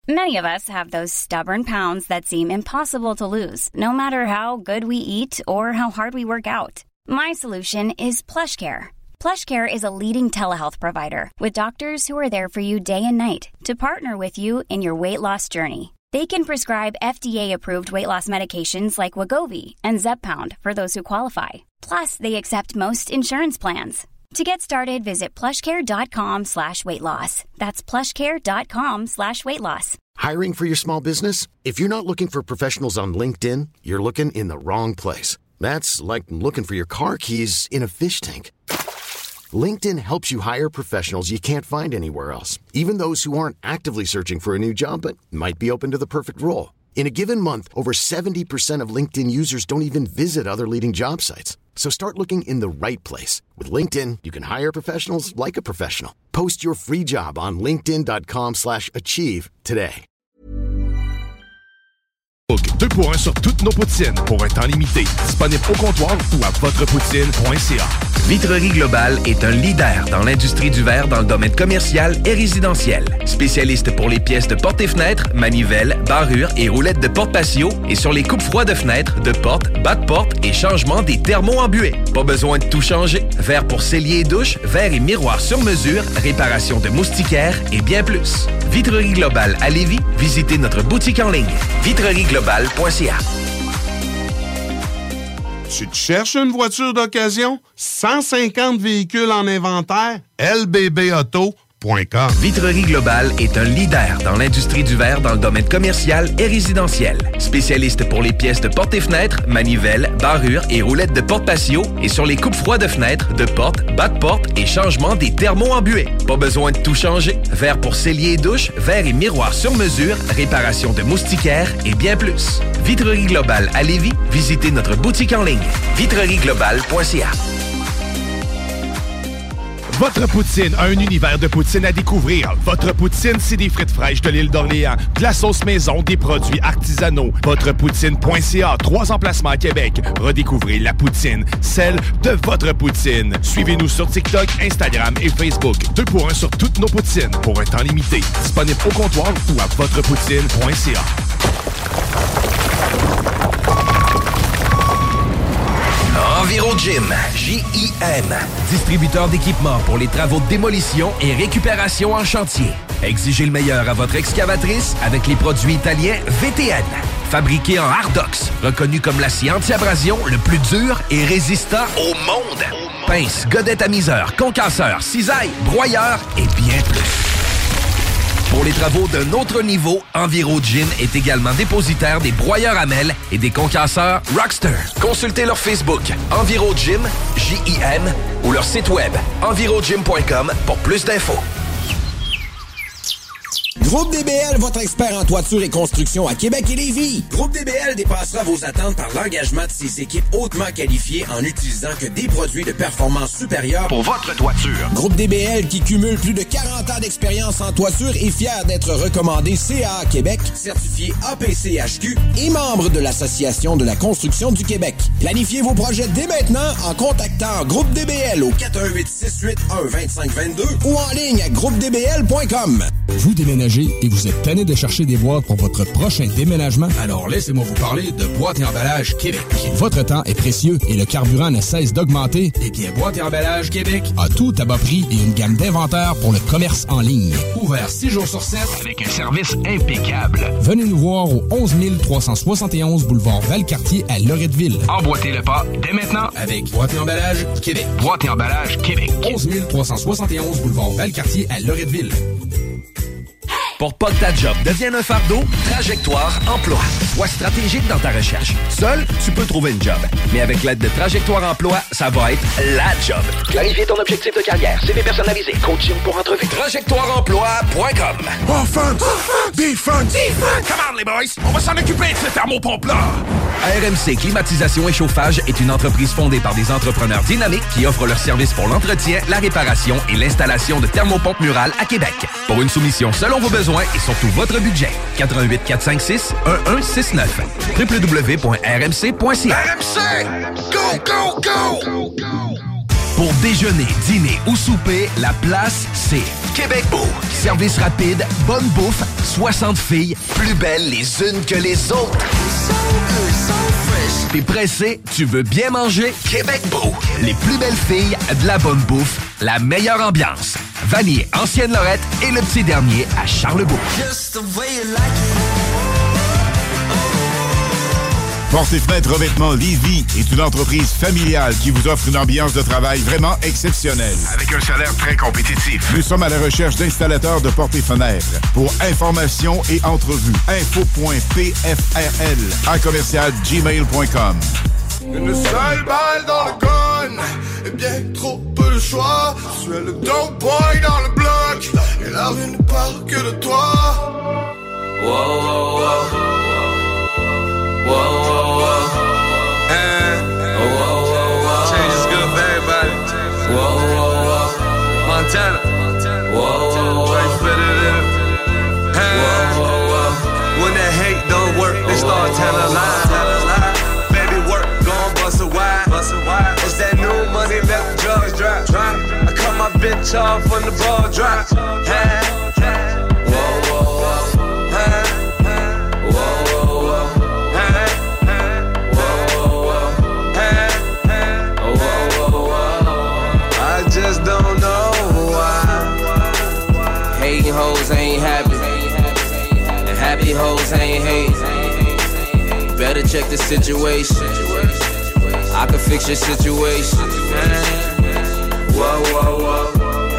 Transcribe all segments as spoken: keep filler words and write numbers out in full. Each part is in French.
Many of us have those stubborn pounds that seem impossible to lose, no matter how good we eat or how hard we work out. My solution is PlushCare. PlushCare is a leading telehealth provider with doctors who are there for you day and night to partner with you in your weight loss journey. They can prescribe F D A-approved weight loss medications like Wegovy and Zepbound for those who qualify. Plus, they accept most insurance plans. To get started, visit plushcare.com slash weight loss. That's plushcare.com slash weight loss. Hiring for your small business? If you're not looking for professionals on LinkedIn, you're looking in the wrong place. That's like looking for your car keys in a fish tank. LinkedIn helps you hire professionals you can't find anywhere else, even those who aren't actively searching for a new job but might be open to the perfect role. In a given month, over seventy percent of LinkedIn users don't even visit other leading job sites. So start looking in the right place. With LinkedIn, you can hire professionals like a professional. Post your free job on linkedin.com slash achieve today. deux pour un sur toutes nos poutines pour un temps limité. Disponible au comptoir ou à votre poutine point c a. Vitrerie Globale est un leader dans l'industrie du verre dans le domaine commercial et résidentiel. Spécialiste pour les pièces de portes et fenêtres, manivelles, barrures et roulettes de porte patio et sur les coupes froides de fenêtres, de portes, bas de porte et changement des thermos en buée. Pas besoin de tout changer. Verre pour cellier et douche, verre et miroirs sur mesure, réparation de moustiquaires et bien plus. Vitrerie Globale à Lévis, visitez notre boutique en ligne. vitrerie globale point c a. Tu te cherches une voiture d'occasion? cent cinquante véhicules en inventaire? L B B auto point com. Vitrerie Globale est un leader dans l'industrie du verre dans le domaine commercial et résidentiel. Spécialiste pour les pièces de portes et fenêtres, manivelles, barrures et roulettes de porte patio et sur les coupes froides de fenêtres, de portes, bas de porte et changement des thermos en buée. Pas besoin de tout changer. Verre pour cellier et douche, verre et miroirs sur mesure, réparation de moustiquaires et bien plus. Vitrerie Globale à Lévis, visitez notre boutique en ligne. vitrerie globale point c a. Votre poutine a un univers de poutine à découvrir. Votre poutine, c'est des frites fraîches de l'île d'Orléans, de la sauce maison, des produits artisanaux. votre poutine point c a, trois emplacements à Québec. Redécouvrez la poutine, celle de votre poutine. Suivez-nous sur TikTok, Instagram et Facebook. Deux pour un sur toutes nos poutines, pour un temps limité. Disponible au comptoir ou à votre poutine point c a. EnviroGym, J I M, distributeur d'équipements pour les travaux de démolition et récupération en chantier. Exigez le meilleur à votre excavatrice avec les produits italiens V T N. Fabriqué en Hardox, reconnu comme l'acier anti-abrasion le plus dur et résistant au monde. Pince, godette à miseur, concasseur, cisaille, broyeur et bien plus. Pour les travaux d'un autre niveau, EnviroGym est également dépositaire des broyeurs à mêles et des concasseurs Rockster. Consultez leur Facebook EnviroGym, J I M, ou leur site web envirogym point com pour plus d'infos. Groupe D B L, votre expert en toiture et construction à Québec et Lévis. Groupe D B L dépassera vos attentes par l'engagement de ses équipes hautement qualifiées en utilisant que des produits de performance supérieure pour votre toiture. Groupe D B L, qui cumule plus de quarante ans d'expérience en toiture, est fier d'être recommandé C A A Québec, certifié A P C H Q et membre de l'Association de la construction du Québec. Planifiez vos projets dès maintenant en contactant Groupe D B L au quatre un huit, six huit un, deux cinq deux deux ou en ligne à groupe d b l point com. Vous déménagez et vous êtes tanné de chercher des boîtes pour votre prochain déménagement? Alors laissez-moi vous parler de Boîte et Emballage Québec. Votre temps est précieux et le carburant ne cesse d'augmenter. Eh bien, Boîte et Emballage Québec a tout à bas prix et une gamme d'inventaires pour le commerce en ligne. Ouvert six jours sur sept avec un service impeccable. Venez nous voir au onze mille trois cent soixante et onze boulevard Valcartier à Loretteville. Emboîtez le pas dès maintenant avec Boîte et Emballage Québec. Boîte et Emballage Québec. onze mille trois cent soixante et onze boulevard Valcartier à Loretteville. Pour pas que ta job devienne un fardeau, Trajectoire Emploi. Sois stratégique dans ta recherche. Seul, tu peux trouver une job. Mais avec l'aide de Trajectoire Emploi, ça va être la job. Clarifier ton objectif de carrière, C V personnalisé, coaching pour entrevue. trajectoire emploi point com. Offense! Offense! Defense! Defense! Come on, les boys! On va s'en occuper de ce thermopompe-là! R M C Climatisation et Chauffage est une entreprise fondée par des entrepreneurs dynamiques qui offrent leurs services pour l'entretien, la réparation et l'installation de thermopompes murales à Québec. Pour une soumission selon vos besoins et surtout votre budget, quatre un huit, quatre cinq six, un un six neuf. w w w point r m c point c a. R M C! Go, go, go! Pour déjeuner, dîner ou souper, la place, c'est Québec Beau. Service rapide, bonne bouffe, soixante filles, plus belles les unes que les autres. T'es pressé, tu veux bien manger? Québec Beau. Les plus belles filles, de la bonne bouffe, la meilleure ambiance. Vanier, Ancienne Lorette et le petit dernier à Charlebourg. Portes et Fenêtres Revêtement Lévis est une entreprise familiale qui vous offre une ambiance de travail vraiment exceptionnelle. Avec un salaire très compétitif. Nous sommes à la recherche d'installateurs de portes et fenêtres. Pour information et entrevue, info point p f r l à commercial gmail point com. Une seule balle dans le gun et bien trop peu de choix. Tu es le dope boy dans le bloc et la rue ne parle que de toi. Wow, wow, wow. Whoa, whoa, whoa. And, oh, whoa, whoa, whoa. Change is good for everybody. Whoa, whoa, whoa. Montana. Whoa, whoa, whoa. Right fitted in it. And, whoa, whoa, whoa. When that hate don't work, they start telling lies. Baby, work, gon' bust a wide. It's that new money, let the drugs drop. I cut my bitch off when the ball drops. Hey, whoa, whoa, whoa. Hey. Just don't know why. Hating hoes ain't happy, and happy hoes ain't hate. Better check the situation. I can fix your situation. Whoa, whoa, whoa.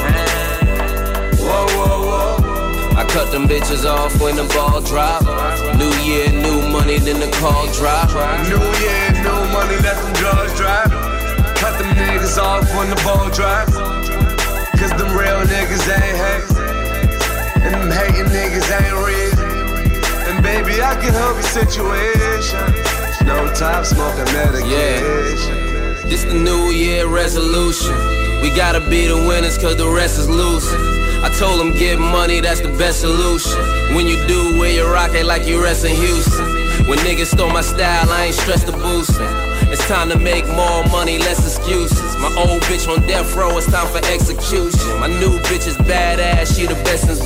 Whoa, whoa, whoa. I cut them bitches off when the ball drop. New year, new money, then the call drop. New year, new money, let them drugs drop. Cut them niggas off when the ball drops. Cause them real niggas ain't hate. And them hating niggas ain't real. And baby, I can help your situation. No top smoking medication. Yeah. This the new year resolution. We gotta be the winners cause the rest is losing. I told them get money, that's the best solution. When you do, wear your rocket like you rest in Houston. When niggas stole my style, I ain't stressed the boosting. It's time to make more money, less excuses. My old bitch on death row, it's time for execution. My new bitch is badass, she the best since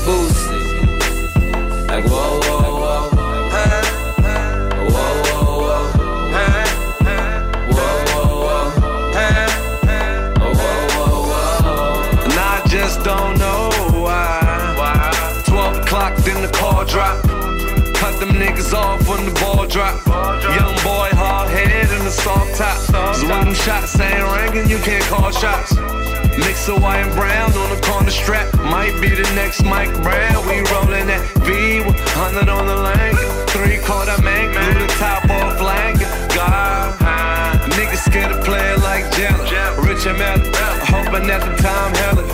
Boosie. Like whoa, whoa, whoa, hey, hey. Whoa, whoa, whoa, hey, hey. Whoa, whoa, whoa, hey, hey. Whoa, whoa, whoa. And I just don't know why. Why? Twelve o'clock, then the call drop. Cut them niggas off when the ball drop. Young boy, hard head and a soft top. Cause when them shots ain't ringing, you can't call shots. Mix of white and brown on the corner strap. Might be the next Mike Brown. We rollin' that V with one hundred on the lane. Three quarter man, glue the top off flank. God, niggas scared to play it like Jenna. Rich and Mel, hoping at the time, hella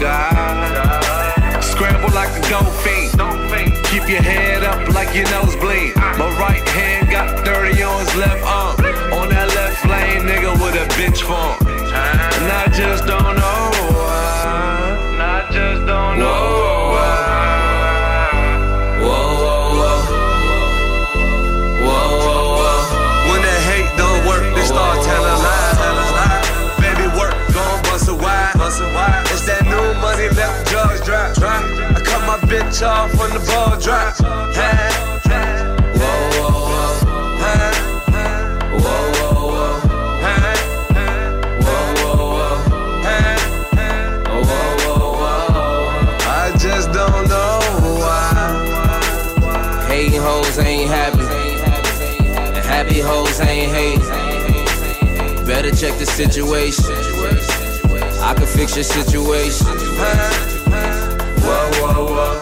God. Scramble like a dope fiend. Keep your head up like your nose bleed. My right hand got thirty on his left arm. On that left lane, nigga with a bitch form. And I just don't know why. And I just don't know why. Whoa, whoa, whoa. Whoa, whoa, whoa. When that hate don't work, they start telling lies. Baby, work, gon' bust a wide. It's that new money, let the drugs drop. I cut my bitch off when the ball drops. Hey, hey. Whoa, whoa, whoa. Hey, hey. Whoa, whoa, whoa. Hey, hey. Whoa, whoa, whoa. Hey, hey. Whoa, whoa, whoa. I just don't know why. Hating hoes ain't happy, and happy hoes ain't hate. Better check the situation. I can fix your situation. Whoa, whoa, whoa.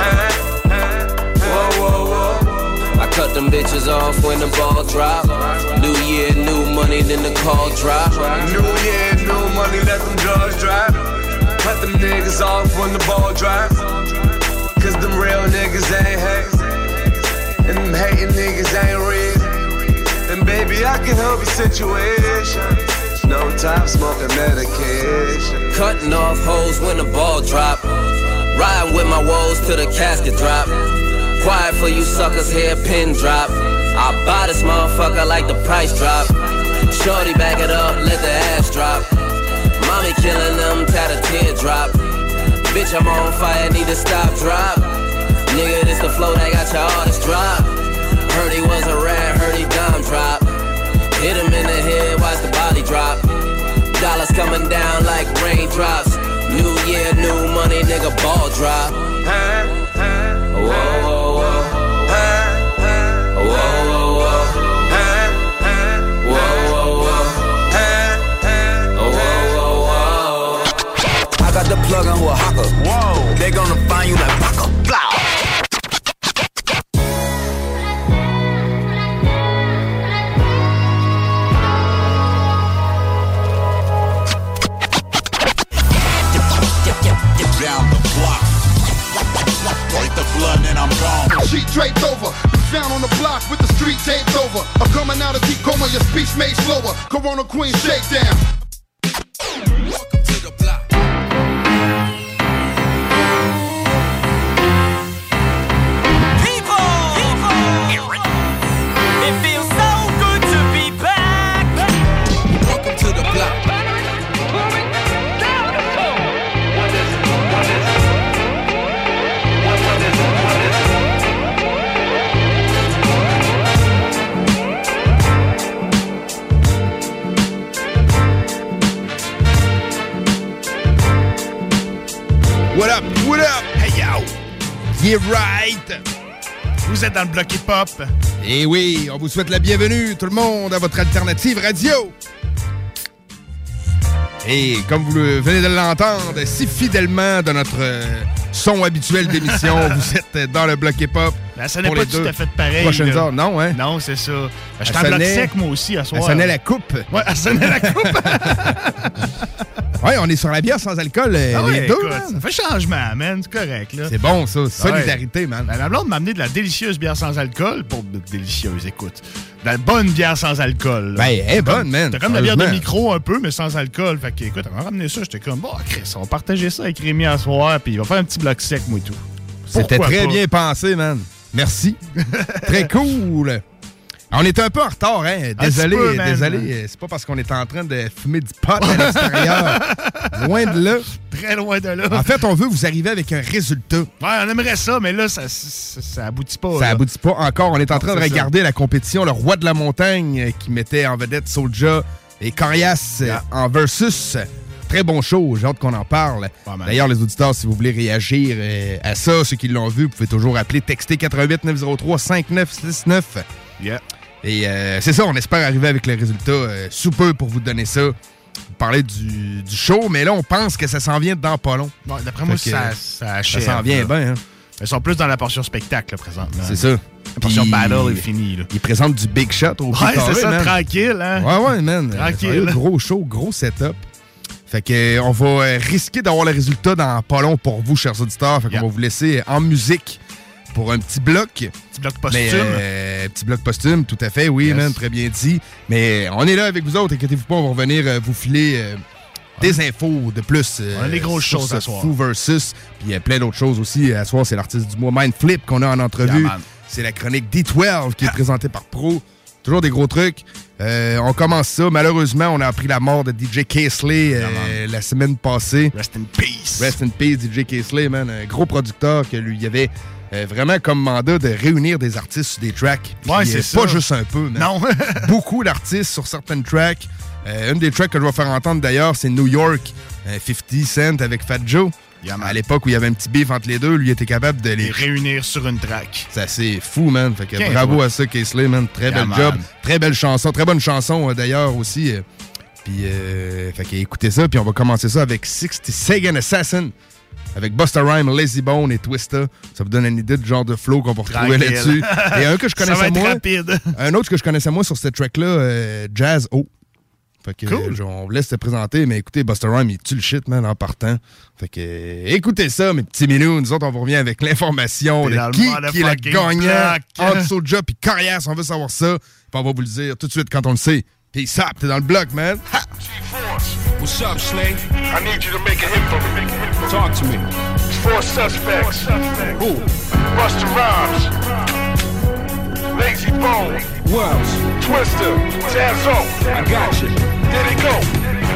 Whoa, whoa, whoa. I cut them bitches off when the ball drop. New year, new money, then the call drop. New year, new money, let them drugs drop. Cut them niggas off when the ball drop. Cause them real niggas ain't hate. And them hating niggas ain't real. And baby, I can help your situation. No top smoking medication. Cutting off hoes when the ball drop. Riding with my woes till the casket drop. Quiet for you suckers, hair pin drop. I buy this motherfucker like the price drop. Shorty back it up, let the ass drop. Mama Mommy killing them, tat a teardrop. Bitch, I'm on fire, need to stop, drop. Nigga, this the flow that got your artist drop. Heard he was a rat, heard he dime drop. Hit him in the head, watch the body drop. Dollars coming down like raindrops. New year, new money, nigga, ball drop. Whoa, whoa, whoa. Whoa, whoa, whoa. Got the plug on who a hawker. Whoa. They gonna find you like Paco. Blah. Down the block. Break the blood and I'm gone. Sheet draped over. Down on the block with the street taped over. I'm coming out of deep coma, your speech made slower. Corona Queen shakedown. Welcome to the block. What up, what up, hey yo, yeah right. Vous êtes dans le bloc hip-hop. Et oui, on vous souhaite la bienvenue, tout le monde, à votre alternative radio. Et comme vous le venez de l'entendre si fidèlement de notre euh, son habituel d'émission, vous êtes dans le bloc hip-hop. Ben, ça n'est pas tout à fait pareil. Prochaines là. heures, non, hein? Non, c'est ça. Ben, je suis en bloc sec, moi aussi, à soir. Elle sonnait la coupe. Ouais, elle sonnait la coupe. Ouais, on est sur la bière sans alcool, euh, ah les ouais, deux. Écoute, Man. ça fait changement, man. C'est correct, là. C'est bon, ça. Solidarité, ouais. Man. Ben, ma blonde m'a amené de la délicieuse bière sans alcool. Pas de délicieuse, écoute. De la bonne bière sans alcool. Là. Ben, elle est bonne, man. C'était comme la bière de micro un peu, mais sans alcool. Fait que, écoute, on m'a ramené ça. J'étais comme, bon, Chris, on va partager ça avec Rémi à soir, puis il va faire un petit bloc sec, moi et tout. C'était Pourquoi très pas? bien pensé, man. Merci. Très cool. On était un peu en retard, hein? Désolé, peu, désolé. C'est pas parce qu'on était en train de fumer du pot à l'extérieur. Loin de là. Très loin de là. En fait, on veut vous arriver avec un résultat. Ouais, on aimerait ça, mais là, ça, ça, ça aboutit pas. Ça là. aboutit pas encore. On est en train non, de regarder ça. la compétition, le roi de la montagne, qui mettait en vedette Soulja et Corias yeah. en versus. Très bon show, j'ai hâte qu'on en parle. D'ailleurs, les auditeurs, si vous voulez réagir euh, à ça, ceux qui l'ont vu, vous pouvez toujours appeler, texter quatre un huit neuf zéro trois cinq neuf six neuf. Yeah. Et euh, c'est ça, on espère arriver avec le résultat euh, sous peu pour vous donner ça. Vous parlez du, du show, mais là, on pense que ça s'en vient dans pas long. Bon, d'après moi, ça, ça achève. Ça s'en vient bien. Hein? Ils sont plus dans la portion spectacle, là, présentement. C'est ça. La portion Puis, battle est finie. Là. Ils présentent du big shot au Ouais, carré, c'est ça, man. tranquille. Hein? Ouais, ouais, man. Tranquille. Gros show, gros setup. Fait que on va euh, risquer d'avoir le résultat dans pas long pour vous, chers auditeurs. Fait qu'on yeah. va vous laisser en musique pour un petit bloc. Petit bloc posthume. Mais, euh, petit bloc posthume, tout à fait, oui, yes. man, très bien dit. Mais on est là avec vous autres, inquiétez-vous pas, on va revenir euh, vous filer euh, des infos de plus. Euh, on a des grosses choses à soir. Fou versus, puis il y a plein d'autres choses aussi. À soir, c'est l'artiste du mois Mindflip qu'on a en entrevue. Yeah, c'est la chronique D douze qui est présentée par Pro. Toujours des gros trucs. Euh, on commence ça. Malheureusement, on a appris la mort de D J Casely euh, la semaine passée. Rest in peace. Rest in peace, D J Casely, man. Un gros producteur que lui, il avait euh, vraiment comme mandat de réunir des artistes sur des tracks. Puis, ouais, c'est euh, ça. Pas juste un peu, man. Non. Beaucoup d'artistes sur certaines tracks. Euh, une des tracks que je vais faire entendre d'ailleurs, c'est New York, euh, cinquante Cent avec Fat Joe. Yeah, à l'époque où il y avait un petit beef entre les deux, lui était capable de les... les réunir sur une track. C'est assez fou, man. Fait que okay, bravo ouais. à ça, Casely, man. Très yeah, bel man. job. Très belle chanson. Très bonne chanson, euh, d'ailleurs, aussi. Euh, puis, euh, fait que écoutez ça. Puis on va commencer ça avec sixty Second Assassin. Avec Busta Rhymes, Lazy Bone et Twista. Ça vous donne une idée du genre de flow qu'on va retrouver Tranquille. là-dessus. Et un que je connaissais ça va être moins. rapide. Un autre que je connaissais moins sur cette track-là, euh, Jazz O. Fait que, cool. euh, on vous laisse te présenter, mais écoutez, Busta Rhymes, il tue le shit, man, en partant. Fait que, euh, écoutez ça, mes petits minous. Nous autres, on vous revient avec l'information de qui, qui est le gagnant entre Soulja puis Corias. On veut savoir ça. Puis on va vous le dire tout de suite quand on le sait. Peace up, t'es dans le bloc, man. Ha! What's up, Slay? I need you to make a hit for me. Talk to me. Four suspects. Who? Busta Rhymes. Lazy Bone. Wells. Twista. Jazzo. I got you. There they go.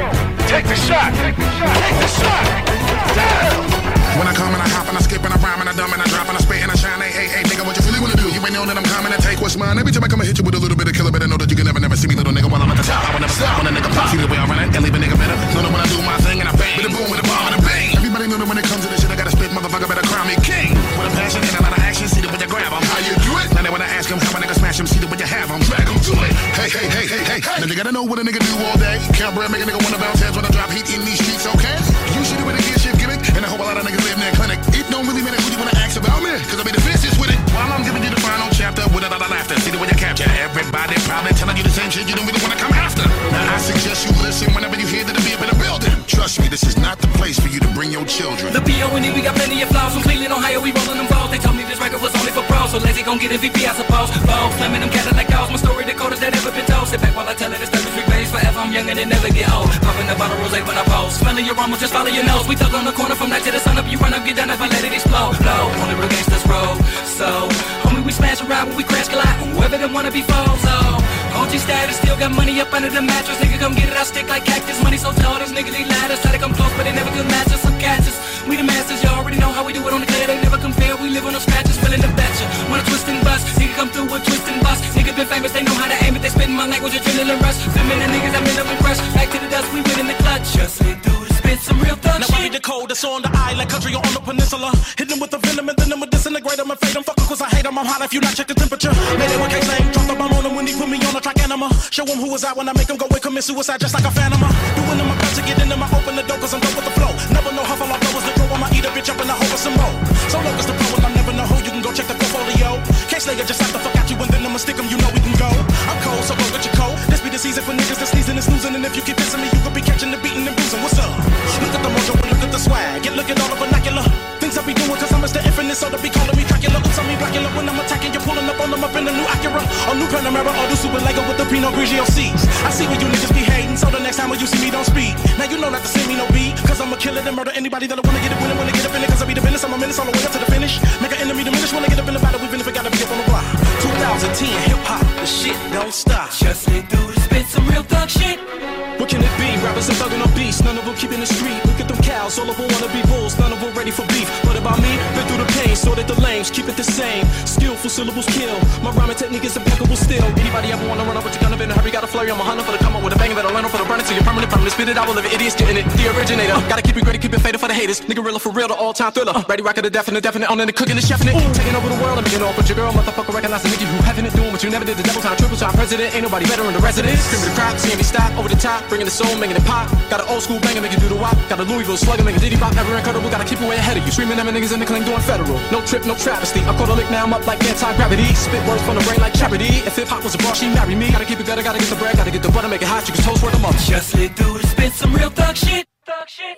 Take the shot. Take the shot. Take the shot. Damn. When I come and I hop and I skip and I rhyme and I dumb and I drop and I spit and I shine, hey, hey, hey, nigga, what you really wanna do? You ain't know that I'm coming to take what's mine. Every time I come and hit you with a little bit of killer, better know that you can never, never see me, little nigga, while I'm at the top. I will never stop when a nigga pop. See the way I run it and leave a nigga better. Know that when I do my thing and I bang, with a boom, with a bomb and a bang. Everybody know that when it comes to this shit, I gotta spit, motherfucker, better crown me king. With a passion and a lot of action, see the way you grab 'em. How you do it? Now they wanna ask 'em how a nigga smash 'em, see the way you have 'em, drag 'em to it. Hey, hey, hey, hey, hey. Now you gotta know what a nigga do all day. Can't bread, make a nigga wanna bounce heads when I drop heat in these streets, okay? You should do it a gear shift gimmick, and I hope a lot of niggas live in their clinic. It don't really matter who you wanna ask about me, cause I be the fiercest with it. While I'm giving you the final chapter with a lot of laughter, see the way you capture. Everybody probably telling you the same shit you don't really wanna come after. Now I suggest you listen whenever you hear that the be up in the building. Trust me, this is not the place for you to bring your children. The B O N E, we got plenty of flaws. From Cleveland, Ohio, we rolling them balls. They told me this record was only for pros, so lazy gon' get M V P, I suppose. Balls, slamming them Cadillac dolls. My story, the coldest that ever been told. Sit back while I tell it, it's thirty-three days forever. I'm young and it never get old. Popping a bottle of rosé when I pose. Smelling your armor, just follow your nose. We tuck on the corner from night to the sun up. You run up, get down if I let it explode. Blow, on the real gangsters roll. So, homie, we smash around when we crash collide. Whoever them wanna be foes, oh. O G status, still got money up under the mattress. Nigga, come get it, I stick like cactus. Money so tall, these niggas need ladders. Try to come close, but they never could match us. Some catches, we the masters, you already know how we do it on the clear. They never compare, we live on no scratches, willing to bet ya. Wanna twist and bust, nigga come through with twist and bust. Nigga been famous, they know how to aim it. They spitting my language, adrenaline rush. Feminine niggas, I'm in up and rush. Back to the dust, we win in the clutch. Just slid through the spit, some real thug now shit. I be the cold that's on the island, country or on the peninsula. Hit them with the venom and then I'ma disintegrate them and fade them. Fuck 'em cause I hate them, I'm hot if you not check the temperature. Made it one K slang, drop the bomb on them when he put me on a track anima. Show them who is out when I make them go and commit suicide just like a phantom. Doing them my best to get in them, I open the door cause I'm done with the flow. Never know how far I blow is the throw, I'ma eat a bitch up and I hope it's some more. So long as the pro and I never know who, you can go check the portfolio. Case later just have to fuck out you and then I'ma stick 'em, you know we can go. I'm cold, so go get your coat. This be the season for niggas that's sneezing and snoozing, and if you keep dissing me, you could be catching the beating and bruising. What's up? Look at the mojo and look at the swag, and look at all the vernacular things I be doing cause I'm Mister Infinite, so they be calling me Dracula. Oops, I mean Dracula when I'm attacking, you're pulling up on them up in the new Acura, or new Panamera, or the Super Lego with the Pinot Grigio C's. I see where you niggas be hating, so the next time when you see me don't speak. Now you know not to see me no beat, cause I'ma kill it and murder anybody that'll wanna get it winning, wanna get up in it, cause I be the business, I'm a menace all the way up to the finish. Make an enemy diminish when I get up in the battle, even if it gotta be up on the block. twenty ten, hip hop, the shit don't stop. Just slid through the spit, some real thug shit. What can it be? Rappers and thuggin' on beats, none of them keeping the street. Look at them cows, all of them wanna be bulls, none of them ready for beef. What about me? Been through the pain, sorted the lanes, keep it the same. Skillful syllables kill, my rhyming technique is impeccable still. Anybody ever wanna run up with your gun up in a hurry, got a flurry, I'm a hunter for the come up with a bang, better learn for the burn it to your permanent, permanent, spit it out, will live it, idiots getting it. The originator, uh, gotta keep it gritty, keep it faded for the haters. Nigga real for real, the all-time thriller. Uh, ready, rock it, the definite, definite, on in the cooking, the chefing it. Ooh. Taking over the world, I'm getting off with your girl, motherfucker, recognize the nigga who having it, doing what you never did, the double time, triple time president, ain't nobody better in the residence. Screaming the crowd, seeing me stop, over the top, bringing the soul, making it pop. Got an old school banger, make it do the wop. Got a Louisville slugger, make a diddy bop, never incredible. Gotta keep you way ahead of you. Screaming at my niggas in the cling doing federal. No trip, no travesty. I caught a lick, now I'm up like anti-gravity. Spit words from the brain like charity. If hip hop was a bar, she marry me. Gotta keep it gutter, gotta get the bread, gotta get the butter, make it hot. You can toast word them up. Just slid through the spit, some real thug shit. Thug shit.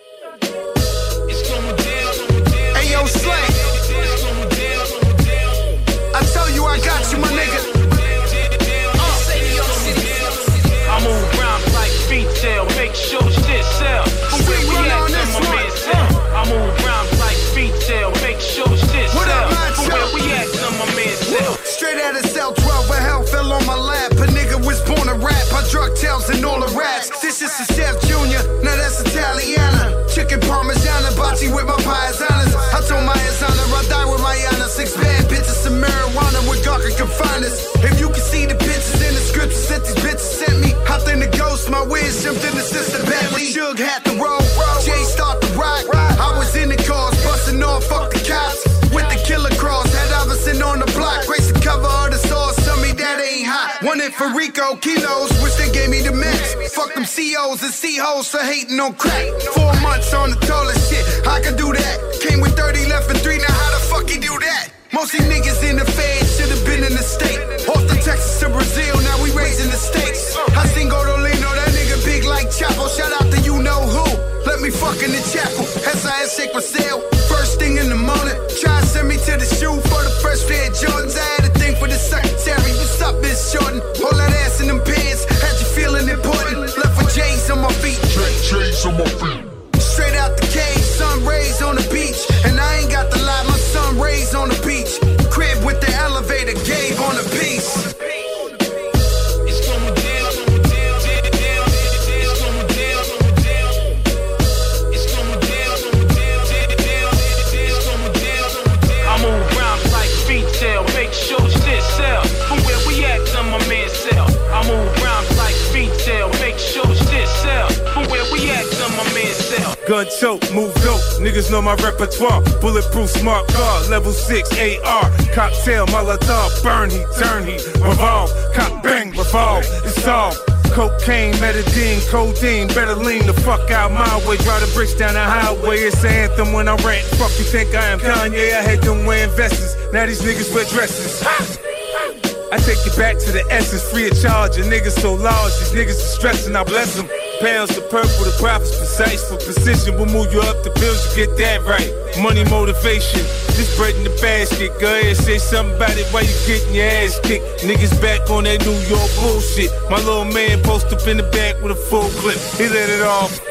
It's going down. Hey yo, Slay. I tell you I got you, my nigga. I move around like retail, make sure shit sell. But where we at, my man sell. I move around like retail, make sure shit sell. But where we at, my man sell. Straight out of cell twelve, where hell fell on my lap. A nigga was born to rap, I drug tails and all the rats. This is the Chef Junior, now that's Italiana. Chicken Parmigiana, bocce with my paisanas. I told my Asana, I die with my Yana. Six bad bitches, some marijuana with Gawker confiners. If you can see the pictures in the scriptures that these bitches sent me, hopped in the ghost, my wiz jumped in the sister Bentley. Suge had the roll, Jay start the rock. I was in the cars, busting off, fuck the cops. With the killer cross, had Iverson on the block. Grace the cover of the sauce, tell me that ain't hot. One in for Rico, kilos, wish they gave me the mix. Fuck them C Os and C-hoes for hating on crack. Four months on the tallest shit, I can do that. Came with thirty left and three, now how the fuck he do that? Most these niggas in the feds should've been in the state. Off the Texas to Brazil, now we raising the stakes. I seen Godolino, that nigga big like Chapo. Shout out to you know who. Let me fuck in the chapel. S I S shake my sale. First thing in the morning. Try to send me to the shoe for the fresh pair of Jordans. I had a thing for the secretary. What's up, Miss Jordan? Hold that ass in them pants. Had you feeling important. Left with J's on my feet. J's on my feet. Straight out the cave, sun rays on the beach. And I ain't got the light, my sun rays on the beach. Crib with the elevator. gun choke, move dope. Niggas know my repertoire. Bulletproof smart car, level six A R. Cocktail, Molotov, burn heat, turn heat, revolve. Cock bang, revolve, it's all. Cocaine, metadine, codeine, better lean the fuck out my way. Drive the bricks down the highway, it's an anthem when I rant. Fuck you think I am Kanye? I had them wearing vests. Now these niggas wear dresses. I take you back to the essence, free of charge. And niggas so large, these niggas are stressing, I bless them. Pounds to purple, the profits precise for precision. We'll move you up the bills, you get that right. Money motivation, this bread in the basket. Go ahead, say something about it while you getting your ass kicked. Niggas back on that New York bullshit. My little man post up in the back with a full clip. He let it off.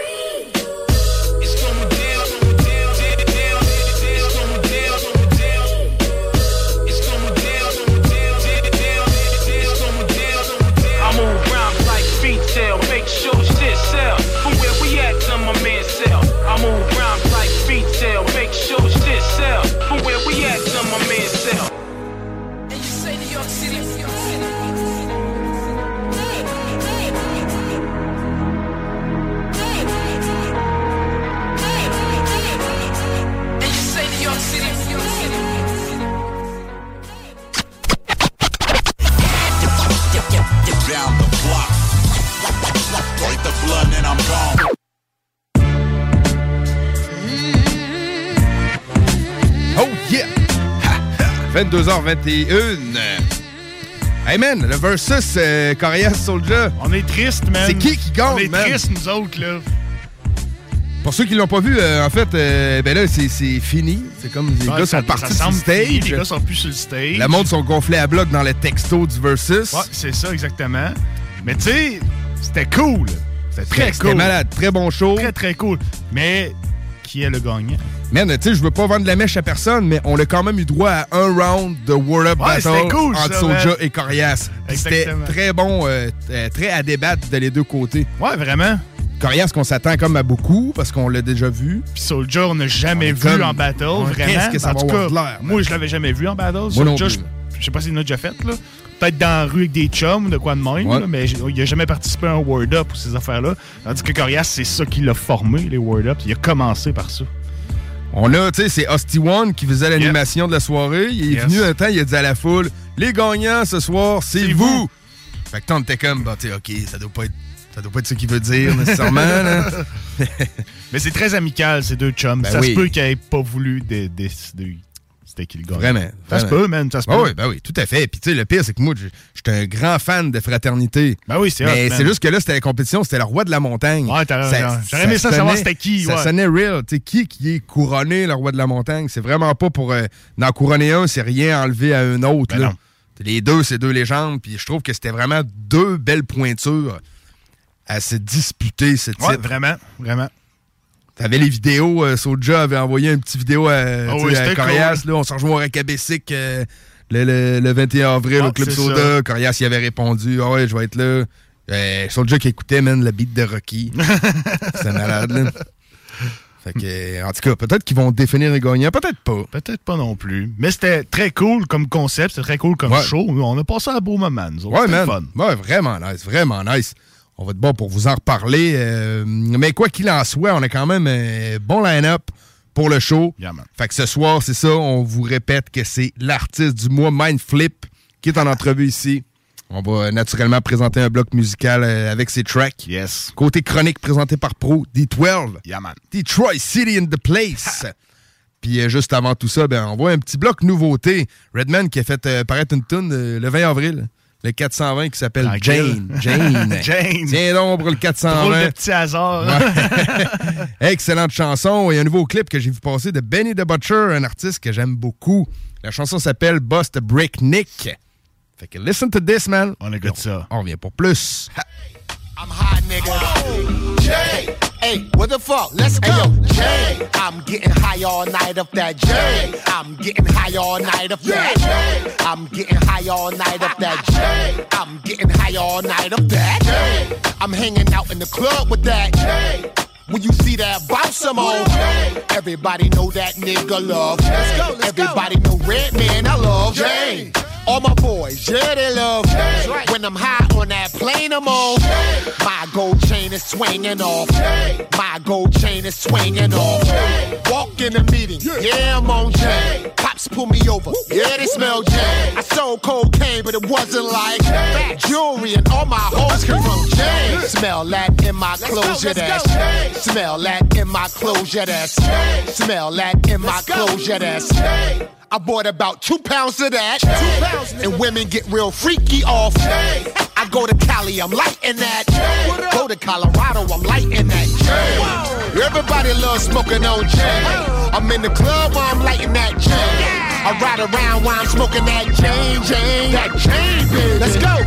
Make sure shit sell. From where we at to my man sell. I move around like feet tail. Make sure shit sell. From where we at to my man sell. And you say New York City, New York City. And you say New York City, New York City. Down the block. Break the blood and I'm gone. Oh yeah! vingt-deux heures vingt et une. Hey man, le versus euh, Corias Soulja. On est triste, man. C'est qui qui gagne, On est man? triste, nous autres, là. Pour ceux qui l'ont pas vu, euh, en fait, euh, ben là, c'est, c'est fini. C'est comme les Ouais, gars ça- sont partis ça sur le semble fini, stage. les gars sont plus sur le stage. Le monde sont gonflés à bloc dans le texto du versus. Ouais, c'est ça, exactement. Mais tu sais, c'était cool. C'était très C'était cool. malade, très bon show. Très, très cool. Mais qui est le gagnant? Man, tu sais, je veux pas vendre la mèche à personne, mais on a quand même eu droit à un round de Word Up Ouais, Battle c'était cool, entre ça, Soulja man. et Corias. Puis C'était Exactement. très bon, euh, euh, très à débattre de les deux côtés. Ouais, vraiment. Corias qu'on s'attend comme à beaucoup, parce qu'on l'a déjà vu. Puis Soulja, on n'a jamais On est vu comme- en battle, Ouais, vraiment. qu'est-ce que ça en va tout avoir cas, de l'air, moi, je l'avais jamais vu en battle. Moi non Soulja, plus. je, je sais pas s'il en a déjà fait, là. Peut-être dans la rue avec des chums ou de quoi de même, Ouais. là, mais j- il a jamais participé à un Word Up ou ces affaires-là. Tandis que Corias, c'est ça qui l'a formé, les Word Up. Il a commencé par ça. On a, tu sais, c'est Hosty One qui faisait l'animation de la soirée. Il est Yes. venu un temps, il a dit à la foule, les gagnants ce soir, c'est vous. Fait que toi, on était comme, bah, tu sais, OK, ça doit pas être. Ça doit pas être ce qu'il veut dire, nécessairement. Là. Mais c'est très amical, ces deux chums. Ben ça oui. se peut qu'ils n'aient pas voulu dé- décider c'était qui le gagne. Vraiment. Ça se vraiment. peut, man. Ça se peut. Ah oui, ben oui, tout à fait. Puis tu sais, le pire, c'est que moi, je j'étais un grand fan de fraternité. Ben oui, c'est Mais hot, man. c'est juste que là, c'était la compétition, c'était le roi de la montagne. Ouais, t'as raison. J'aurais aimé ça savoir c'était qui, Ça ouais. sonnait real. Tu sais, qui qui est couronné, le roi de la montagne? C'est vraiment pas pour euh, en couronner un, c'est rien enlever à un autre. Ben là. non. Les deux, c'est deux légendes. Puis je trouve que c'était vraiment deux belles pointures à se disputer ce titre. Ouais, vraiment, vraiment. T'avais les vidéos, euh, Soulja avait envoyé une petite vidéo à, Ah tu sais, oui, à c'était Corias, cool. là, on s'en rejoint à Cabessic euh, le, le, le vingt et un avril Ouais, au Club c'est Soda. ça. Corias y avait répondu, ah ouais, je vais être là. Euh, Soulja qui écoutait, man, le beat de Rocky. C'est malade, là. Fait que, euh, en tout cas, peut-être qu'ils vont définir les gagnants, peut-être pas. Peut-être pas non plus. Mais c'était très cool comme concept, c'était très cool comme Ouais. show. On a passé un beau moment, nous autres. Ouais, C'était man. fun. Ouais, vraiment nice, vraiment nice. On va être bon pour vous en reparler. euh, mais quoi qu'il en soit, on a quand même un bon line-up pour le show. Yeah, man. Fait que ce soir, c'est ça, on vous répète que c'est l'artiste du mois, Mindflip, qui est en entrevue ici. On va naturellement présenter un bloc musical euh, avec ses tracks. Yes. Côté chronique présenté par Pro, D douze. Yeah, man. Detroit City in the place. Puis euh, juste avant tout ça, ben, on voit un petit bloc nouveauté. Redman qui a fait euh, paraître une tune euh, le vingt avril. Le quatre cent vingt qui s'appelle Tranquille. Jane. Jane. Jane. Tiens donc pour le quatre cent Drôle vingt. de petit hasard. Ouais. Excellente chanson. Il y a un nouveau clip que j'ai vu passer de Benny the Butcher, un artiste que j'aime beaucoup. La chanson s'appelle Bust a Breakneck. Fait que listen to this, man. On écoute ça. On revient pour plus. I'm hot, nigga. Jay, hey, what the fuck? Let's go. Hey, yo, Jay, I'm getting high all night of that Jay. I'm getting high all night of that Jay. I'm getting high all night of that Jay. I'm getting high all night of that Jay. I'm hanging out in the club with that Jay. When you see that bounce some on, everybody know that nigga love. Let's go, let's everybody go. Know Redman, I love Jay. All my boys, yeah, they love Jay. When I'm high on that plane I'm on, my gold chain is is swinging off. My gold chain is swinging off. Walk in the meeting, yeah, I'm on J. Cops pull me over, yeah, they smell J. I sold cocaine, but it wasn't like jewelry, and all my hoes come from J. Smell that in my closure, that's. Smell that in my closure, that's. Smell that in my closure, that's. I bought about two pounds of that, and women get real freaky off. I go to Cali, I'm lighting that. Go to Colorado, I'm lighting that. Everybody loves smoking on J. I'm in the club while I'm lighting that J. I ride around while I'm smoking that J, J. That J, baby. Let's go,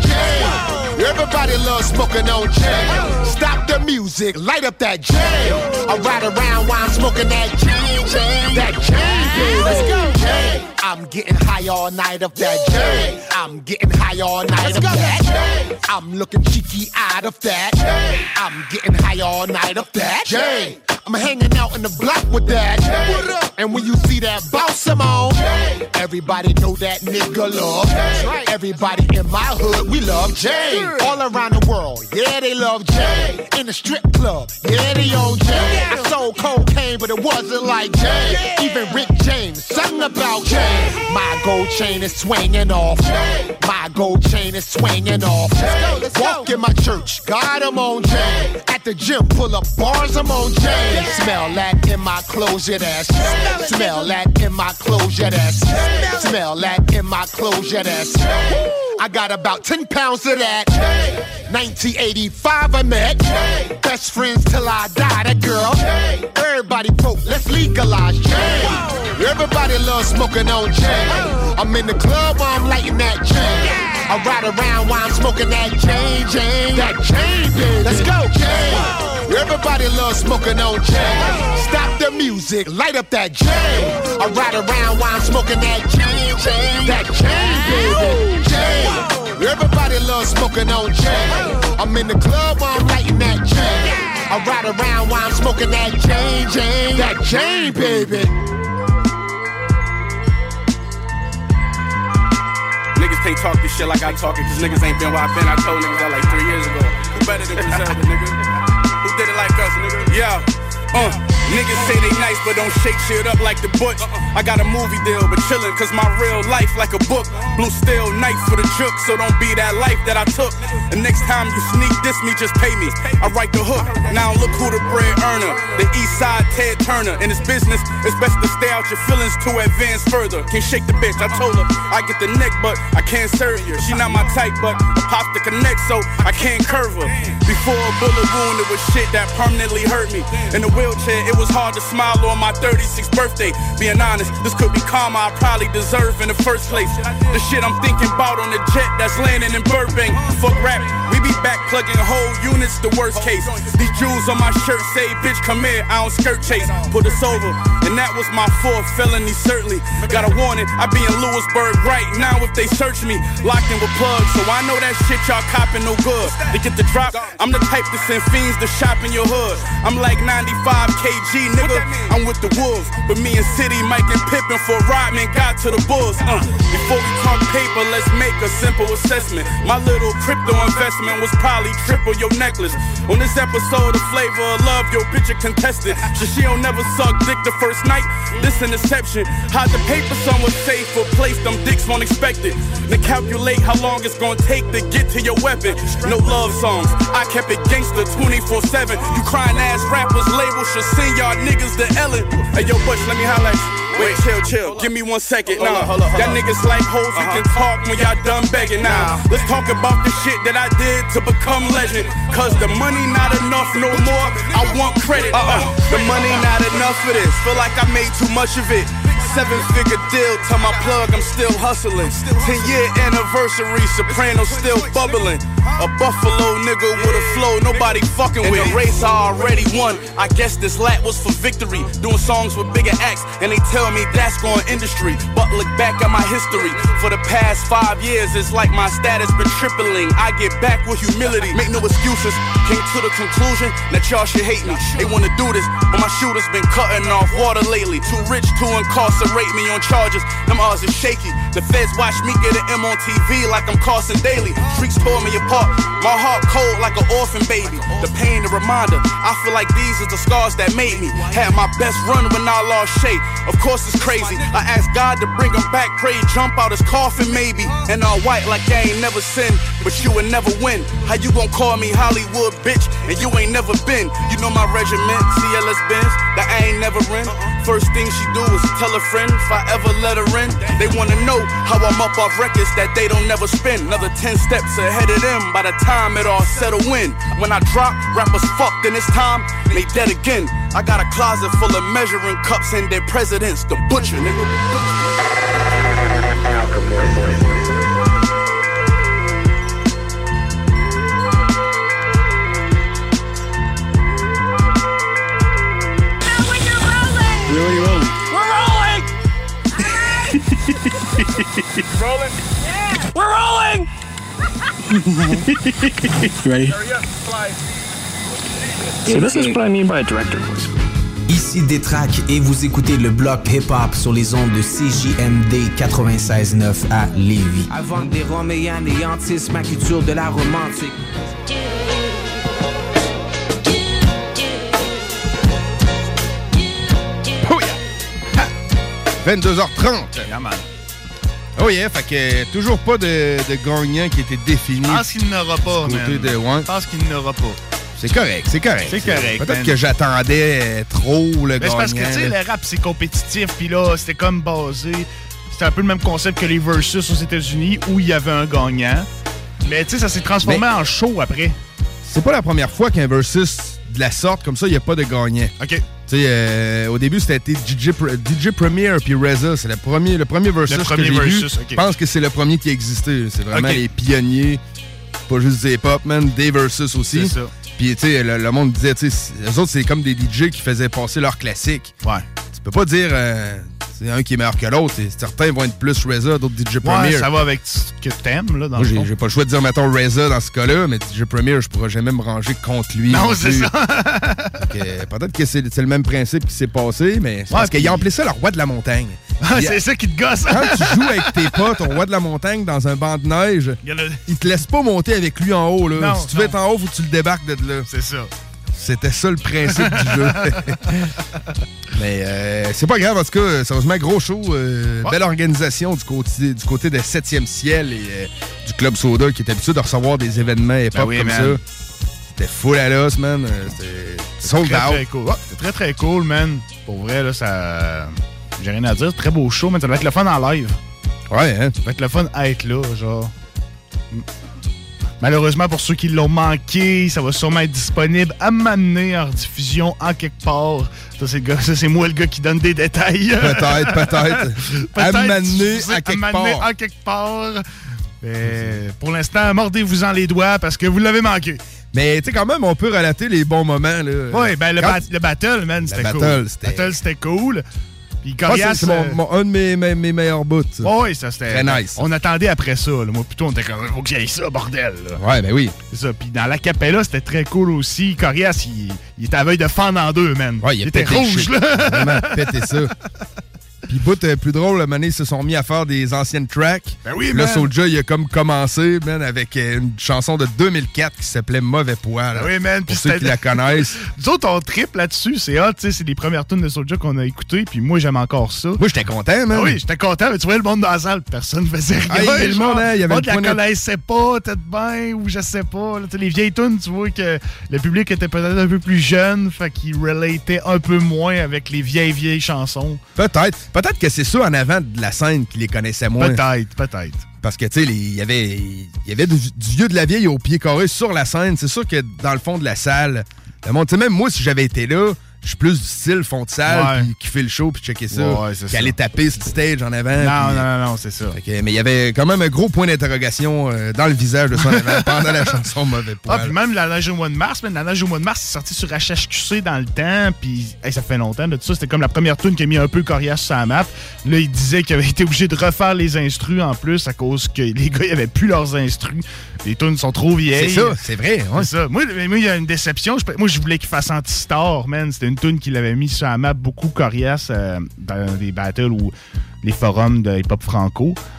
J. Everybody loves smoking on J. Stop the music, light up that J. I ride around while I'm smoking that J, J. That J, baby. Let's go, J. I'm getting high all night of that J. I'm getting high all night of that. I'm looking cheeky out of that. I'm getting high all night of that J. I'm hanging out in the block with that. And when you see that boss I'm on, everybody know that nigga love. Everybody in my hood, we love J. All around the world, yeah, they love J. In the strip club, yeah, they own J. I sold cocaine, but it wasn't like J. Even Rick James sung about J. My gold chain is swinging off. My gold chain is swinging off. Walk in my church, God, I'm on J. At the gym, pull up bars, I'm on J. Smell that in my closure, that's. Smell that in my closure, that's. Smell that in my closure, that's. I got about ten pounds of that. nineteen eighty-five I met. Best friends till I die, that girl. Everybody vote, let's legalize J. Everybody loves smoking on J. I'm in the club while I'm lighting that J. I ride around while I'm smoking that J, J. That J, baby. Let's go, J. Everybody loves smoking on J. Stop the music, light up that J. I ride around while I'm smoking that J, J. That J, baby. J. Everybody loves smoking on J. I'm in the club while I'm lighting that J. I ride around while I'm smoking that J, J. That J, baby. Niggas can't talk this shit like I talk it, cause niggas ain't been where I been. I told niggas that like three years ago. Who better than Griselda, nigga? Who did it like us, nigga? Yeah. Uh, niggas say they nice, but don't shake shit up like the Butch. I got a movie deal, but chillin', cause my real life like a book. Blue steel knife for the jook, so don't be that life that I took. The next time you sneak diss me, just pay me. I write the hook, now look who the bread earner. The east side Ted Turner. In this business, it's best to stay out your feelings to advance further. Can't shake the bitch, I told her I get the neck, but I can't serve her. She not my type, but I pop the connect, so I can't curve her. Before a bullet wound, it was shit that permanently hurt me. In the wheelchair, it was hard to smile on my thirty-sixth birthday. Being honest, this could be karma I probably deserve in the first place. The shit I'm thinking about on the jet that's landing in Burbank. Fuck rap, we be back plugging whole units, the worst case. These jewels on my shirt say, bitch, come here, I don't skirt chase. Put us over, and that was my fourth felony, certainly. Got a warning, I be in Lewisburg right now if they search me. Locked in with plugs, so I know that shit y'all copping no good. To get the drop, I'm the type to send fiends to shop in your hood. I'm like ninety-five kilograms, nigga, I'm with the wolves. But me and City, Mike and Pippin for Rodman got to the Bulls. Uh, before we talk paper, let's make a simple assessment. My little crypto investment was probably triple your necklace. On this episode of Flavor of Love, your bitch a contestant. So she don't never suck dick the first night. This an exception. Hide the paper somewhere safe or place them dicks won't expect it. Then calculate how long it's gonna take to get to your weapon. No love songs, I kept it gangster twenty-four seven. You crying ass rappers label should send y'all niggas to Ellen. Hey yo, Butch, let me highlight you. Wait, chill, chill, give me one second. Nah, y'all niggas like hoes who can talk when y'all done begging. Now, let's talk about the shit that I did to become legend. Cause the money not enough no more, I want credit. Uh-uh, the money not enough for this, feel like I made too much of it. Seven figure deal, tell my plug I'm still hustling. Ten year anniversary, Soprano still bubbling. A Buffalo nigga with a flow nobody fucking with. In the race I already won, I guess this lap was for victory. Doing songs with bigger acts, and they tell me that's going industry. But look back at my history, for the past five years it's like my status been tripling. I get back with humility, make no excuses. Came to the conclusion that y'all should hate me. They wanna do this, but my shooter's been cutting off water lately. Too rich to incarcerate me on charges, them odds is shaky. The feds watch me get an M on T V like I'm Carson Daly. Streets tore me apart, heart, my heart cold like an orphan baby. The pain, the reminder, I feel like these are the scars that made me. Had my best run when I lost Shay. Of course it's crazy. I asked God to bring him back, pray jump out his coffin maybe. And all white like I ain't never sinned, but you would never win. How you gon' call me Hollywood bitch and you ain't never been? You know my regiment, C L S Benz, that I ain't never in. First thing she do is tell a friend if I ever let her in. They wanna know how I'm up off records that they don't never spin. Another ten steps ahead of them by the time it all settle in. When I drop, rappers fucked and it's time, they dead again. I got a closet full of measuring cups and their presidents, the butcher, nigga. Really rolling. We're rolling! Rolling? Yeah! We're rolling! You ready? So this is what I mean by a director voice. Ici Détrac et vous écoutez le bloc hip-hop sur les ondes de C J M D quatre-vingt-seize neuf à Lévis. Avant que des Roméens anéantissent ma culture de la romantique. Oh yeah! Ha! vingt-deux heures trente. Yeah, man. Oh yeah, fait que toujours pas de, de gagnant qui était défini. Je pense qu'il n'aura pas, du côté de, ouais. Je pense qu'il n'aura pas. C'est correct, c'est correct. C'est correct. Peut-être man. que j'attendais trop le Mais gagnant. c'est parce que, tu sais, le rap, c'est compétitif, puis là, c'était comme basé... C'était un peu le même concept que les Versus aux États-Unis, où il y avait un gagnant. Mais, tu sais, ça s'est transformé Mais en show après. C'est pas la première fois qu'un Versus de la sorte, comme ça, il n'y a pas de gagnant. OK. Tu sais, euh, au début, c'était D J, D J Premier puis Reza. C'est le premier, le premier Versus le premier que j'ai versus, vu. Okay. Je pense que c'est le premier qui existait. C'est vraiment okay. les pionniers. Pas juste des pop, man. Des Versus aussi. C'est ça. Puis, tu sais, le, le monde disait, tu sais, eux autres, c'est comme des D J qui faisaient passer leurs classiques. Ouais. Tu peux pas dire, euh, c'est un qui est meilleur que l'autre. Certains vont être plus Reza, d'autres D J Premier. Ouais, ça va avec ce que t'aimes, là, dans Moi, le j'ai, fond. j'ai pas le choix de dire, mettons, Reza dans ce cas-là, mais D J Premier, je pourrais jamais me ranger contre lui. Non, c'est ça. que, peut-être que c'est, c'est le même principe qui s'est passé, mais c'est ouais, parce qu'ils ont appelé ça le roi de la montagne. Ah, c'est ça qui te gosse. Quand tu joues avec tes potes au roi de la montagne dans un banc de neige, il, a... il te laisse pas monter avec lui en haut. Là. Non, si tu non. veux être en haut, faut que tu le débarques de là. C'est ça. C'était ça le principe du jeu. Mais euh, c'est pas grave, en tout cas, sérieusement, gros show. Euh, ouais. Belle organisation du côté, du côté de septième ciel et euh, du Club Soda qui est habitué de recevoir des événements hip-hop ben oui, comme man. ça. C'était full à l'os, man. C'était sold très, out. Très cool. Ouais, c'était très, très cool, man. Pour vrai, là, ça... J'ai rien à dire. Très beau show, man. Ça va être le fun en live. Ouais, hein? Ça va être le fun à être là, genre... Malheureusement, pour ceux qui l'ont manqué, ça va sûrement être disponible à m'amener en rediffusion en quelque part. Ça, c'est, gars, ça, c'est moi le gars qui donne des détails. Peut-être, peut-être. peut-être à m'amener à quelque part. en quelque part. Mais pour l'instant, mordez-vous-en les doigts parce que vous l'avez manqué. Mais tu sais, quand même, on peut relater les bons moments. Là. Oui, ben le, Quand... ba- le battle, man, c'était le cool. Battle, c'était... Le battle, c'était cool. Puis Corias, ah, c'est, c'est mon, mon, un de mes, mes, mes meilleurs bouts. Oh oui, ça c'était. Très nice. On attendait après ça. Là. Moi, plutôt, on était comme, faut que j'aille ça, bordel. Là. Ouais, ben oui. C'est ça. Puis dans l'acapella, c'était très cool aussi. Corias, il, il était à veille de fendre en deux, man. Ouais, il, il était rouge, shit. là. Il a vraiment pété ça. Puis, bout euh, plus drôle, le moment, ils se sont mis à faire des anciennes tracks. Ben oui, là, man. Soulja, il a comme commencé, man, avec euh, une chanson de deux mille quatre qui s'appelait Mauvais Poil. Ben oui, man. Pour ceux qui la connaissent. Nous autres, on trippe là-dessus. C'est hot, tu sais. C'est les premières tunes de Soulja qu'on a écoutées. Puis moi, j'aime encore ça. Moi, j'étais content, man. Ben oui, j'étais content. Mais tu vois, le monde dans la salle, personne ne faisait rien. Ah, il y genre, le monde, hein, il y avait le monde la connaissait pas, peut-être bien, ou je sais pas. Là, les vieilles tunes, tu vois que le public était peut-être un peu plus jeune. Fait qu'il relatait un peu moins avec les vieilles, vieilles chansons. Peut-être. Peut-être que c'est ça en avant de la scène qui les connaissait moins. Peut-être, peut-être. Parce que, tu sais, il y avait, il y avait du, du vieux de la vieille au pied carré sur la scène. C'est sûr que dans le fond de la salle, le monde, tu sais, même moi, si j'avais été là, je suis plus du style fond de salle, ouais. puis qui fait le show, puis checker ça, ouais, c'est qu'aller taper sur le stage en avant. Non, pis, non, non, non, c'est ça. Que, mais il y avait quand même un gros point d'interrogation euh, dans le visage de son avant pendant la chanson Mauvais Poil. Ah, puis même la neige au mois de mars, man, la neige au mois de mars, c'est sorti sur H H Q C dans le temps, puis hey, ça fait longtemps de tout ça. C'était comme la première tune qui a mis un peu Corias sur la map. Là, il disait qu'il avait été obligé de refaire les instrus en plus à cause que les gars, ils avaient plus leurs instrus. Les tunes sont trop vieilles. C'est ça, c'est vrai. Ouais. C'est ça. Moi, moi, il y a une déception. Je, moi, je voulais qu'il fasse Anti-Star, man. C'était une tune qu'il avait mis sur la map beaucoup Corias euh, dans des battles ou les forums de hip-hop franco.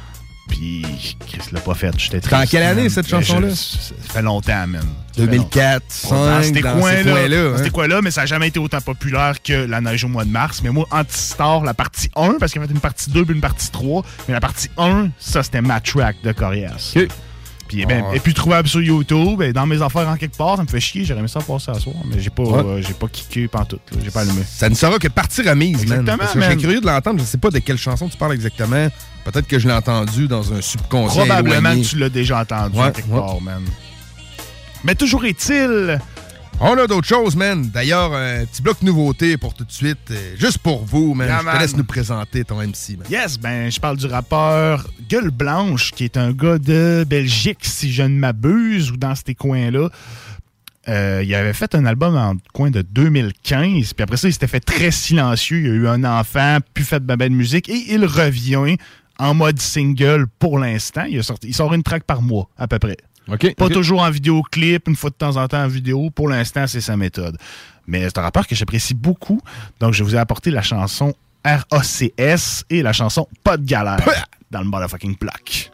Puis, Chris l'a pas fait. J'étais triste. C'était en quelle année, cette chanson-là? Je, ça fait longtemps, même. deux mille quatre, deux mille cinq, dans ces dans coins-là. ces coins-là, hein? Dans ces coins-là, mais ça n'a jamais été autant populaire que La neige au mois de mars. Mais moi, Antistar, la partie un, parce qu'il y avait une partie deux puis une partie trois, mais la partie un, ça, c'était ma track de Corias. OK. Puis, ben, ah. et puis trouvable sur YouTube, et dans mes affaires en quelque part, ça me fait chier. J'aurais aimé ça passer à soir, mais j'ai pas, Ouais. euh, j'ai pas kické pantoute. Là. J'ai pas allumé. Ça ne sera que partie remise, Exactement, man. Parce que man. je serais curieux de l'entendre. Je sais pas de quelle chanson tu parles exactement. Peut-être que je l'ai entendu dans un subconscient Probablement éloigné. que tu l'as déjà entendu Ouais, en quelque ouais. part, man. Mais toujours est-il... On a d'autres choses, man. D'ailleurs, un petit bloc nouveauté pour tout de suite. euh, juste pour vous, man. Yeah, je man. te laisse nous présenter ton M C, man. Yes, ben je parle du rappeur Gueule Blanche, qui est un gars de Belgique, si je ne m'abuse, ou dans ces coins-là. Euh, il avait fait un album en coin de deux mille quinze, puis après ça, il s'était fait très silencieux. Il a eu un enfant, puis fait de belle musique, et il revient en mode single pour l'instant. Il, a sorti, il sort une track par mois, à peu près. Okay, Pas okay. toujours en vidéoclip, une fois de temps en temps en vidéo. Pour l'instant, c'est sa méthode. Mais c'est un rappeur que j'apprécie beaucoup. Donc, je vous ai apporté la chanson R A C S et la chanson Pas de galère dans le motherfucking bloc.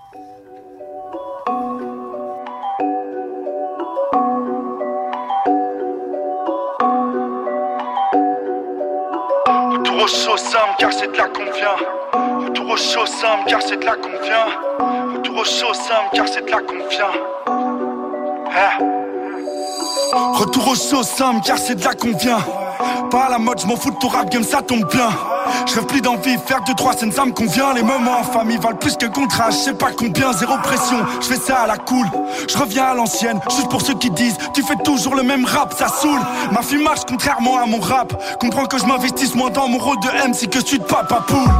Retour au show Sam car c'est de là qu'on vient. Retour au show Sam car c'est de là qu'on vient. Retour au show Sam car c'est de là qu'on vient. Hein? Retour au show Sam car c'est de là qu'on vient. Pas à la mode, je m'en fous de ton rap game, ça tombe bien. Je rêve plus d'envie, faire deux trois scènes ça me convient. Les moments en famille valent plus que contrat, je sais pas combien, zéro pression. Je fais ça à la cool, je reviens à l'ancienne. Juste pour ceux qui disent, tu fais toujours le même rap, ça saoule. Ma fille marche contrairement à mon rap. Comprends que je m'investisse moins dans mon rôle de M C que celui de Papa Poule.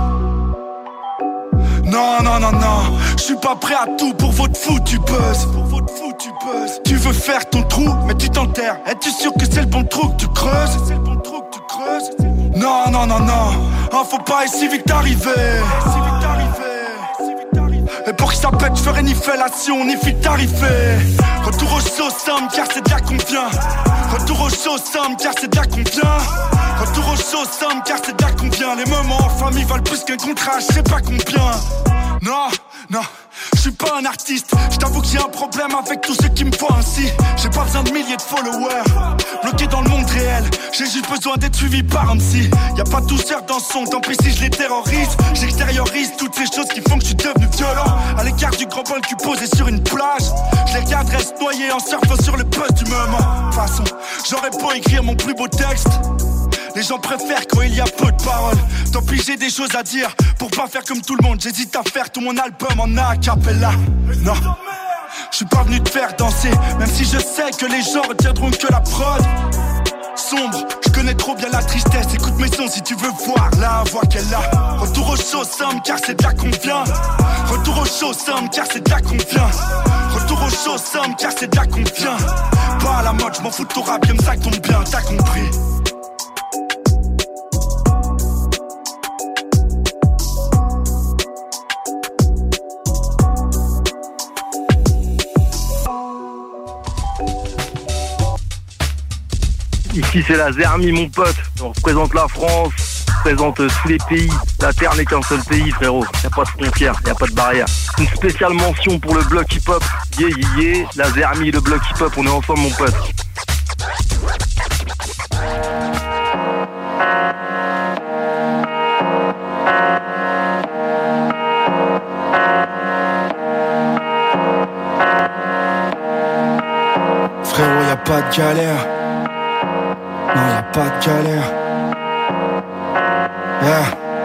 Non, non, non, non, je suis pas prêt à tout pour votre foutu buzz. Pour votre foutu buzz. Tu veux faire ton trou, mais tu t'enterres. Es-tu sûr que c'est le bon trou que tu creuses? C'est le bon trou que tu creuses? Non, non, non, non, hein, faut pas être si vite arrivé. Si vite arrivé. Et pour que ça pète, je ferai ni fellation, ni fit tarifé. Retour au show Sam, car c'est de là qu'on vient. Retour au show Sam, car c'est de là qu'on vient. Retour au show Sam, car c'est de là qu'on vient. Les moments en famille valent plus qu'un contrat, je sais pas combien. Non, non, je suis pas un artiste. Je t'avoue que j'ai un problème avec tous ceux qui me voient ainsi. J'ai pas besoin de milliers de followers, bloqué dans le monde réel. J'ai juste besoin d'être suivi par un psy. Y'a pas de douceur dans son, tant pis si je les terrorise. J'extériorise toutes ces choses qui font que je suis devenu violent. À l'écart du grand bol cul posé sur une plage. Je les regarde reste noyés en surfant sur le buzz du moment. De toute façon, j'aurais beau écrire mon plus beau texte, les gens préfèrent quand il y a peu de paroles. Tant pis j'ai des choses à dire, pour pas faire comme tout le monde. J'hésite à faire tout mon album en a cappella. Non, je suis pas venu te faire danser, même si je sais que les gens retiendront que la prod. Sombre, je connais trop bien la tristesse. Écoute mes sons si tu veux voir la voix qu'elle a. Retour au show Sam, car c'est de là qu'on vient. Retour au show Sam, car c'est de là qu'on vient. Retour au show Sam, car c'est de là qu'on vient. Pas à la mode, je m'en fous de ton rap, comme ça tombe bien, t'as compris. Ici c'est la Zermie mon pote, on représente la France, on représente tous les pays. La Terre n'est qu'un seul pays frérot, y a pas de frontières, y a pas de barrière. Une spéciale mention pour le bloc hip-hop, yeah yeah yeah, la Zermie, le bloc hip-hop, on est ensemble mon pote. Frérot, y a pas de galère. Non, y'a pas de galère. Yeah.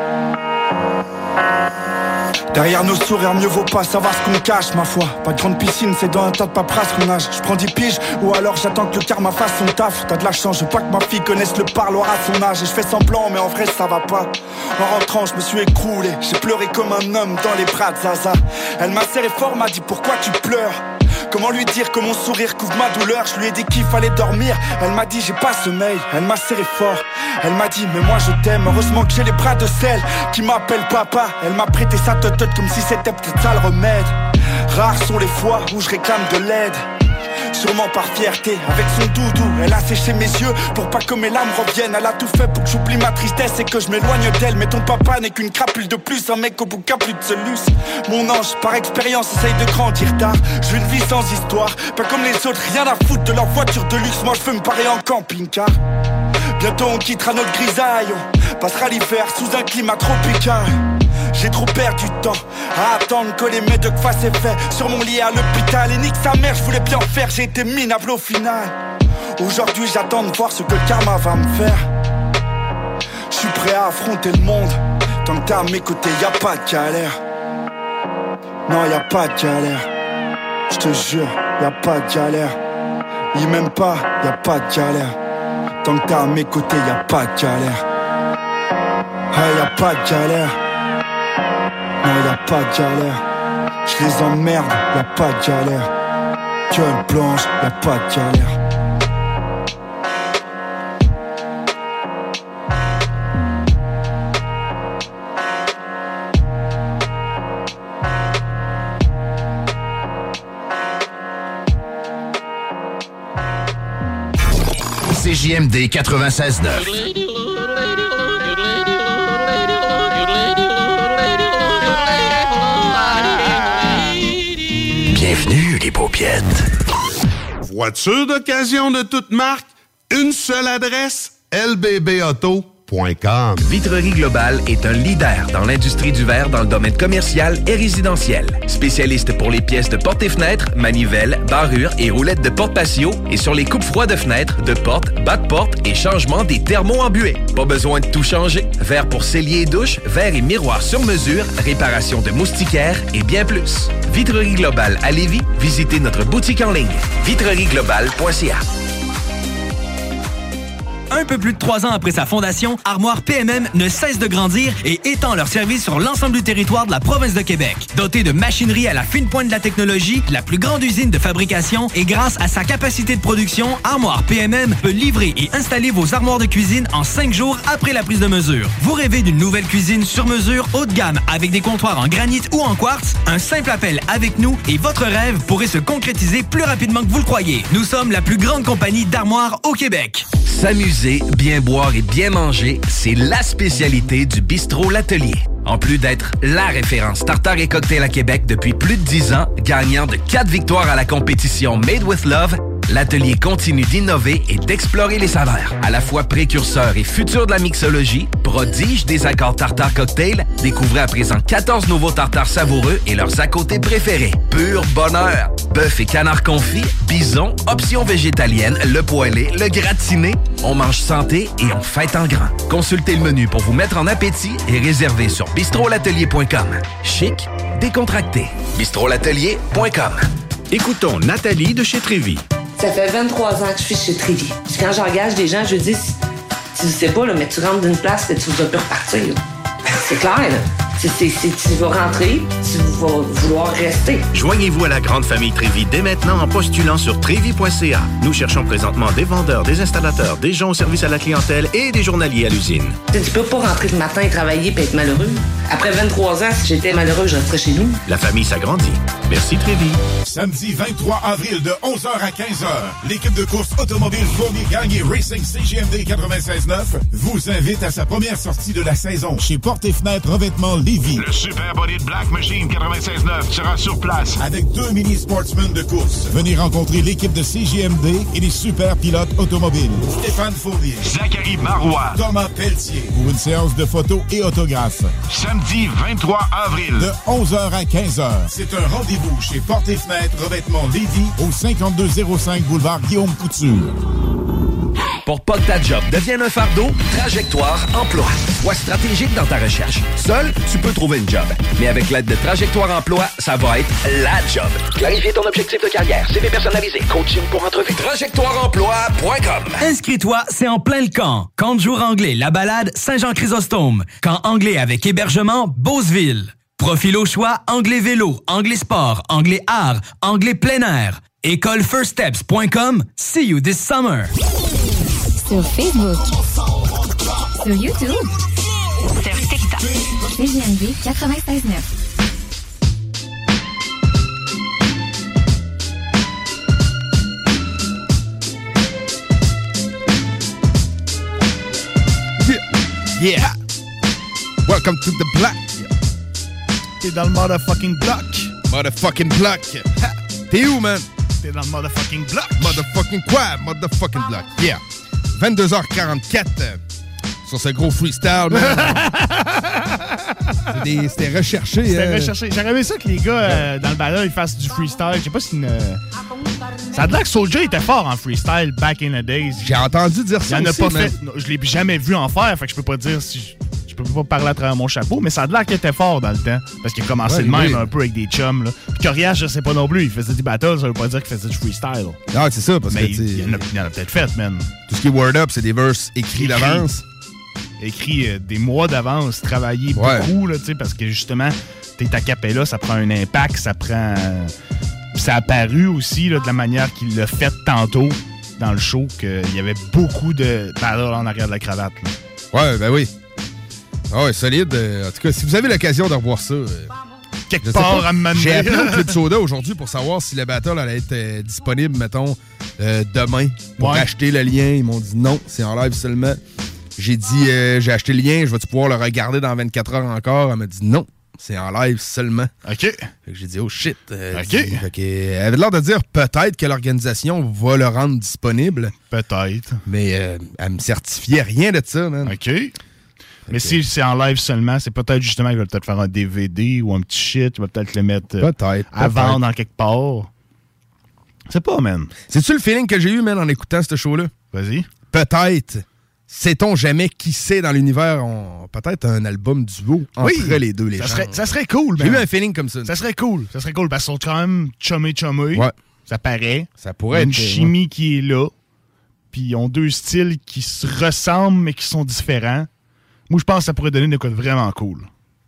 Derrière nos sourires, mieux vaut pas savoir ce qu'on cache, ma foi. Pas de grande piscine, c'est dans un tas de paperasse qu'on nage. J'prends dix piges, ou alors j'attends que le karma fasse son taf. T'as de la chance, je veux pas que ma fille connaisse le parloir à son âge. Et je fais semblant, mais en vrai ça va pas. En rentrant, je me suis écroulé. J'ai pleuré comme un homme dans les bras de Zaza. Elle m'a serré fort, m'a dit pourquoi tu pleures. Comment lui dire que mon sourire couvre ma douleur? Je lui ai dit qu'il fallait dormir. Elle m'a dit j'ai pas sommeil. Elle m'a serré fort. Elle m'a dit mais moi je t'aime. Heureusement que j'ai les bras de celle qui m'appelle papa. Elle m'a prêté sa totote comme si c'était peut-être ça le remède. Rares sont les fois où je réclame de l'aide. sûrement par fierté. Avec son doudou, elle a séché mes yeux pour pas que mes larmes reviennent. Elle a tout fait pour que j'oublie ma tristesse et que je m'éloigne d'elle. Mais ton papa n'est qu'une crapule de plus, un mec au bout qu'a plus de celus. Mon ange, par expérience, essaye de grandir tard. Je veux une vie sans histoire, pas comme les autres, rien à foutre de leur voiture de luxe. Moi je veux me parer en camping-car. Bientôt on quittera notre grisaille, on passera l'hiver sous un climat tropical. J'ai trop perdu de temps à attendre que les médocs fassent effet sur mon lit à l'hôpital. Et nique sa mère, je voulais bien faire, j'ai été minable au final. Aujourd'hui j'attends de voir ce que le karma va me faire. Je suis prêt à affronter le monde. Tant que t'es à mes côtés, y'a pas de galère. Non, y'a pas de galère. Je te jure, y'a pas de galère. Il m'aime pas, y'a pas de galère. Tant que t'es à mes côtés, y'a pas de galère. Hey, y'a pas de galère. Non, y'a pas de galère. Je les emmerde, y'a pas de galère. Gueule blanche, y'a pas de galère. C J M D quatre-vingt-seize neuf. Bienvenue, les paupiètes. Voiture d'occasion de toute marque, une seule adresse, L B B auto point com. Vitrerie Globale est un leader dans l'industrie du verre dans le domaine commercial et résidentiel. Spécialiste pour les pièces de portes et fenêtres, manivelles, barrures et roulettes de porte patio et sur les coupes froides de fenêtres, de portes, bas de porte et changement des thermos embués. Pas besoin de tout changer. Verre pour cellier et douche, verre et miroir sur mesure, réparation de moustiquaires et bien plus. Vitrerie Globale à Lévis, visitez notre boutique en ligne vitrerie globale point c a. Un peu plus de trois ans après sa fondation, Armoire P M M ne cesse de grandir et étend leur service sur l'ensemble du territoire de la province de Québec. Dotée de machinerie à la fine pointe de la technologie, la plus grande usine de fabrication et grâce à sa capacité de production, Armoire P M M peut livrer et installer vos armoires de cuisine en cinq jours après la prise de mesure. Vous rêvez d'une nouvelle cuisine sur mesure haut de gamme avec des comptoirs en granit ou en quartz? Un simple appel avec nous et votre rêve pourrait se concrétiser plus rapidement que vous le croyez. Nous sommes la plus grande compagnie d'armoires au Québec. S'amuser, bien boire et bien manger, c'est la spécialité du Bistrot L'Atelier. En plus d'être la référence tartare et cocktail à Québec depuis plus de dix ans, gagnant de quatre victoires à la compétition Made with Love, l'Atelier continue d'innover et d'explorer les saveurs. À la fois précurseur et futur de la mixologie, prodige des accords tartare cocktail, découvrez à présent quatorze nouveaux tartares savoureux et leurs à côté préférés. Pur bonheur! Bœuf et canard confit, bison, options végétaliennes, le poêlé, le gratiné. On mange santé et on fête en grand. Consultez le menu pour vous mettre en appétit et réservez sur bistrot l'atelier point com. Chic, décontracté. bistrot l'atelier point com. Écoutons Nathalie de chez Trévy. Ça fait vingt-trois ans que je suis chez Trévy. Puis quand j'engage des gens, je dis, tu sais pas, là, mais tu rentres d'une place et tu vas plus repartir. Là. C'est clair, là. C'est, c'est, c'est, tu vas rentrer, tu vas vouloir rester. Joignez-vous à la grande famille Trévy dès maintenant en postulant sur trévy point c a. Nous cherchons présentement des vendeurs, des installateurs, des gens au service à la clientèle et des journaliers à l'usine. Tu peux pas rentrer le matin et travailler et être malheureux. Après vingt-trois ans, si j'étais malheureux, je resterais chez nous. La famille s'agrandit. Merci Trévy. Samedi vingt-trois avril de onze heures à quinze heures, l'équipe de course automobile Fournier Gagné Racing C J M D quatre-vingt-seize neuf vous invite à sa première sortie de la saison chez Portes et Fenêtres Revêtement Lévis. Le Super Body de Black Machine quatre-vingt-seize neuf sera sur place. Avec deux mini-sportsmen de course. Venez rencontrer l'équipe de C J M D et les super pilotes automobiles. Stéphane Fournier, Zachary Marois, Thomas Pelletier pour une séance de photos et autographes. Samedi vingt-trois avril. De onze heures à quinze heures. C'est un rendez-vous chez Portes et Fenêtres Revêtement Lévis au cinquante-deux zéro cinq boulevard Guillaume Couture. Pour pas que ta job devienne un fardeau, Trajectoire Emploi. Sois stratégique dans ta recherche. Seul, tu peux trouver une job. Mais avec l'aide de Trajectoire Emploi, ça va être la job. Clarifier ton objectif de carrière, C V personnalisé, coaching pour entrevue. trajectoire emploi point com. Inscris-toi, c'est en plein le camp. Camp de jour anglais, La Balade, Saint-Jean-Chrysostome. Camp anglais avec hébergement, Beauceville. Profil au choix, anglais vélo, anglais sport, anglais art, anglais plein air. école first steps point com. See you this summer. Sur Facebook, sur YouTube, sur TikTok. C J M D quatre-vingt-seize neuf. Yeah! Welcome to the block. T'es dans le motherfucking block. Motherfucking block. T'es où, man? T'es dans le motherfucking block. Motherfucking quoi? Motherfucking block. Yeah. vingt-deux heures quarante-quatre euh, sur ce gros freestyle, man. C'était, c'était recherché. C'était hein. recherché. J'aurais aimé ça que les gars euh, dans le ballon ils fassent du freestyle. Je sais pas si une. Euh... Ça a l'air que Soulja était fort en freestyle back in the days. J'ai entendu dire ça. Il en a aussi, pas man. fait. Non, je l'ai jamais vu en faire, fait que je peux pas dire si. Je... Je peux pas parler à travers mon chapeau, mais ça a l'air qu'il était fort dans le temps. Parce qu'il a commencé Ouais, de même oui. un peu avec des chums. Là. Puis Coriace, je sais pas non plus. Il faisait des battles, ça veut pas dire qu'il faisait du freestyle. Non, c'est ça, parce mais que tu sais, il, il, en a, il en a peut-être fait, man. Tout ce qui est word up, c'est des verses écrits d'avance. Écrit euh, des mois d'avance, travaillé Ouais. beaucoup, là, tu sais, parce que justement, t'es a cappella, ça prend un impact, ça prend. euh, Puis ça a apparu aussi là, de la manière qu'il l'a fait tantôt dans le show, qu'il y avait beaucoup de battles en arrière de la cravate. Là. Ouais, ben oui. Ah ouais, solide. Euh, en tout cas, si vous avez l'occasion de revoir ça... Euh, Quelque part pas, à me mener. J'ai appelé au Club Soda aujourd'hui pour savoir si le battle allait être euh, disponible, mettons, euh, demain pour Ouais. acheter le lien. Ils m'ont dit non, c'est en live seulement. J'ai dit, euh, j'ai acheté le lien, je vais-tu pouvoir le regarder dans vingt-quatre heures encore? Elle m'a dit non, c'est en live seulement. OK. Fait que j'ai dit, oh shit. Euh, OK. dit- fait que, euh, elle avait l'air de dire peut-être que l'organisation va le rendre disponible. Peut-être. Mais euh, elle me certifiait rien de ça, man. OK. Mais si c'est en live seulement, c'est peut-être justement qu'il va peut-être faire un D V D ou un petit shit. Il va peut-être le mettre euh, Peut-être. à peut-être. vendre en quelque part. C'est pas, man. C'est-tu le feeling que j'ai eu, man, en écoutant ce show-là? Vas-y. Peut-être. Sait-on jamais qui c'est dans l'univers? On... Peut-être un album duo entre Oui. les deux, les Ça gens. serait, ça serait cool, J'ai man. eu un feeling comme ça. Ça serait cool. Ça serait cool parce qu'ils sont quand même chumé-chumé. Ouais. Ça paraît. Ça pourrait Il y a être... une chimie qui est là. Puis ils ont deux styles qui se ressemblent mais qui sont différents. Moi, je pense que ça pourrait donner de quoi de vraiment cool.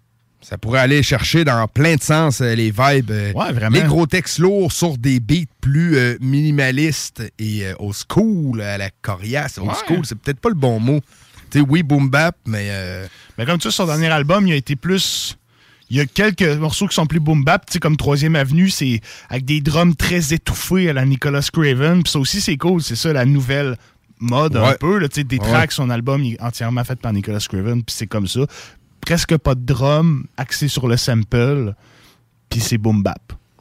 Ça pourrait aller chercher dans plein de sens euh, les vibes. euh, Ouais, vraiment. Les gros textes lourds sur des beats plus euh, minimalistes et euh, old school, à la coriace. Old Ouais. school, c'est peut-être pas le bon mot. Tu sais, oui, boom bap, mais... euh, Mais comme tu sais, son dernier album, il a été plus... Il y a quelques morceaux qui sont plus boom bap, tu sais, comme Troisième Avenue, c'est avec des drums très étouffés à la Nicholas Craven. Puis ça aussi, c'est cool. C'est ça, la nouvelle mode un Ouais. peu. Là, tu sais, des Ouais. tracks, son album il est entièrement fait par Nicholas Craven. Puis c'est comme ça. Presque pas de drum axé sur le sample. Puis c'est boom bap.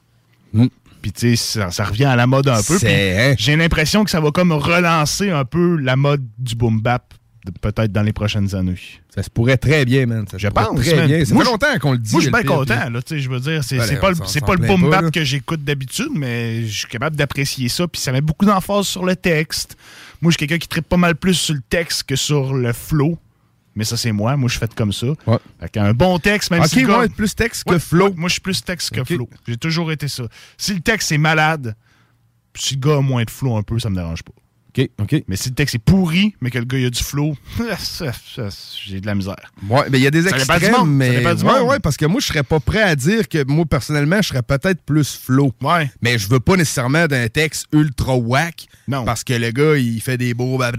Mm. Puis tu sais, ça, ça revient à la mode un peu. C'est- Puis hein? j'ai l'impression que ça va comme relancer un peu la mode du boom bap de- peut-être dans les prochaines années. Ça se pourrait très bien, man. Ça se Je pourrait pense, très man. bien. Ça Moi, fait je- longtemps qu'on le dit. Moi, je suis le bien pire, content, puis- là, tu sais, je veux dire, c'est Ben, c'est on pas, le- s'en- c'est s'en pas le plaint boom pas, bap là. que j'écoute d'habitude, mais je suis capable d'apprécier ça, puis ça met beaucoup d'emphase sur le texte. Moi, je suis quelqu'un qui trippe pas mal plus sur le texte que sur le flow, mais ça, c'est moi. Moi, je fais comme ça. Ouais. Fait qu'un bon texte, même Ok, si le gars- ouais, plus texte que Ouais, flow. ouais, moi, je suis plus texte que Ok. flow. J'ai toujours été ça. Si le texte est malade, puis si le gars a moins de flow un peu, ça me dérange pas. OK, OK. Mais si le texte est pourri, mais que le gars il a du flow, ça, ça, j'ai de la misère. Ouais, mais il y a des Ça dépend du extrêmes, monde, ça mais dépend du ouais, monde. ouais, parce que moi je serais pas prêt à dire que moi personnellement je serais peut-être plus flow. Ouais. Mais je veux pas nécessairement d'un texte ultra whack. Non. Parce que le gars il fait des beaux. Ouais. Fait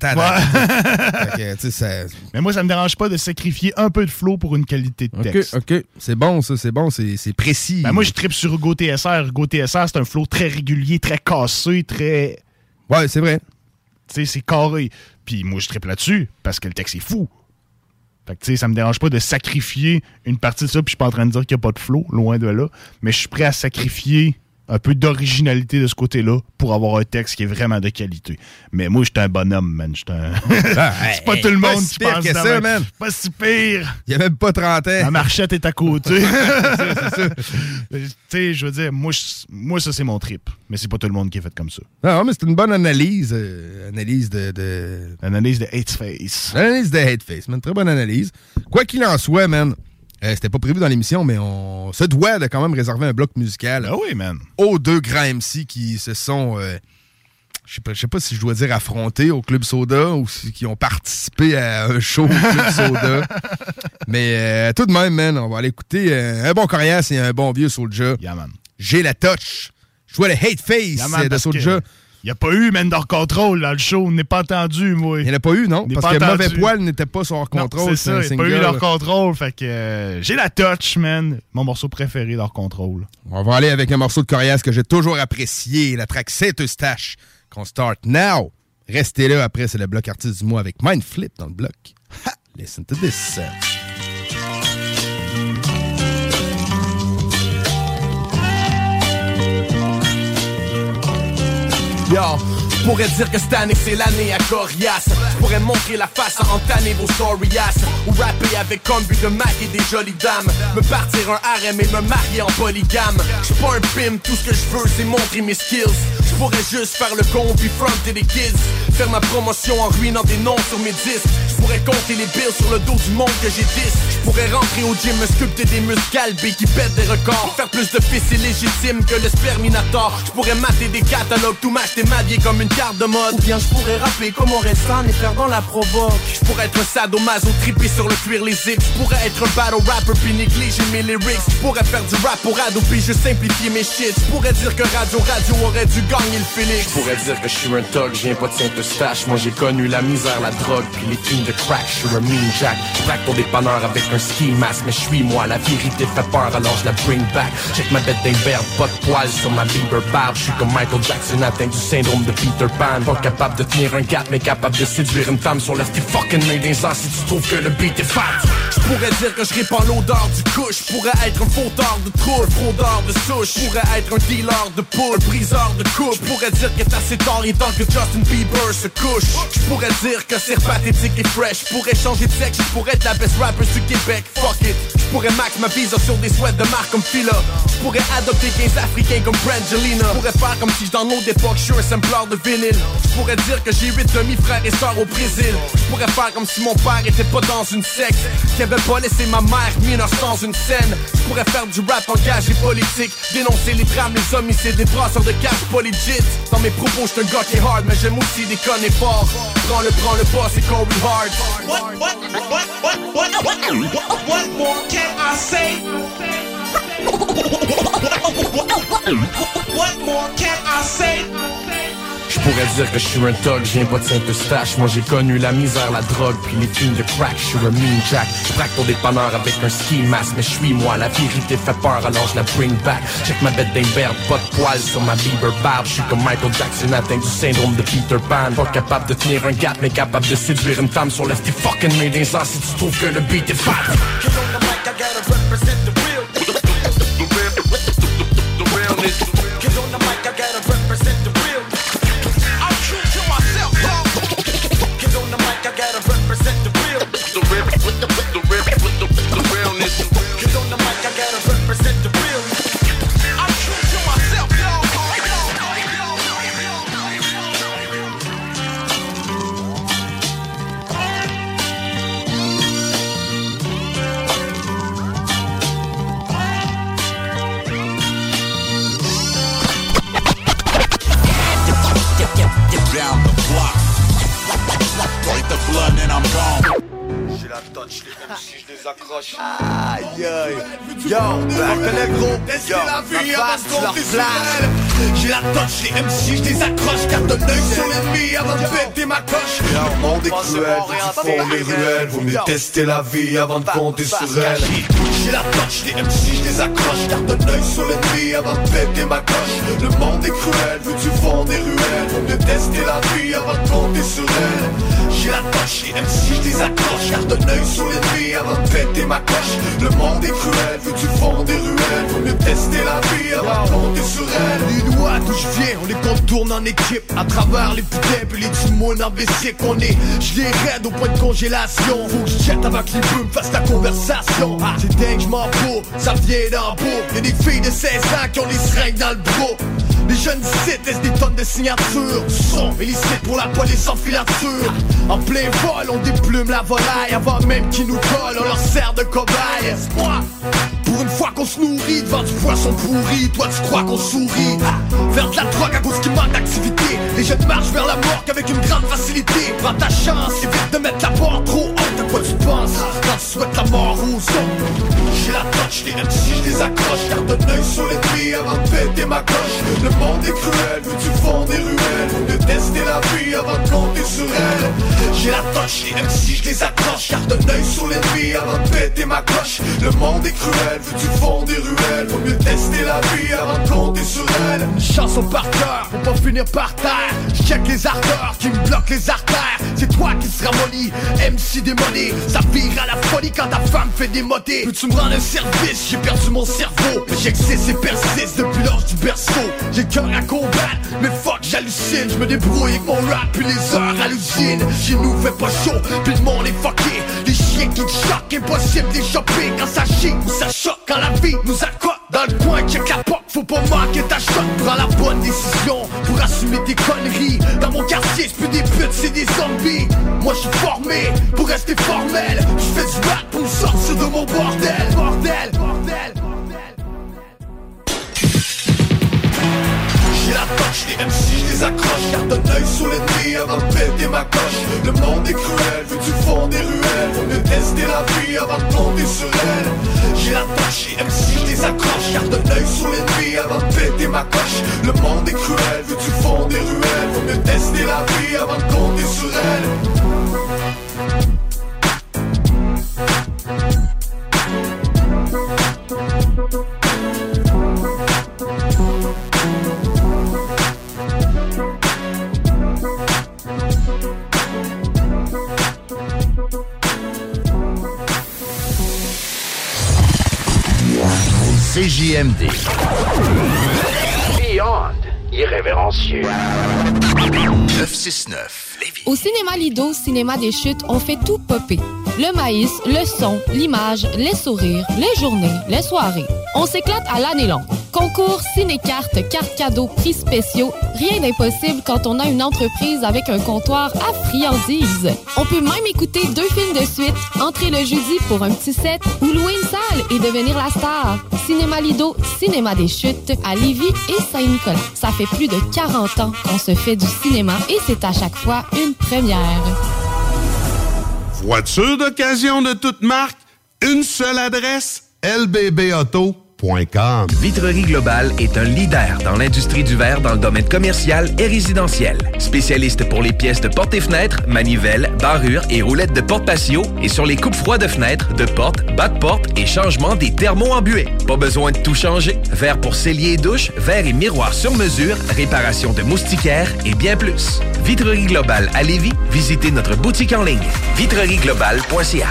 que, tu sais, ça- Mais moi, ça me dérange pas de sacrifier un peu de flow pour une qualité de Ok, texte. ok, c'est bon ça, c'est bon, c'est c'est précis. Ben moi, je tripe sur Hugo T S R. Hugo T S R, c'est un flow très régulier, très cassé, très... Ouais, c'est vrai. Tu sais, c'est carré. Puis moi, je tripe là-dessus parce que le texte est fou. Fait que, tu sais, ça me dérange pas de sacrifier une partie de ça, puis je suis pas en train de dire qu'il n'y a pas de flow, loin de là. Mais je suis prêt à sacrifier un peu d'originalité de ce côté-là pour avoir un texte qui est vraiment de qualité. Mais moi, j'étais un bonhomme, man. J'étais un... Ah, c'est pas hey, tout le pas monde si qui pire pense que de ça, même. man. Pas si pire. Il y a même pas trente ans. La marchette est à côté. c'est ça, c'est ça. Tu sais, je veux dire, moi, je- moi ça, c'est mon trip. Mais c'est pas tout le monde qui est fait comme ça. Non, mais c'est une bonne analyse. euh, analyse de. de... Analyse de Hateface. Analyse de Hateface, man. Très bonne analyse. Quoi qu'il en soit, man, euh, c'était pas prévu dans l'émission, mais on se doit de quand même réserver un bloc musical. Ah oui, man. Aux deux grands M C qui se sont. euh, je sais pas, je sais pas si je dois dire affrontés au Club Soda ou si, qui ont participé à un show au Club Soda. Mais euh, tout de même, man, on va aller écouter euh, un bon Coriace et un bon vieux Soulja. Yeah, man. J'ai la touch. Je vois le hate face Yeah, man, de parce Soulja. que Il n'y a pas eu Man Hors Control dans le show. On n'est pas entendu, moi. Il n'y en a pas eu, non? N'est Parce pas que entendu. Mauvais Poil n'était pas sur Hors Non, Control. c'est ça, un il n'y a pas single. eu leur contrôle. Fait que euh, j'ai la touch, man. Mon morceau préféré d'Hors Control. On va aller avec un morceau de Coriace que j'ai toujours apprécié, la track C'est Eustache, qu'on start now. Restez là, après c'est le bloc artiste du mois avec Mindflip dans le bloc. Ha! Listen to this. Yo, je pourrais dire que cette année c'est l'année à Corias. Je pourrais montrer la face à entamer vos storias. Ou rapper avec comme but de Mac et des jolies dames. Me partir un harem et me marier en polygame. Je suis pas un pimp, tout ce que je veux c'est montrer mes skills. Je pourrais juste faire le con puis fronter des kids. Faire ma promotion en ruinant des noms sur mes disques. Je pourrais compter les bills sur le dos du monde que j'ai dix. Je pourrais rentrer au gym, me sculpter des muscles galbés qui pètent des records. Faire plus de fils illégitimes que le sperminator. Je pourrais mater des catalogues, tout m'acheter m'habiller comme une carte de mode. Ou bien je pourrais rapper comme on reste et faire dans la provoque. Je pourrais être un sadomaso trippé sur le cuir les zips. Je pourrais être un battle rapper puis négliger mes lyrics. Je pourrais faire du rap pour ado puis je simplifier mes shit. Je pourrais dire que Radio Radio aurait dû gagner le Félix. Je pourrais dire que je suis un thug, je viens pas de Saint-Eustache. Moi j'ai connu la misère, la drogue puis les films de crack. Je suis un mean jack, je braque ton dépanneur avec un ski mask. Mais je suis moi, la vérité fait peur alors je la bring back. Check ma bête d'imberbe, pas de poils sur ma Bieber barbe. Je suis comme Michael Jackson atteint du syndrome de Peter Pan. Pas capable de tenir un gap mais capable de séduire une femme sur left fucking main des ans si tu trouves que le beat est fat. Je pourrais dire que je répands l'odeur du couche. Je pourrais être un fauteur de trou, un fraudeur de souche. Je pourrais être un dealer de poule, un briseur de coupe. Je pourrais dire que t'as assez tard et tant que Justin Bieber se couche. Je pourrais dire que c'est pathétique et fresh. Je pourrais changer de sexe, je pourrais être la best rapper du Québec. Fuck it. Je pourrais max ma visa sur des sweats de marque comme Fila. Je pourrais adopter quinze Africains comme Brangelina. Je pourrais faire comme si dans nos époques je suis un sampleur de vinyle. Je pourrais dire que j'ai huit demi-frères et sœurs au Brésil. Je pourrais faire comme si mon père était pas dans une secte, qui avait pas laissé ma mère mineure sans une scène. Je pourrais faire du rap engagé politique, dénoncer les drames, les homicides, les brasseurs de cash pas legit. Dans mes propos j'suis un gars qui est hard, mais j'aime aussi déconner fort. Prends le, prends le boss et Corey Hard. What, what, what, what, what, what, what, what more can I say? What more can I say? Je pourrais dire que je suis un thug, je viens pas de Saint-Eustache. Moi j'ai connu la misère, la drogue, puis les films de crack. Je suis un mean jack, je braque ton dépanneur avec un ski mask. Mais je suis moi, la vérité fait peur alors je la bring back. Check ma bête d'imberbe, pas de poils sur ma Bieber barbe. Je suis comme Michael Jackson atteint du syndrome de Peter Pan. Pas capable de tenir un gap mais capable de séduire une femme sur left fucking main des ans si tu trouves que le beat est fat. Down the block, break the blood and I'm gone. J'ai la touch, les M C, je les accroche. Aïe aïe, yo, on connaît gros, yo, ma face, tu leur places. J'ai la touch, les M C, je les accroche. Garde un œil sur l'ennemi avant de péter ma coche. Le monde est cruel, vous font les ruelles. Vous mieux tester la vie avant de compter sur elle. J'ai la touch, les M C, je les accroche. Garde un œil sur l'ennemi avant de péter ma coche. Le monde est cruel, vu du fond des ruelles. Faut mieux tester la vie avant de compter sur elle. J'ai la touch, les M C, je les accroche. Garde un œil sur l'ennemi avant de péter ma coche. Le monde est cruel, vu du fond des ruelles. Faut mieux tester la vie avant de compter sur elle. Les doigts d'où je viens, on les contourne en équipe. À travers les putains puis les timons en V C qu'on est. Je les raide au point de congélation. Faut que je jette avant que les bœufs me fassent la conversation. Ah, c'est dingue, je m'en fous, ça vient d'en beau. Y'a des filles de seize ans qui ont des seringues dans le bro. Les jeunes ici laissent des tonnes de signatures. Son illicite pour la police en filature. En plein vol, on déplume la volaille. Avant même qu'ils nous collent, on leur sert de cobaye. Espoir, pour une fois qu'on se nourrit devant du poisson pourri. Toi tu crois qu'on sourit vers de la drogue à cause qu'il manque d'activité. Les jeunes marchent vers la mort avec une grande facilité. Prends ta chance, évite de mettre la barre trop haute. À quoi tu penses quand tu souhaites la mort aux autres? J'ai la touch, les M C je les accroche. Garde un œil sur l'ennemi avant de péter ma coche. Le monde est cruel, veux-tu fondre des ruelles? Faut mieux tester la vie avant de compter sur elle. J'ai la touch, les M C je les accroche. Garde un œil sur l'ennemi avant de péter ma coche. Le monde est cruel, veux-tu fondre des ruelles? Faut mieux tester la vie avant de compter sur elle. Chanson par cœur, pour pas finir par terre. J'check les ardeurs qui me bloquent les artères. C'est toi qui seras molly, M C démoli. Ça vire à la folie quand ta femme fait des motés. Peux-tu me rendre un service? J'ai perdu mon cerveau. J'existe et persiste depuis l'âge du berceau. J'ai le cœur à combattre, mais fuck j'hallucine. Je me débrouille avec mon rap puis les heures à l'usine. Chez nous fait pas chaud, puis le monde est fucké. Les chiens qui te choquent, impossible d'échapper. Quand ça chie ou ça choque, quand la vie nous accote. Dans le coin, check la porte, faut pas manquer ta shot. Prends la bonne décision pour assumer tes conneries. Dans mon quartier, c'est plus des putes, c'est des zombies. Moi je suis formé pour rester formel. Je fais du rap pour me sortir de mon bordel. Bordel, bordel, bordel. J'ai la touch, les M C je les accroche. Garde un œil sur l'ennemi avant de péter ma coche. Le monde est cruel, veux-tu fondre des ruelles? Faut mieux tester la vie avant de compter sur elle. J'ai la touch, les M C je les accroche. Garde un œil sur l'ennemi avant de péter ma coche. Le monde est cruel, veux-tu fondre des ruelles? Faut mieux tester la vie avant de compter sur elle. C J M D. Beyond irrévérencieux. neuf cent soixante-neuf. Au cinéma Lido, cinéma des chutes, on fait tout popper. Le maïs, le son, l'image, les sourires, les journées, les soirées. On s'éclate à l'année longue. Concours, ciné-cartes, cartes cadeaux, prix spéciaux, rien d'impossible quand on a une entreprise avec un comptoir à friandises. On peut même écouter deux films de suite, entrer le jeudi pour un petit set ou louer une salle et devenir la star. Cinéma Lido, cinéma des chutes, à Lévis et Saint-Nicolas. Ça fait plus de quarante ans qu'on se fait du cinéma et c'est à chaque fois une première. Voiture d'occasion de toute marque, une seule adresse, L B B auto point com. Vitrerie Globale est un leader dans l'industrie du verre dans le domaine commercial et résidentiel. Spécialiste pour les pièces de portes et fenêtres, manivelles, barrures et roulettes de porte patio et sur les coupes froides de fenêtres, de portes, bas de porte et changement des thermos embués. Pas besoin de tout changer. Verre pour cellier et douche, verre et miroir sur mesure, réparation de moustiquaires et bien plus. Vitrerie Globale à Lévis, visitez notre boutique en ligne vitrerie globale point c a.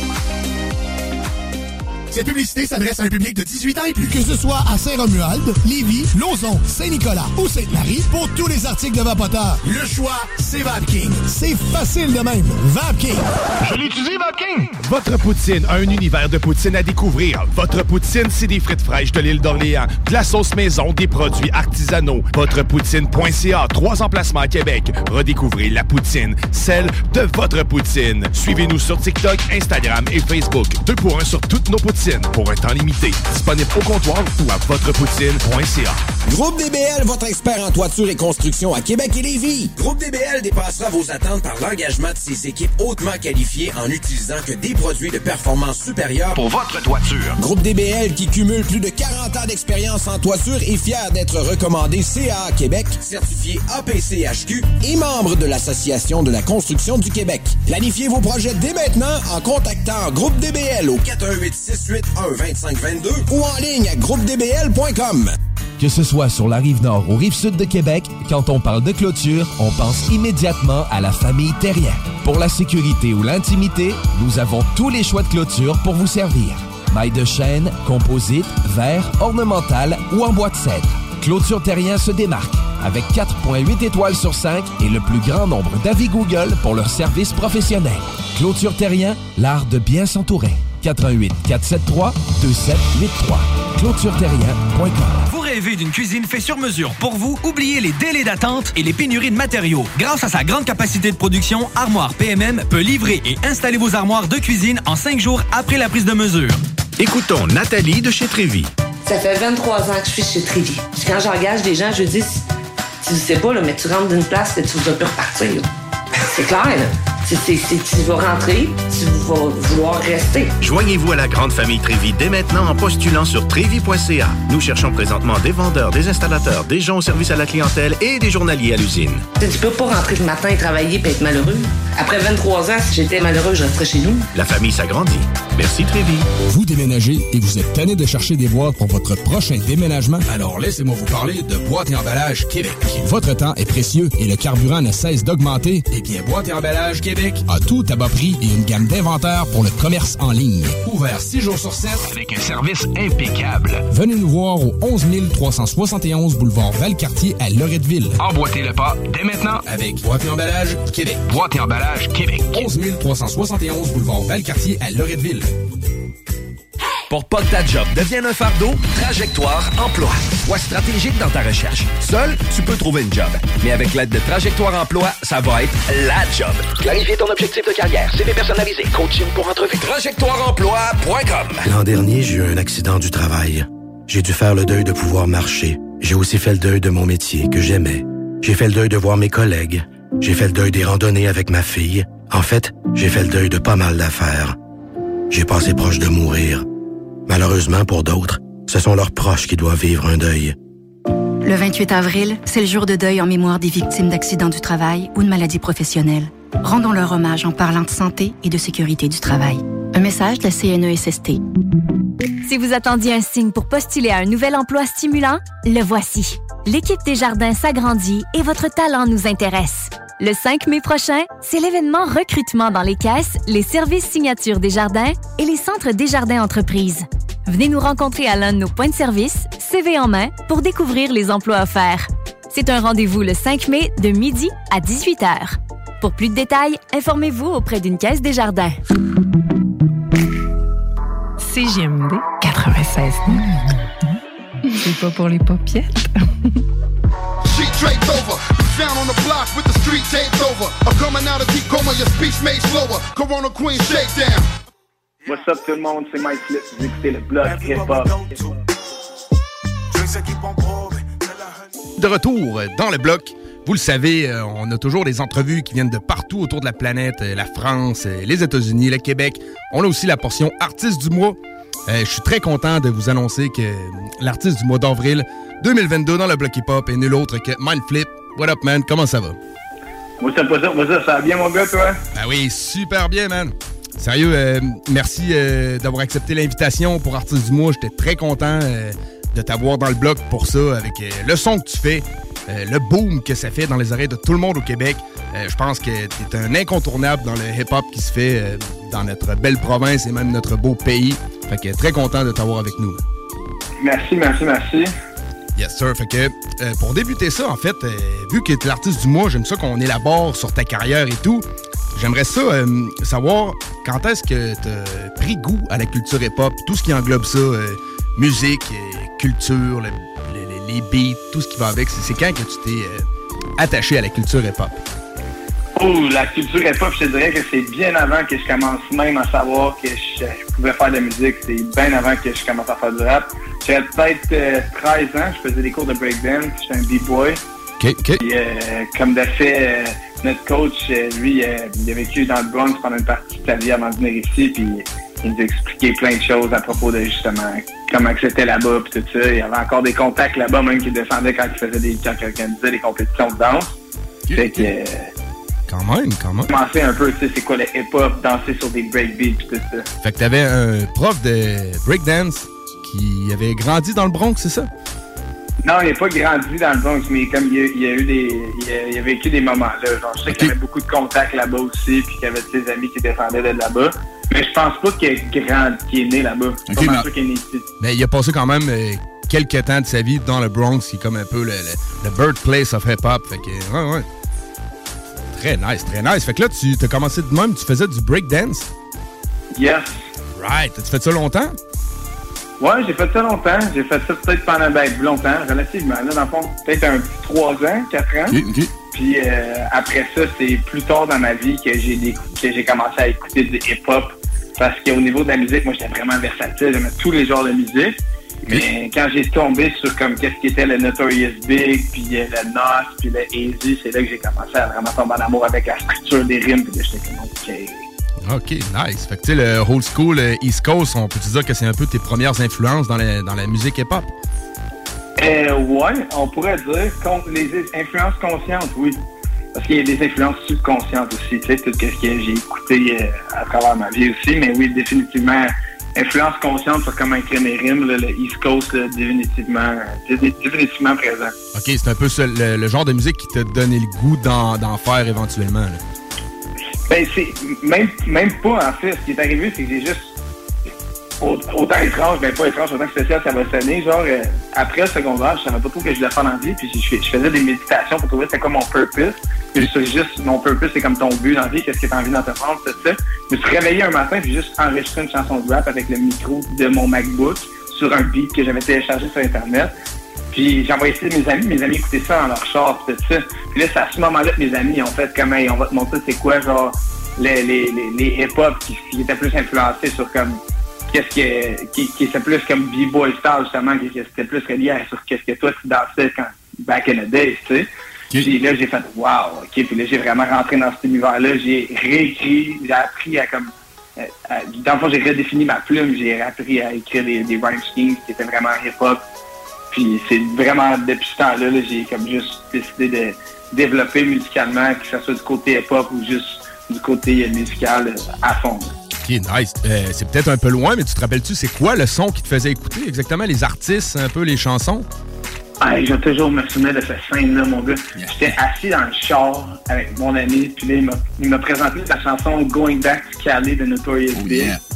Cette publicité s'adresse à un public de dix-huit ans et plus. Que ce soit à Saint-Romuald, Lévis, Lauson, Saint-Nicolas ou Sainte-Marie, pour tous les articles de Vapoteur, le choix, c'est VapKing. C'est facile de même. VapKing. Je l'utilise, VapKing. Votre poutine a un univers de poutine à découvrir. Votre poutine, c'est des frites fraîches de l'île d'Orléans, de la sauce maison, des produits artisanaux. Votrepoutine point c a, trois emplacements à Québec. Redécouvrez la poutine, celle de votre poutine. Suivez-nous sur TikTok, Instagram et Facebook. Deux pour un sur toutes nos poutines. Pour un temps limité. Disponible au comptoir ou à votrepoutine point c a. Groupe D B L, votre expert en toiture et construction à Québec et Lévis. Groupe D B L dépassera vos attentes par l'engagement de ses équipes hautement qualifiées en utilisant que des produits de performance supérieure pour votre toiture. Groupe D B L, qui cumule plus de quarante ans d'expérience en toiture, est fier d'être recommandé C A A Québec, certifié A P C H Q et membre de l'Association de la construction du Québec. Planifiez vos projets dès maintenant en contactant Groupe D B L au quatre un huit six huit un deux cinq deux deux ou en ligne à groupe d b l point com. Que ce soit sur la Rive-Nord ou Rive-Sud de Québec, quand on parle de clôture, on pense immédiatement à la famille Terrien. Pour la sécurité ou l'intimité, nous avons tous les choix de clôture pour vous servir. Mailles de chêne, composite, verre, ornemental ou en bois de cèdre. Clôture Terrien se démarque avec quatre virgule huit étoiles sur cinq et le plus grand nombre d'avis Google pour leur service professionnel. Clôture Terrien, l'art de bien s'entourer. quatre un huit quatre sept trois deux sept huit trois. clôture terrien point com. Vous rêvez d'une cuisine faite sur mesure pour vous? Oubliez les délais d'attente et les pénuries de matériaux. Grâce à sa grande capacité de production, Armoire P M M peut livrer et installer vos armoires de cuisine en cinq jours après la prise de mesure. Écoutons Nathalie de chez Trévy. Ça fait vingt-trois ans que je suis chez Trévy. Puis quand j'engage des gens, je dis, tu sais pas, là, mais tu rentres d'une place et tu ne vas plus repartir. Là. C'est clair, là. C'est, c'est, c'est, tu vas rentrer, tu vas vouloir rester. Joignez-vous à la grande famille Trévi dès maintenant en postulant sur trévi point c a. Nous cherchons présentement des vendeurs, des installateurs, des gens au service à la clientèle et des journaliers à l'usine. Tu peux pas rentrer le matin et travailler et être malheureux. Après vingt-trois ans, si j'étais malheureux, je resterais chez nous. La famille s'agrandit. Merci Trévi. Vous déménagez et vous êtes tanné de chercher des boîtes pour votre prochain déménagement? Alors laissez-moi vous parler de Boîte et Emballage Québec. Votre temps est précieux et le carburant ne cesse d'augmenter. Eh bien, Boîte et Emballage Québec a tout à bas prix et une gamme d'inventaires pour le commerce en ligne. Ouvert six jours sur sept avec un service impeccable. Venez nous voir au onze mille trois cent soixante et onze boulevard Valcartier à Loretteville. Emboîtez le pas dès maintenant avec Boîte et Emballage Québec. Boîte et Emballage Québec. onze mille trois cent soixante et onze boulevard Valcartier à Loretteville. Pour pas que ta job devienne un fardeau, Trajectoire Emploi. Sois stratégique dans ta recherche. Seul, tu peux trouver une job. Mais avec l'aide de Trajectoire Emploi, ça va être la job. Clarifier ton objectif de carrière, C V personnalisé, coaching pour entrevue. trajectoire emploi point com. L'an dernier, j'ai eu un accident du travail. J'ai dû faire le deuil de pouvoir marcher. J'ai aussi fait le deuil de mon métier que j'aimais. J'ai fait le deuil de voir mes collègues. J'ai fait le deuil des randonnées avec ma fille. En fait, j'ai fait le deuil de pas mal d'affaires. J'ai passé proche de mourir. Malheureusement, pour d'autres, ce sont leurs proches qui doivent vivre un deuil. Le vingt-huit avril, c'est le jour de deuil en mémoire des victimes d'accidents du travail ou de maladies professionnelles. Rendons leur hommage en parlant de santé et de sécurité du travail. Un message de la C N E S S T. Si vous attendiez un signe pour postuler à un nouvel emploi stimulant, le voici. L'équipe Desjardins s'agrandit et votre talent nous intéresse. Le cinq mai prochain, c'est l'événement recrutement dans les caisses, les services signatures Desjardins et les centres Desjardins Entreprises. Venez nous rencontrer à l'un de nos points de service, C V en main, pour découvrir les emplois offerts. C'est un rendez-vous le cinq mai de midi à dix-huit heures. Pour plus de détails, informez-vous auprès d'une caisse Desjardins. C G M D quatre-vingt-seize. C'est pas pour les paupiètes. She draped over, down on the block with the street taped over. I'm coming out of deep coma, your speech made slower. Corona Queen shakedown. What's up tout le monde, c'est Mike Flip, vous écoutez le bloc hip-hop. De retour dans le bloc, vous le savez, on a toujours des entrevues qui viennent de partout autour de la planète, la France, les États-Unis, le Québec. On a aussi la portion artiste du mois. Euh, je suis très content de vous annoncer que l'artiste du mois d'avril deux mille vingt-deux dans le bloc hip-hop est nul autre que Mindflip. What up, man? Comment ça va? What's up, what's up, what's up? Ça va bien, mon gars, toi? Ben oui, super bien, man. Sérieux, euh, merci euh, d'avoir accepté l'invitation pour Artiste du mois. J'étais très content euh, de t'avoir dans le bloc pour ça, avec euh, le son que tu fais, euh, le boom que ça fait dans les oreilles de tout le monde au Québec. Euh, je pense que t'es un incontournable dans le hip-hop qui se fait euh, dans notre belle province et même notre beau pays. Fait que très content de t'avoir avec nous. Merci, merci, merci. Yes, sir. Fait que euh, pour débuter ça, en fait, euh, vu que t'es l'artiste du mois, j'aime ça qu'on élabore sur ta carrière et tout. J'aimerais ça euh, savoir quand est-ce que t'as pris goût à la culture hip-hop, tout ce qui englobe ça, euh, musique, euh, culture, le, le, les beats, tout ce qui va avec. C'est, c'est quand que tu t'es euh, attaché à la culture hip-hop? Oh, la culture hip-hop, je te dirais que c'est bien avant que je commence même à savoir que je, je pouvais faire de la musique. C'est bien avant que je commence à faire du rap. J'avais peut-être euh, treize ans, je faisais des cours de breakdance, j'étais un b-boy. OK, OK. Puis, euh, comme de fait, euh, notre coach, euh, lui, euh, il a vécu dans le Bronx pendant une partie de sa vie avant de venir ici, puis il nous a expliqué plein de choses à propos de, justement, comment que c'était là-bas, puis tout ça. Il y avait encore des contacts là-bas, même qui descendaient quand il faisait des, quand il organisait des compétitions de danse. Okay. Fait que... Euh, Quand même, quand même. Commencer un peu, tu sais, c'est quoi le hip-hop, danser sur des breakbeats pis tout ça. Fait que t'avais un prof de breakdance qui avait grandi dans le Bronx, c'est ça? Non, il n'a pas grandi dans le Bronx, mais comme il a, il a eu des... Il a, il a vécu des moments là. Genre, je sais okay. qu'il y avait beaucoup de contacts là-bas aussi, puis qu'il y avait ses amis qui descendaient de là-bas. Mais je pense pas qu'il est grand, qu'il est né là-bas. Je suis okay, pas sûr qu'il est né ici. Mais il a passé quand même euh, quelques temps de sa vie dans le Bronx, qui est comme un peu le, le, le birthplace of hip-hop. Fait que, ouais, ouais. Très nice, très nice. Fait que là, tu as commencé de même, tu faisais du breakdance? Yes. Right. As-tu fait ça longtemps? Ouais, j'ai fait ça longtemps. J'ai fait ça peut-être pendant ben, longtemps, relativement. Là, dans le fond, peut-être un trois ans, quatre ans. Okay, okay. Puis euh, après ça, c'est plus tard dans ma vie que j'ai, des, que j'ai commencé à écouter du hip-hop. Parce qu'au niveau de la musique, moi, j'étais vraiment versatile. J'aimais tous les genres de musique. Mais quand j'ai tombé sur comme qu'est-ce qui était le Notorious Big, puis euh, le Nas, puis le Easy, c'est là que j'ai commencé à vraiment tomber en amour avec la structure des rimes, puis là, j'étais comme OK. OK, nice. Fait que tu sais, le old school euh, East Coast, on peut te dire que c'est un peu tes premières influences dans la, dans la musique hip-hop? Euh, ouais, on pourrait dire con- les influences conscientes, oui. Parce qu'il y a des influences subconscientes aussi, tu sais, tout ce que j'ai écouté euh, à travers ma vie aussi, mais oui, définitivement, influence consciente sur comment écrire mes rimes, là, le East Coast, là, définitivement, définitivement présent. OK, c'est un peu ça, le, le genre de musique qui t'a donné le goût d'en, d'en faire éventuellement, là. Ben, c'est même, même pas, en fait. Ce qui est arrivé, c'est que j'ai juste autant étrange, ben pas étrange, autant que spécial, ça va sonner. Genre, euh, après le secondaire, je savais pas trop que je voulais faire dans la vie, puis je, je faisais des méditations pour trouver c'était quoi mon purpose. Puis c'est juste, mon purpose, c'est comme ton but dans la vie, qu'est-ce que t'as envie d'entreprendre, tout ça. Je me suis réveillé un matin, puis juste enregistré une chanson de rap avec le micro de mon MacBook sur un beat que j'avais téléchargé sur Internet. Puis j'ai envoyé ça à mes amis, mes amis écoutaient ça dans leur char, pis tout ça. Puis là, c'est à ce moment-là que mes amis ont fait comme, hey, on va te montrer c'est quoi, genre, les, les, les, les hip-hop qui, qui étaient plus influencés sur comme, qu'est-ce que, qui, qui était plus comme B-boy style, justement, qui était plus relié à sur qu'est-ce que toi tu dansais quand, back in the days, tu sais. Puis là, j'ai fait, wow, ok, puis là, j'ai vraiment rentré dans cet univers-là, j'ai réécrit, j'ai appris à comme, euh, à, dans le fond, j'ai redéfini ma plume, j'ai appris à écrire des, des rhyme schemes qui étaient vraiment hip-hop. Puis c'est vraiment, depuis ce temps-là, là, j'ai comme juste décidé de développer musicalement, que ce soit du côté hip-hop ou juste du côté musical euh, à fond. OK, nice. Euh, c'est peut-être un peu loin, mais tu te rappelles-tu, c'est quoi le son qui te faisait écouter exactement? Les artistes, un peu les chansons? Ah, je vais toujours me souvenir de cette scène-là, mon gars. Yeah. J'étais assis dans le char avec mon ami, puis là, il m'a, il m'a présenté la chanson Going Back to Cali de Notorious oh, Big. Yeah.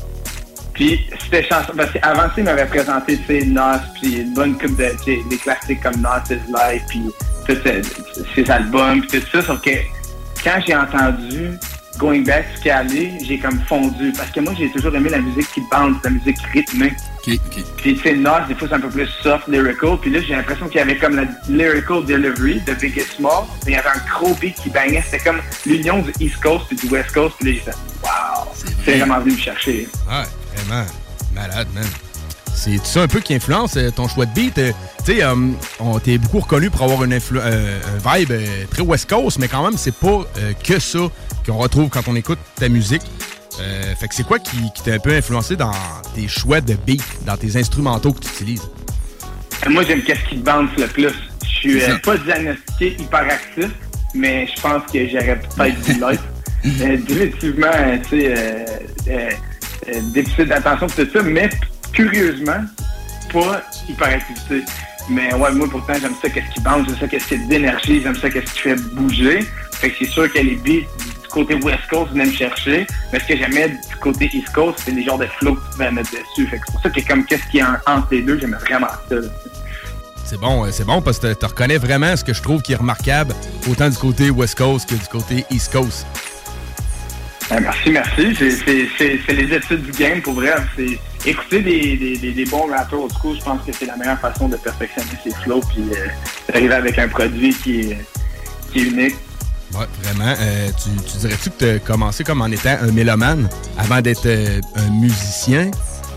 Puis, c'était chanson, parce qu'avant ça, il m'avait présenté, tu sais, Nas, puis une bonne coupe de, tu sais, des classiques comme Nas is Life, puis tous ses, ses albums, puis tout ça, sauf que quand j'ai entendu Going Back to Cali, j'ai comme fondu, parce que moi, j'ai toujours aimé la musique qui bounce, la musique rythmée. Okay, okay. Puis, tu sais, Nas, des fois, c'est un peu plus soft, lyrical, puis là, j'ai l'impression qu'il y avait comme la lyrical delivery de Big and Small, mais il y avait un gros beat qui bangait, c'était comme l'union du East Coast et du West Coast, puis là, j'ai fait, wow, c'est, c'est vraiment venu me chercher. Ouais. Vraiment malade, man. C'est ça un peu qui influence euh, ton choix de beat. Euh, tu sais, euh, on t'es beaucoup reconnu pour avoir une influ- euh, un vibe euh, très West Coast, mais quand même, c'est pas euh, que ça qu'on retrouve quand on écoute ta musique. Euh, fait que c'est quoi qui, qui t'a un peu influencé dans tes choix de beat, dans tes instrumentaux que tu utilises? Moi, j'aime qu'est-ce qui bounce le plus. Je suis euh, pas diagnostiqué hyperactif, mais je pense que j'aurais peut-être du life. euh, définitivement, tu sais... Euh, euh, Euh, déficit d'attention tout ça, mais curieusement, pas hyperactivité. Mais ouais, moi pourtant, j'aime ça qu'est-ce qui bounce, j'aime ça qu'est-ce qui est d'énergie, j'aime ça qu'est-ce qui fait bouger. Fait que c'est sûr que les beats du côté West Coast venaient me chercher, mais ce que j'aimais du côté East Coast, c'est les genres de flow que tu pouvais mettre dessus. Fait que c'est pour ça que comme qu'est-ce qui est entre les deux, j'aimais vraiment ça. Là. C'est bon, c'est bon parce que tu reconnais vraiment ce que je trouve qui est remarquable, autant du côté West Coast que du côté East Coast. Ah, merci, merci. C'est, c'est, c'est, c'est les études du game, pour vrai. C'est écouter des, des, des, des bons rappeurs au school, je pense que c'est la meilleure façon de perfectionner ses flows puis euh, d'arriver avec un produit qui est, qui est unique. Ouais, vraiment. Euh, tu, tu dirais-tu que tu as commencé comme en étant un mélomane avant d'être euh, un musicien?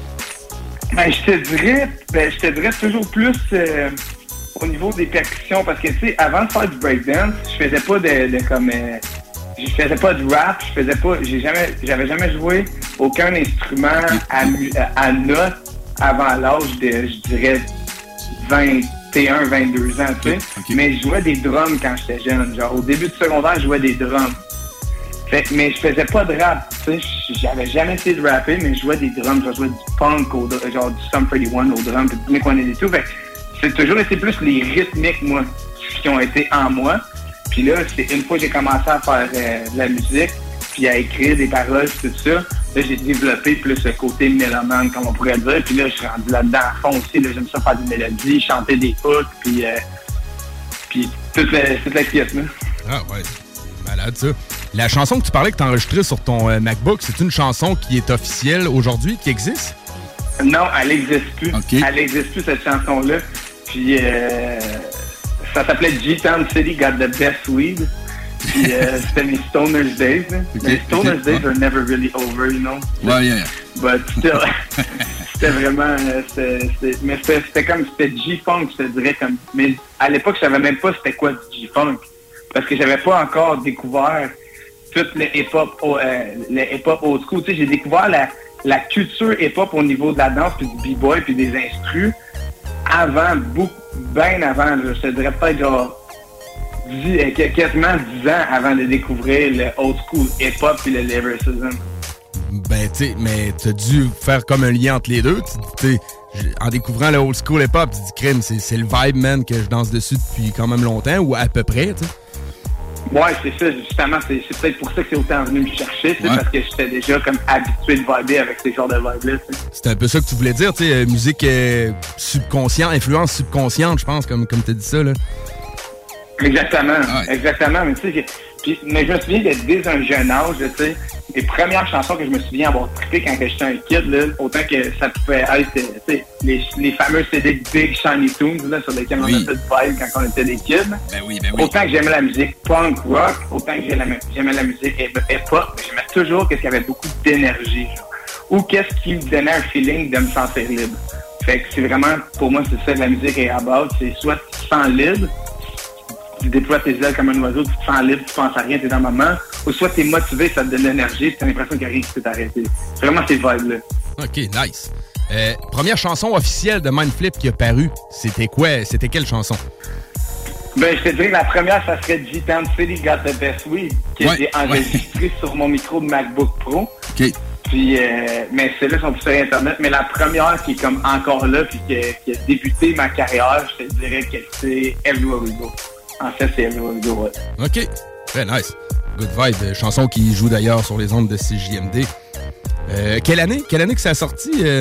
Ben, je te dirais, ben, je te dirais toujours plus euh, au niveau des percussions, parce que, tu sais, avant de faire du breakdance, je faisais pas de, de comme... Euh, je faisais pas de rap, je faisais pas, j'ai jamais, j'avais jamais joué aucun instrument à, à notes avant l'âge de, je dirais, vingt et un, vingt-deux ans, tu sais. Okay. Mais je jouais des drums quand j'étais jeune. Genre, au début du secondaire, je jouais des drums. Fait, mais je faisais pas de rap, tu sais. J'avais jamais essayé de rapper, mais je jouais des drums. Je jouais du punk, au, genre du Sum thirty-one au drum, puis du Blink one eighty-two. Fait c'est toujours été plus les rythmiques, moi, qui ont été en moi. Puis là, c'est une fois que j'ai commencé à faire euh, de la musique, puis à écrire des paroles, tout ça, là, j'ai développé plus le côté mélomane, comme on pourrait dire. Puis là, je suis rendu là-dedans à fond aussi. Là, j'aime ça faire des mélodies, chanter des hooks, puis, euh, puis toute la, toute la pièce, là. Ah ouais, c'est malade, ça. La chanson que tu parlais que tu as enregistrée sur ton euh, MacBook, c'est une chanson qui est officielle aujourd'hui, qui existe? Non, elle n'existe plus. Okay. Elle n'existe plus, cette chanson-là. Puis... Euh, ça s'appelait G-Town City Got the Best Weed. Puis euh, c'était mes Stoner's Days. Okay, les Stoner's okay, Days ouais. are never really over, you know? Ouais, yeah, yeah. But still, C'était vraiment... C'était, c'était, mais c'était, c'était comme... C'était G-Funk, je te dirais. Comme, mais à l'époque, je savais même pas c'était quoi du G-Funk. Parce que j'avais pas encore découvert tout le hip-hop, euh, le hip-hop old school. Tu sais, j'ai découvert la, la culture hip-hop au niveau de la danse, puis du b-boy, puis des instrus, avant, beaucoup, bien avant. Là, je te dirais peut-être genre... dix, quasiment dix ans avant de découvrir le old school hip-hop et le lyricism. Ben, tu sais, mais t'as dû faire comme un lien entre les deux. Tu sais, en découvrant le old school hip-hop, tu dis, crime, c'est, c'est le vibe, man, que je danse dessus depuis quand même longtemps, ou à peu près, tu sais. Ouais, c'est ça, justement, c'est, c'est peut-être pour ça que c'est autant venu me chercher, tu sais, ouais. Parce que j'étais déjà comme habitué de vibrer avec ces genres de vibes-là, tu sais. C'était un peu ça que tu voulais dire, tu sais, euh, musique euh, subconsciente, influence subconsciente, je pense, comme, comme t'as dit ça, là. Exactement, ah ouais. exactement. Mais tu sais, puis, mais je me souviens d'être dès un jeune âge, tu sais, les premières chansons que je me souviens avoir trippé quand j'étais un kid, là, autant que ça pouvait être, tu sais, les, les fameux C D Big Shiny Tunes, là, sur lesquels oui. on a fait de vibe quand on était des kids. Ben oui, ben oui. Autant que j'aimais la musique punk rock, autant que j'aimais, j'aimais la musique hip-hop, j'aimais toujours qu'est-ce qu'il y avait beaucoup d'énergie, genre. Ou qu'est-ce qui me donnait un feeling de me sentir libre. Fait que c'est vraiment, pour moi, c'est ça que la musique est about, c'est soit tu te sens libre, tu déploies tes ailes comme un oiseau, tu te sens libre, tu penses à rien, t'es dans le moment. Ou soit t'es motivé, ça te donne l'énergie, t'as l'impression qu'il y a rien qui peut t'arrêter. C'est vraiment ces vibes-là. OK, nice. Euh, première chanson officielle de Mindflip qui a paru, c'était quoi? C'était quelle chanson? Ben, je te dirais que la première, ça serait G-Town City Got the Best Weed, que ouais, j'ai enregistré ouais. sur mon micro de MacBook Pro. OK. Puis, euh, mais celles-là sont plus sur Internet. Mais la première qui est comme encore là, puis qui a, qui a débuté ma carrière, je te dirais que c'est Everywhere We Go. En fait, c'est Everywhere We Go, ouais. OK. Très nice. Good vibe. Chanson qui joue d'ailleurs sur les ondes de C J M D. Euh, quelle année? Quelle année que ça a sorti? Euh...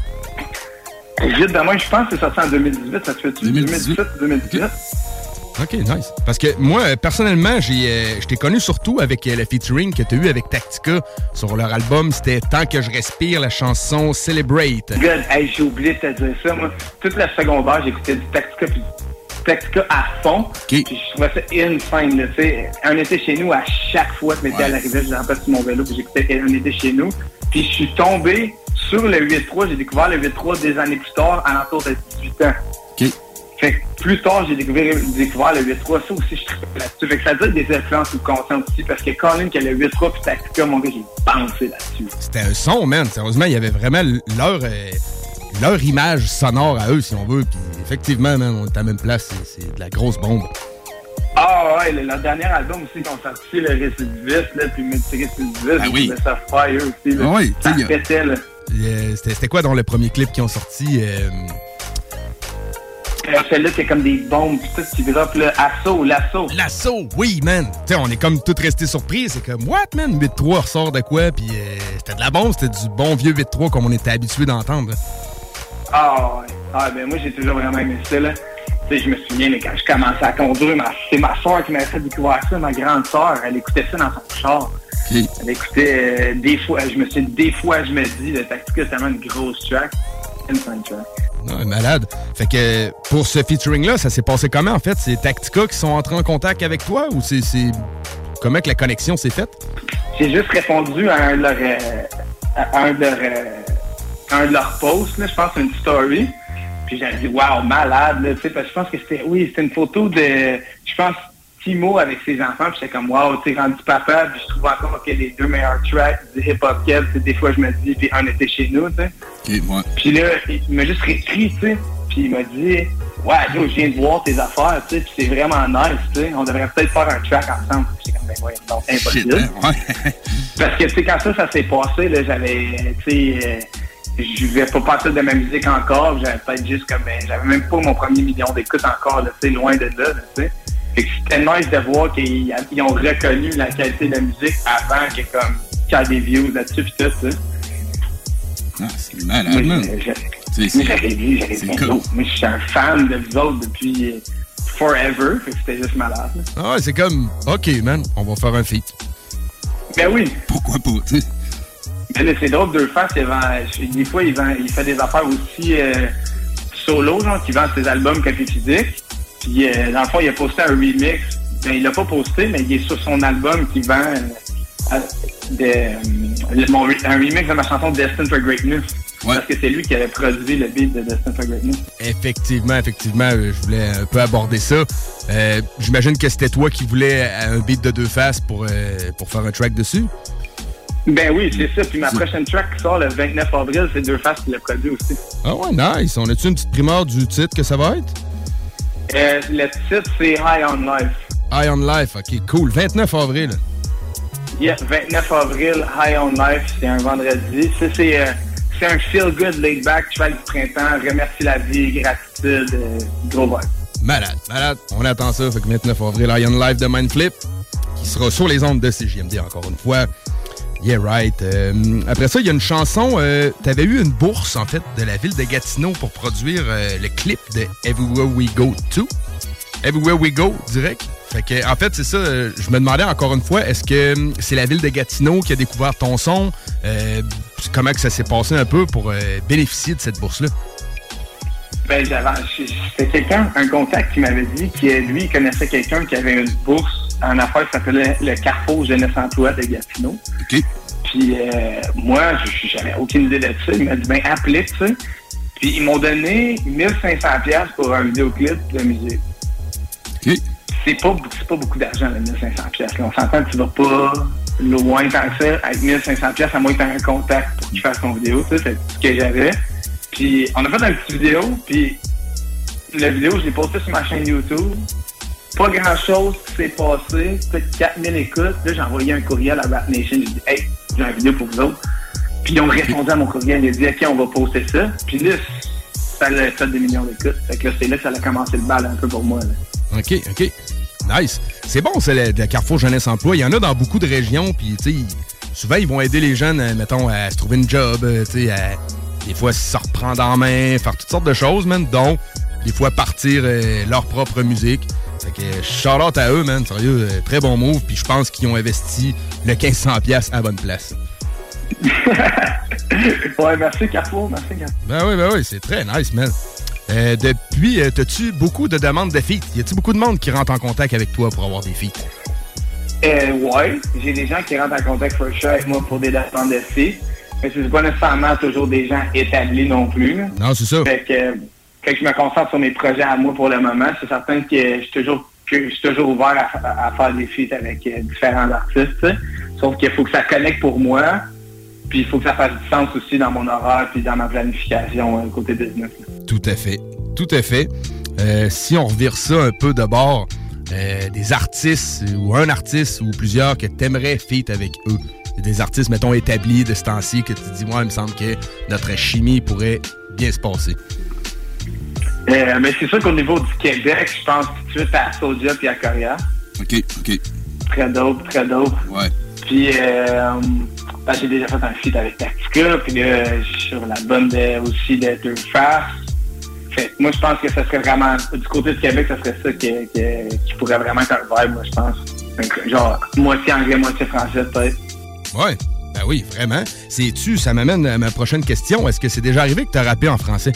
Vite de moi, je pense que c'est sorti en deux mille dix-huit. Ça se fait-tu? deux mille dix-huit deux mille dix-huit OK, nice. Parce que moi, personnellement, j'ai, euh, je t'ai connu surtout avec euh, le featuring que tu as eu avec Tactica sur leur album. C'était Tant que je respire, la chanson Celebrate. Good. Hey, j'ai oublié de te dire ça. Moi, toute la secondaire, j'écoutais du Tactica puis Tactica à fond. Okay. Puis je trouvais ça insane, là, tu sais. Un été chez nous, à chaque fois que m'étais ouais. à l'arrivée, je rappelle sur mon vélo, puis j'écoutais Un été chez nous. Puis je suis tombé sur le huit trois. J'ai découvert le huit trois des années plus tard, à l'entour de dix-huit ans. OK. Fait que plus tard, j'ai découvert, découvert le huit trois. Ça aussi, je trippais là-dessus. Fait que ça doit être des influences subconscientes aussi, parce que Colin, qui a le huit trois puis Tactica, mon gars, j'ai pensé là-dessus. C'était un son, man. Sérieusement, il y avait vraiment leur... Euh... leur image sonore à eux, si on veut. Puis effectivement, man, on est à la même place. C'est, c'est de la grosse bombe. Ah ouais, le, leur dernier album aussi, ils ont sorti le Récidiviste, là, puis Multirécidiviste, ah oui. le Soft Fire aussi. Là. Ah oui, ça pétait, là. Euh, c'était, c'était quoi dans le premier clip qu'ils ont sorti? Euh... Euh, celle-là, c'est comme des bombes, pis tout qui drop, là. Assaut, l'assaut. L'assaut, oui, man. Tu sais, on est comme tous restés surpris. C'est comme, what, man? huit trois ressort de quoi? Puis euh, c'était de la bombe, c'était du bon vieux huit trois comme on était habitué d'entendre. Là. Ah ouais. Ah ben moi j'ai toujours vraiment aimé ça là. Tu sais, je me souviens, mais quand je commençais à conduire, ma, c'est ma soeur qui m'avait fait découvrir ça, ma grande soeur, elle écoutait ça dans son char. Okay. Elle écoutait euh, des fois, je me suis dit, des fois je me dis, le Tactica c'est tellement une grosse track. Une fine track. Non, malade. Fait que pour ce featuring-là, ça s'est passé comment en fait? C'est Tactica qui sont entrés en contact avec toi ou c'est, c'est... comment que la connexion s'est faite? J'ai juste répondu à un de leurs euh, à un de leurs euh, un de leurs posts, là, je pense une story. Puis j'avais dit wow, malade, là, tu sais, parce que je pense que c'était oui, c'était une photo de je pense Timo avec ses enfants, puis j'étais comme wow, tu sais, rendu papa, puis je trouve encore que les deux meilleurs tracks du hip-hop keb, des fois je me dis, puis un était chez nous, tu sais. Okay, ouais. Puis là, il m'a juste réécrit, tu sais, puis il m'a dit ouais, yo, je viens de voir tes affaires, tu sais, puis c'est vraiment nice, tu sais, on devrait peut-être faire un track ensemble. Puis j'étais comme ben ouais, non, c'est impossible. Shit, hein? Ouais. Parce que tu sais, quand ça, ça s'est passé, là, j'avais, tu sais, euh, je vais pas partir de ma musique encore, j'avais peut-être juste comme, ben, j'avais même pas mon premier million d'écoutes encore, là, tu sais, loin de là, tu sais. Fait que c'était nice de voir qu'ils ils ont reconnu la qualité de la musique avant que comme qu'il y a des views là-dessus pis tout, tu sais. Ah, c'est malade, man. Mais j'avais dit, j'avais dit, cool. Moi, je suis un fan de vous autres depuis euh, forever, fait que c'était juste malade. Là. Ah ouais, c'est comme, OK, man, on va faire un feat. Ben oui. Pourquoi pas, tu sais. Ben là, c'est drôle, deux faces, des fois, il, vend, il fait des affaires aussi euh, solo, genre, qui vend ses albums copie physique. Puis, euh, dans le fond, il a posté un remix. Ben, il l'a pas posté, mais il est sur son album qui vend euh, de, euh, mon, un remix de ma chanson Destined for Greatness. Ouais. Parce que c'est lui qui avait produit le beat de Destined for Greatness. Effectivement, effectivement, je voulais un peu aborder ça. Euh, j'imagine que c'était toi qui voulais un beat de deux faces pour, euh, pour faire un track dessus? Ben oui, c'est ça. Puis ma prochaine track qui sort le vingt-neuf avril, c'est deux faces qui l'a produit aussi. Ah ouais, nice. On a-tu une petite primeur du titre que ça va être? Euh, le titre, c'est High on Life. High on Life, ok, cool. vingt-neuf avril. Yeah, vingt-neuf avril, High on Life, c'est un vendredi. Ça, c'est, euh, c'est un feel-good, laid-back, cheval du printemps, remercie la vie, gratitude, euh, gros vibe. Malade, malade. On attend ça. Fait que vingt-neuf avril, High on Life de Mindflip, qui sera sur les ondes de C J M D encore une fois. Yeah, right. Euh, après ça, il y a une chanson. Euh, T'avais eu une bourse, en fait, de la ville de Gatineau pour produire euh, le clip de Everywhere We Go To. Everywhere We Go, direct. Fait que, en fait, c'est ça. Euh, je me demandais encore une fois, est-ce que euh, c'est la ville de Gatineau qui a découvert ton son? Euh, comment que ça s'est passé un peu pour euh, bénéficier de cette bourse-là? Ben, j'avais, c'était quelqu'un, un contact qui m'avait dit que lui, il connaissait quelqu'un qui avait une bourse en affaire qui s'appelait le Carrefour Jeunesse Emploi de Gatineau. OK. Puis euh, moi, j'avais aucune idée de ça. Il m'a dit, ben, appelez, tu sais. Puis ils m'ont donné mille cinq cents dollars pour un vidéoclip de musique. OK. C'est pas, c'est pas beaucoup d'argent, le mille cinq cents dollars. On s'entend que tu vas pas loin tant que ça. Avec mille cinq cents dollars, à moins que tu aies un contact pour qu'il fasse ton vidéo, tu sais, c'est ce que j'avais. Puis on a fait une petite vidéo, puis la vidéo, je l'ai postée sur ma chaîne YouTube. Pas grand-chose qui s'est passé, peut-être quatre mille écoutes. Là, j'ai envoyé un courriel à Rap Nation, j'ai dit « Hey, j'ai une vidéo pour vous autres. » Puis ils ont répondu à mon courriel, ils ont dit « OK, on va poster ça. » Puis là, ça a fait des millions d'écoutes. Fait que là, c'est là que ça a commencé le bal un peu pour moi. Là. OK, OK. Nice. C'est bon, c'est le, le Carrefour Jeunesse Emploi. Il y en a dans beaucoup de régions, puis tu sais, souvent, ils vont aider les jeunes, mettons, à se trouver une job, tu sais, à des fois se reprendre en main, faire toutes sortes de choses, man, dont des fois partir euh, leur propre musique. Fait que shout-out à eux, man, sérieux, euh, très bon move, puis je pense qu'ils ont investi le quinze cents dollars à la bonne place. Ouais, merci Carrefour, merci Carrefour. Ben oui, ben oui, c'est très nice, man. Euh, depuis, euh, t'as-tu beaucoup de demandes de feats? Y a-tu beaucoup de monde qui rentre en contact avec toi pour avoir des feats? Euh, ouais, j'ai des gens qui rentrent en contact for sure avec moi pour des demandes de feats. Mais c'est pas nécessairement toujours des gens établis non plus. Non, c'est ça. Fait que quand je me concentre sur mes projets à moi pour le moment, c'est certain que je suis toujours, que je suis toujours ouvert à, à, à faire des feats avec euh, différents artistes. T'sais. Sauf qu'il faut que ça connecte pour moi, puis il faut que ça fasse du sens aussi dans mon horaire puis dans ma planification euh, côté business. Là. Tout à fait. Tout à fait. Euh, si on revire ça un peu de bord, euh, des artistes ou un artiste ou plusieurs que t'aimerais feat avec eux. Des artistes, mettons, établis de ce temps-ci que tu te dis, moi, il me semble que notre chimie pourrait bien se passer. Euh, mais c'est sûr qu'au niveau du Québec, je pense tout de suite à Soulja et à Coria. OK, OK. Très dope, très dope. Ouais. Puis, euh, ben, j'ai déjà fait un feat avec Tactica, puis là, je suis sur l'album de, aussi de Deux Faces. Fait moi, je pense que ça serait vraiment, du côté du Québec, ça serait ça qui, qui, qui pourrait vraiment être un vibe, moi, je pense. Donc, genre, moitié anglais, moitié français, peut-être. Ouais, ben oui, vraiment. C'est-tu, ça m'amène à ma prochaine question. Est-ce que c'est déjà arrivé que tu as rappé en français?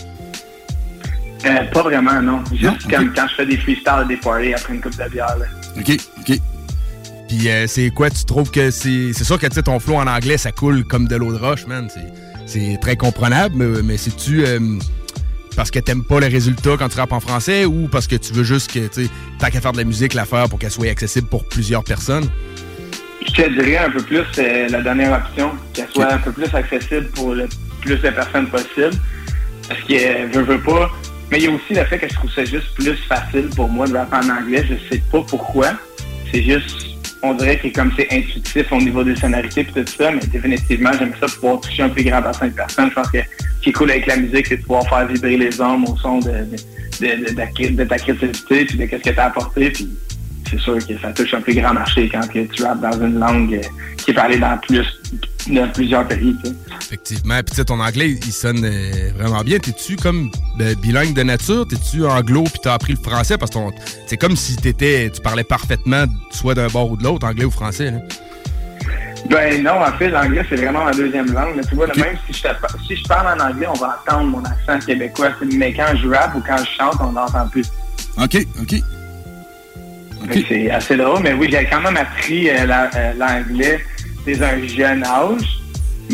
Euh, pas vraiment, non. Juste non? comme Okay. quand je fais des freestyles, des parties après une coupe de bière. Là. OK, OK. Puis euh, c'est quoi, tu trouves que c'est... C'est sûr que tu sais, ton flow en anglais, ça coule comme de l'eau de roche, man. C'est, c'est très comprenable, mais, mais c'est-tu euh, parce que t'aimes pas les résultats quand tu rappes en français ou parce que tu veux juste que, tu sais, tant qu'à faire de la musique, la faire pour qu'elle soit accessible pour plusieurs personnes? Je te dirais un peu plus euh, la dernière option, qu'elle soit okay. un peu plus accessible pour le plus de personnes possible. Parce que euh, veux, veux pas. Mais il y a aussi le fait que je trouve ça juste plus facile pour moi de rapper en anglais. Je sais pas pourquoi. C'est juste, on dirait que comme c'est intuitif au niveau des sonorités et tout ça, mais définitivement, j'aime ça pouvoir toucher un plus grand bassin de personnes. Je pense que ce qui est cool avec la musique, c'est de pouvoir faire vibrer les hommes au son de, de, de, de, de, de ta créativité puis de ce que tu as apporté. Puis c'est sûr que ça touche un plus grand marché quand que tu rappes dans une langue qui est parlée dans, plus, dans plusieurs pays. Tu sais. Effectivement. Puis tu sais, ton anglais, il sonne euh, vraiment bien. T'es-tu comme euh, bilingue de nature? T'es-tu anglo puis t'as appris le français? Parce que ton, c'est comme si t'étais, tu parlais parfaitement soit d'un bord ou de l'autre, anglais ou français. Là. Ben non, en fait, l'anglais, c'est vraiment ma deuxième langue. Mais tu vois, okay. Même si je, si je parle en anglais, on va entendre mon accent québécois. Mais quand je rappe ou quand je chante, on n'entend plus. OK, OK. Okay. C'est assez drôle, mais oui, j'ai quand même appris euh, la, euh, l'anglais dès un jeune âge, mais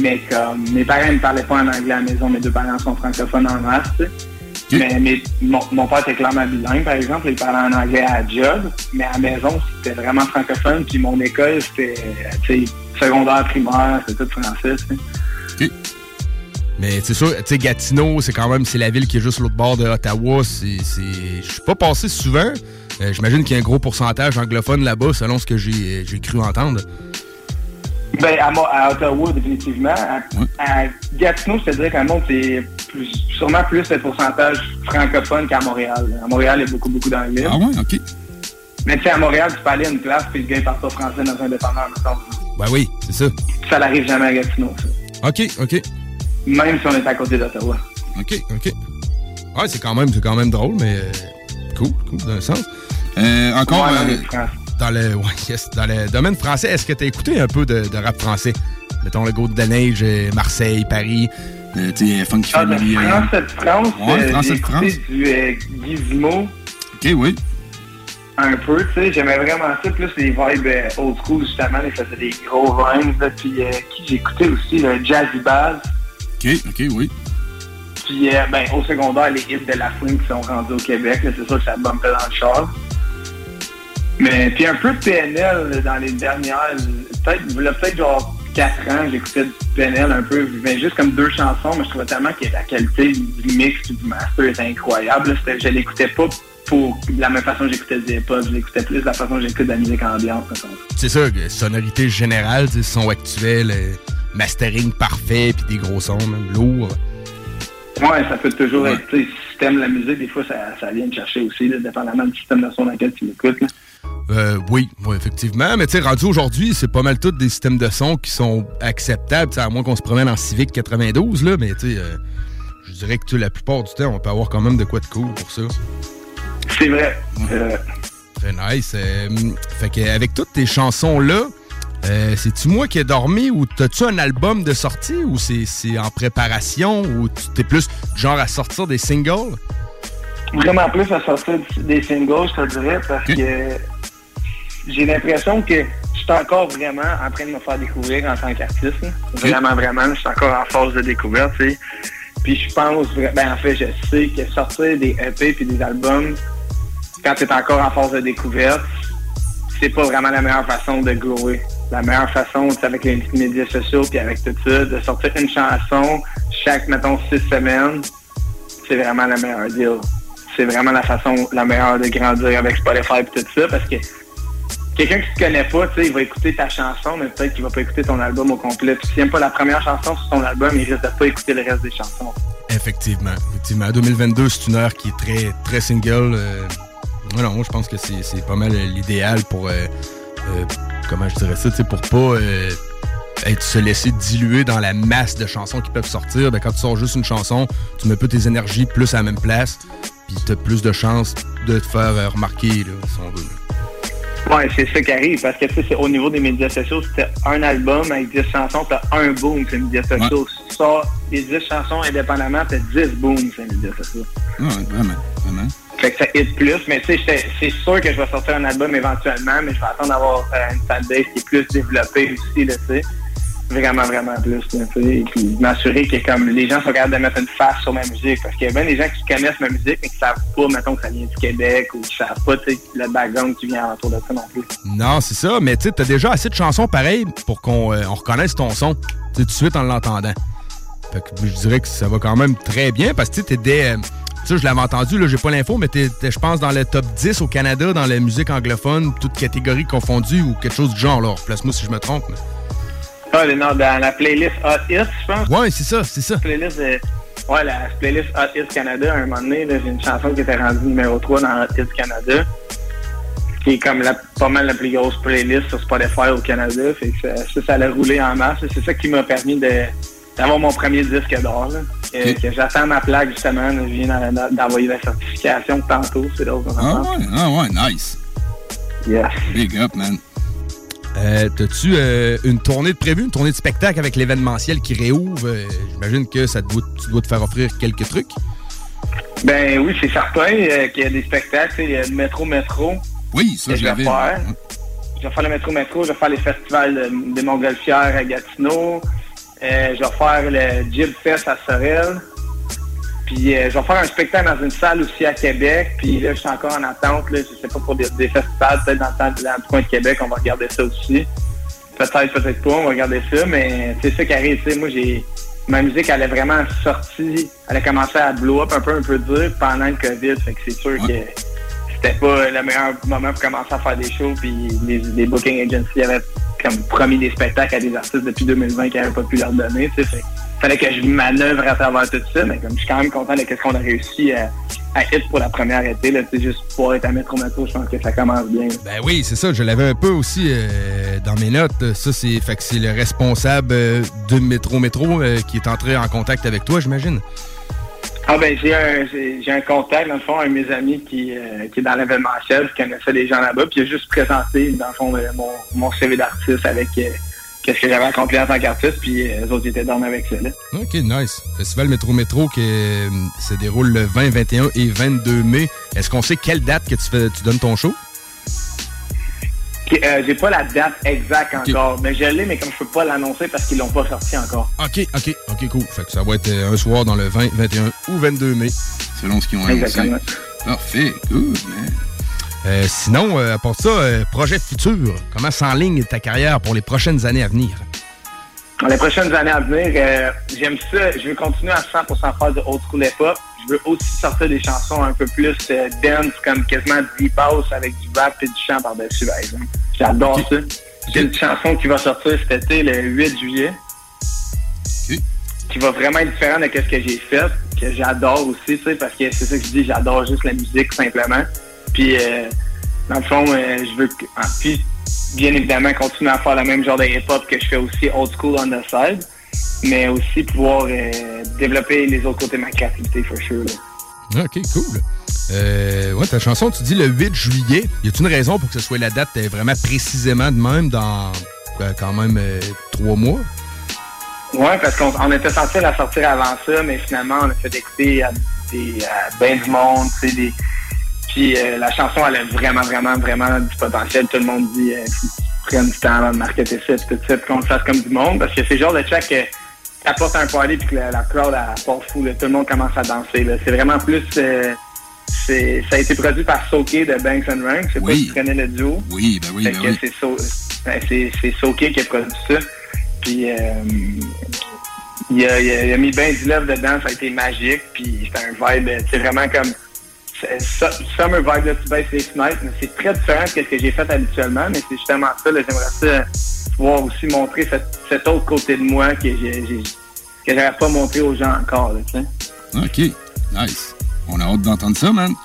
Mais comme mes parents ne parlaient pas en anglais à la maison, mes deux parents sont francophones en masse, tu sais. Okay. Mais, mais mon, mon père était clairement bilingue, par exemple, il parlait en anglais à la job, mais à la maison, c'était vraiment francophone, puis mon école, c'était, tu sais, secondaire, primaire, c'était tout français, tu sais. OK. Mais c'est sûr, tu sais, Gatineau, c'est quand même, c'est la ville qui est juste l'autre bord de Ottawa, c'est... c'est... Je suis pas passé souvent, euh, j'imagine qu'il y a un gros pourcentage anglophone là-bas, selon ce que j'ai, j'ai cru entendre. Ben, à, à Ottawa, définitivement. À, ouais. à Gatineau, je te dirais qu'à Mont, c'est plus, sûrement plus le pourcentage francophone qu'à Montréal. À Montréal, il y a beaucoup, beaucoup d'anglais. Ah ouais, OK. Mais tu sais, à Montréal, tu peux aller à une place puis le gars, il parle pas français dans un dépanneur, mettons. Ben oui, c'est ça. Ça n'arrive jamais à Gatineau, ça. OK, OK. Même si on est à côté d'Ottawa. OK, OK. Ouais, c'est quand même, c'est quand même drôle, mais euh, cool, cool, d'un sens. Euh, encore... Ouais, euh, Dans le, ouais, yes, dans le domaine français, est-ce que tu as écouté un peu de, de rap français? Mettons le Goutte de Neige, Marseille, Paris, euh, tu sais, Funky ah, Family. Euh, Français de France, ouais, euh, Français j'ai de France. écouté du euh, Gizmo. OK, oui. Un peu, tu sais, j'aimais vraiment ça, plus les vibes euh, old school, justement, ils faisaient des gros rhymes, là, puis euh, qui j'ai écouté aussi, le Jazzy Bass. OK, OK, oui. Puis, euh, ben, au secondaire, les hits de la fouine qui sont rendus au Québec, là, c'est sûr que ça bumpait dans le char. Mais puis un peu de P N L dans les dernières, peut-être, il y a peut-être genre quatre ans, j'écoutais du P N L un peu, mais juste comme deux chansons, mais je trouvais tellement que la qualité du mix du master était incroyable. C'était, je l'écoutais pas pour de la même façon que j'écoutais du hip-hop, je l'écoutais plus de la façon que j'écoute de la musique ambiante. C'est ça, sonorité générale, son actuel, mastering parfait, puis des gros sons, même lourds. Ouais, ça peut toujours ouais. être, tu sais, si t'aimes la musique, des fois, ça, ça vient te chercher aussi, là, dépendamment du système de son dans lequel tu l'écoutes. Là. Euh, oui, oui, effectivement. Mais tu sais, rendu aujourd'hui, c'est pas mal tous des systèmes de son qui sont acceptables, à moins qu'on se promène en Civic quatre-vingt-douze, là, mais tu sais, euh, je dirais que la plupart du temps, on peut avoir quand même de quoi de cool pour ça. C'est vrai. Euh... Très nice. Euh, fait qu'avec toutes tes chansons-là, euh, c'est-tu moi qui ai dormi ou t'as-tu un album de sortie ou c'est, c'est en préparation ou t'es plus genre à sortir des singles? Vraiment plus à sortir des singles, je te dirais, parce okay. que j'ai l'impression que je suis encore vraiment en train de me faire découvrir en tant qu'artiste. Okay. Vraiment, vraiment. Je suis encore en phase de découverte, tu sais. Puis je pense, ben en fait, je sais que sortir des E P puis des albums, quand tu es encore en phase de découverte, c'est pas vraiment la meilleure façon de grower. La meilleure façon, c'est avec les médias sociaux puis avec tout ça, de sortir une chanson chaque, mettons, six semaines, c'est vraiment la meilleure deal. C'est vraiment la façon la meilleure de grandir avec Spotify et tout ça, parce que quelqu'un qui te connaît pas, tu sais, il va écouter ta chanson, mais peut-être qu'il va pas écouter ton album au complet. Puis s'il n'aime pas la première chanson sur ton album, il risque de pas écouter le reste des chansons. Effectivement. Effectivement. deux mille vingt-deux, c'est une heure qui est très, très single. Euh, non, je pense que c'est, c'est pas mal l'idéal pour, euh, euh, comment je dirais ça, tu sais, pour pas euh, être, se laisser diluer dans la masse de chansons qui peuvent sortir. Ben, quand tu sors juste une chanson, tu mets peu tes énergies plus à la même place, puis tu as plus de chances de te faire euh, remarquer, là, si on veut. Ouais, c'est ça qui arrive, parce que tu sais, au niveau des médias sociaux, c'était un album avec dix chansons, t'as un boom sur les médias sociaux. Ouais. Si tu sors les dix chansons indépendamment, t'as dix booms sur les médias sociaux. Ouais, vraiment, vraiment. Fait que ça hit plus, mais tu sais, c'est sûr que je vais sortir un album éventuellement, mais je vais attendre d'avoir euh, une fanbase qui est plus développée aussi, là, tu sais. Vraiment, vraiment plus, tu sais. Et puis m'assurer que comme les gens sont capables de mettre une face sur ma musique, parce qu'il y a bien des gens qui connaissent ma musique, mais qui savent pas, mettons, que ça vient du Québec, ou qui savent pas, tu sais, le background qui vient autour de ça non plus. Non, c'est ça, mais tu sais, t'as déjà assez de chansons pareilles pour qu'on euh, on reconnaisse ton son, tu sais, tout de suite en l'entendant. Fait que je dirais que ça va quand même très bien, parce que tu sais, t'es des... Euh, tu sais, je l'avais entendu, là, j'ai pas l'info, mais t'es, t'es je pense, dans le top dix au Canada, dans la musique anglophone, toutes catégories confondues, ou quelque chose du genre, là. Place-moi si je me trompe, mais... Ah, non, dans la playlist Hot Hits, je pense. Ouais, c'est ça, c'est ça. Playlist de... Ouais, la playlist Hot Hits Canada, à un moment donné, là, j'ai une chanson qui était rendue numéro trois dans Hot Hits Canada, qui est comme la, pas mal la plus grosse playlist sur Spotify au Canada. Fait que ça, ça, ça allait rouler en masse. C'est ça qui m'a permis de, d'avoir mon premier disque d'or. Là, que, okay. que j'attends ma plaque, justement. Là, je viens d'envoyer la certification tantôt. C'est l'autre. Ah ouais, ah ouais, nice. Yeah. Big up, man. Euh, t'as-tu euh, une tournée de prévue, une tournée de spectacle avec l'événementiel qui réouvre? Euh, j'imagine que ça te doit, tu dois te faire offrir quelques trucs. Ben oui, c'est certain euh, qu'il y a des spectacles. Il y a le Métro Métro. Oui, ça, je l'avais. Je vais faire. Je vais faire le Métro Métro, je vais faire les festivals de, de Montgolfière à Gatineau. Euh, je vais faire le Jib Fest à Sorel. Puis euh, je vais faire un spectacle dans une salle aussi à Québec. Puis là, je suis encore en attente. Là, je sais pas pour des, des festivals, peut-être dans le, temps, dans le coin de Québec, on va regarder ça aussi. Peut-être, peut-être pas, on va regarder ça. Mais c'est ça qui arrive. T'sais, moi, j'ai ma musique, elle est vraiment sortie. Elle a commencé à blow up un peu, un peu dire pendant le COVID. Fait que c'est sûr que c'était pas le meilleur moment pour commencer à faire des shows. Puis les, les booking agencies avaient comme promis des spectacles à des artistes depuis deux mille vingt qui n'avaient pas pu leur donner. Fait fallait que je manœuvre à travers tout ça, mais comme je suis quand même content de ce qu'on a réussi à, à hit pour la première été, là, juste pour être à Métro Métro, je pense que ça commence bien. Ben oui, c'est ça, je l'avais un peu aussi euh, dans mes notes. Ça, c'est fait que c'est le responsable euh, de Métro Métro euh, qui est entré en contact avec toi, j'imagine. Ah ben j'ai un j'ai, j'ai un contact, dans le fond, un de mes amis qui, euh, qui est dans l'événementiel, qui connaissait des gens là-bas, puis il a juste présenté, dans le fond, euh, mon, mon C V d'artiste avec euh, qu'est-ce que j'avais accompli en tant qu'artiste, puis euh, les autres étaient dans avec ça, là. OK, nice. Festival Métro Métro qui euh, se déroule le vingt, vingt et un et vingt-deux mai. Est-ce qu'on sait quelle date que tu, fais, tu donnes ton show? Okay, euh, j'ai pas la date exacte encore, okay. Mais je l'ai, mais comme je peux pas l'annoncer parce qu'ils l'ont pas sorti encore. OK, OK, OK, cool. Fait que ça va être un soir dans le vingt, vingt et un ou vingt-deux mai. Selon ce qu'ils ont annoncé. Parfait, good, man. Euh, sinon, euh, à part ça, euh, projet futur, comment s'enligne ta carrière pour les prochaines années à venir? Pour les prochaines années à venir, euh, j'aime ça. Je veux continuer à cent pour cent faire de old school hip-hop. Je veux aussi sortir des chansons un peu plus euh, dance, comme quasiment deep house avec du rap et du chant par-dessus, par exemple. J'adore okay. ça. J'ai une chanson qui va sortir cet été, le huit juillet, okay. qui va vraiment être différente de ce que j'ai fait, que j'adore aussi, tu sais, parce que c'est ça que je dis, j'adore juste la musique, simplement. Puis, euh, dans le fond, euh, je veux... Ah, puis, bien évidemment, continuer à faire le même genre de hip-hop que je fais aussi old school on the side, mais aussi pouvoir euh, développer les autres côtés de ma créativité, for sure. Là. OK, cool. Euh, ouais, ta chanson, tu dis le huit juillet. Y a-t-il une raison pour que ce soit la date vraiment précisément de même dans quoi, quand même euh, trois mois? Ouais, parce qu'on on était censé la sortir avant ça, mais finalement, on a fait écouter à, des, à ben du monde, tu sais, des... Puis euh, la chanson, elle a vraiment, vraiment, vraiment du potentiel. Tout le monde dit euh, qu'il prenne du temps avant de marketer ça, tout ça, puis qu'on le fasse comme du monde. Parce que c'est le genre de track que t'apportes un party puis que la, la crowd, elle part fou. Là. Tout le monde commence à danser. Là. C'est vraiment plus... Euh, c'est, ça a été produit par Soké de Banks and Rank. Je sais oui. pas si tu connais le duo. Oui, ben oui, ben que oui. C'est, so, ben, c'est, c'est Soké qui a produit ça. Puis... Euh, il, a, il, a, il a mis ben du love dedans. Ça a été magique. Puis c'était un vibe... C'est vraiment comme... Summer Vibe, là, tu baisses les fenêtres, mais c'est très différent de ce que j'ai fait habituellement, mais c'est justement ça, là, j'aimerais ça pouvoir aussi montrer cette, cet autre côté de moi que j'ai, j'ai que j'aurais pas montré aux gens encore, là, tu sais. OK, nice. On a hâte d'entendre ça, man.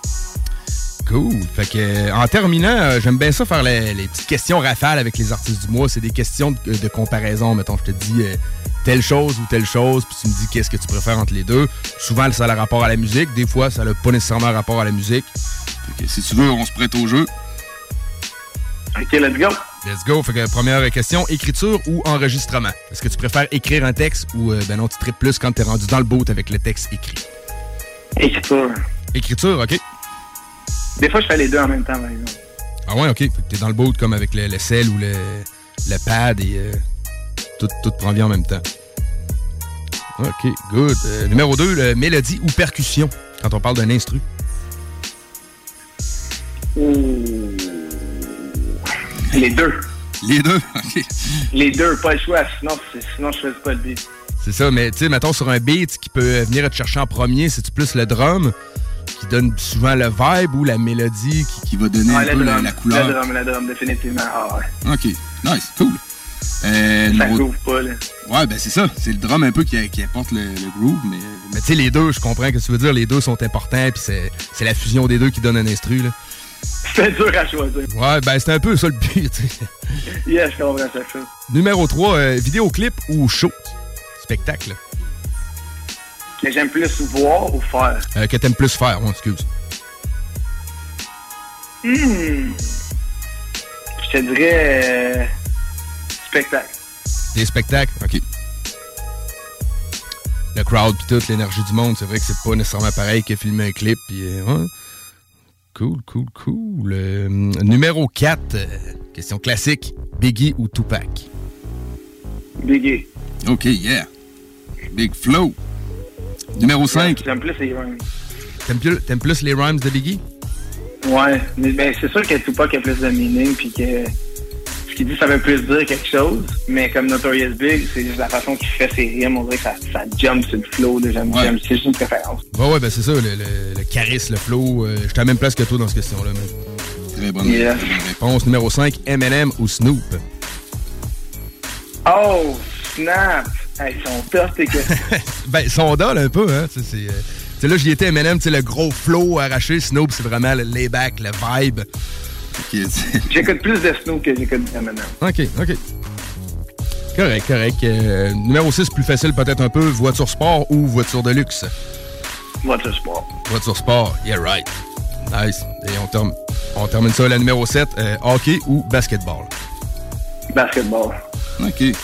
Cool. Fait que, euh, en terminant, euh, j'aime bien ça faire les, les petites questions rafales avec les artistes du mois. C'est des questions de, de comparaison. Mettons, je te dis euh, telle chose ou telle chose, puis tu me dis qu'est-ce que tu préfères entre les deux. Souvent, ça a le rapport à la musique. Des fois, ça n'a pas nécessairement rapport à la musique. Fait que, si tu veux, on se prête au jeu. OK, let's go. Let's go. Fait que, première question, écriture ou enregistrement? Est-ce que tu préfères écrire un texte ou, euh, ben non, tu tripes plus quand t'es rendu dans le boat avec le texte écrit? Écriture. Écriture, OK. Des fois, je fais les deux en même temps, par exemple. Ah ouais, OK. Fait que t'es dans le boat comme avec le, le sel ou le, le pad et euh, tout, tout prend bien en même temps. OK, good. Euh, numéro deux, le mélodie ou percussion, quand on parle d'un instru. Ouh. Les deux. Les deux? OK. Les deux, pas le choix, sinon, sinon je faisais pas le beat. C'est ça, mais tu sais, mettons sur un beat qui peut venir te chercher en premier, c'est-tu plus le drum qui donne souvent le vibe ou la mélodie qui, qui va donner ah, un peu drum, la, la couleur? Le drum, le drum, définitivement. Ah, ouais. OK, nice, cool. Euh, ça numéro... groove pas, là. Ouais, ben c'est ça. C'est le drum un peu qui, qui apporte le, le groove, mais... Mais tu sais, les deux, je comprends ce que tu veux dire. Les deux sont importants, puis c'est, c'est la fusion des deux qui donne un instru, là. C'est dur à choisir. Ouais, ben c'est un peu ça le but, tu sais. Yeah, je comprends ça. Numéro trois, euh, vidéoclip ou show? Spectacle. Que j'aime plus voir ou faire? Euh, que t'aimes plus faire, on excuse. Hmm. Je te dirais... Euh, spectacle. Des spectacles? OK. Le crowd pis toute l'énergie du monde, c'est vrai que c'est pas nécessairement pareil que filmer un clip pis... Euh, ouais. Cool, cool, cool. Euh, numéro quatre, euh, question classique. Biggie ou Tupac? Biggie. OK, yeah. Big Flow. Numéro cinq. J'aime plus les rhymes. T'aimes plus, t'aimes plus les rhymes de Biggie? Ouais, mais ben, c'est sûr que Tupac a plus de meaning, puis que ce qu'il dit, ça veut plus dire quelque chose, mais comme Notorious Big, c'est juste la façon qu'il fait ses rimes, on dirait que ça, ça jump sur le flow, là, j'aime, ouais. j'aime, c'est juste une préférence. Ouais, ouais, ben c'est ça, le, le, le charisme, le flow, euh, je suis à la même place que toi dans cette question-là. Mais... Très bonne, yeah. très bonne réponse. Numéro cinq, Eminem ou Snoop? Oh, snap! Hey, ils sont tough, tes questions. Ben, ils sont dol un peu, hein, tu sais, c'est... Euh... Tu sais, là, j'y étais Eminem, tu sais, le gros flow arraché. Snoop, c'est vraiment le layback, le vibe. Okay. J'écoute plus de Snoop que j'écoute d'Eminem. OK, OK. Correct, correct. Euh, numéro six, plus facile peut-être un peu. Voiture sport ou voiture de luxe? Voiture sport. Voiture sport, yeah, right. Nice. Et on, term- on termine ça à la numéro sept. Euh, hockey ou basketball? Basketball. OK. Nice.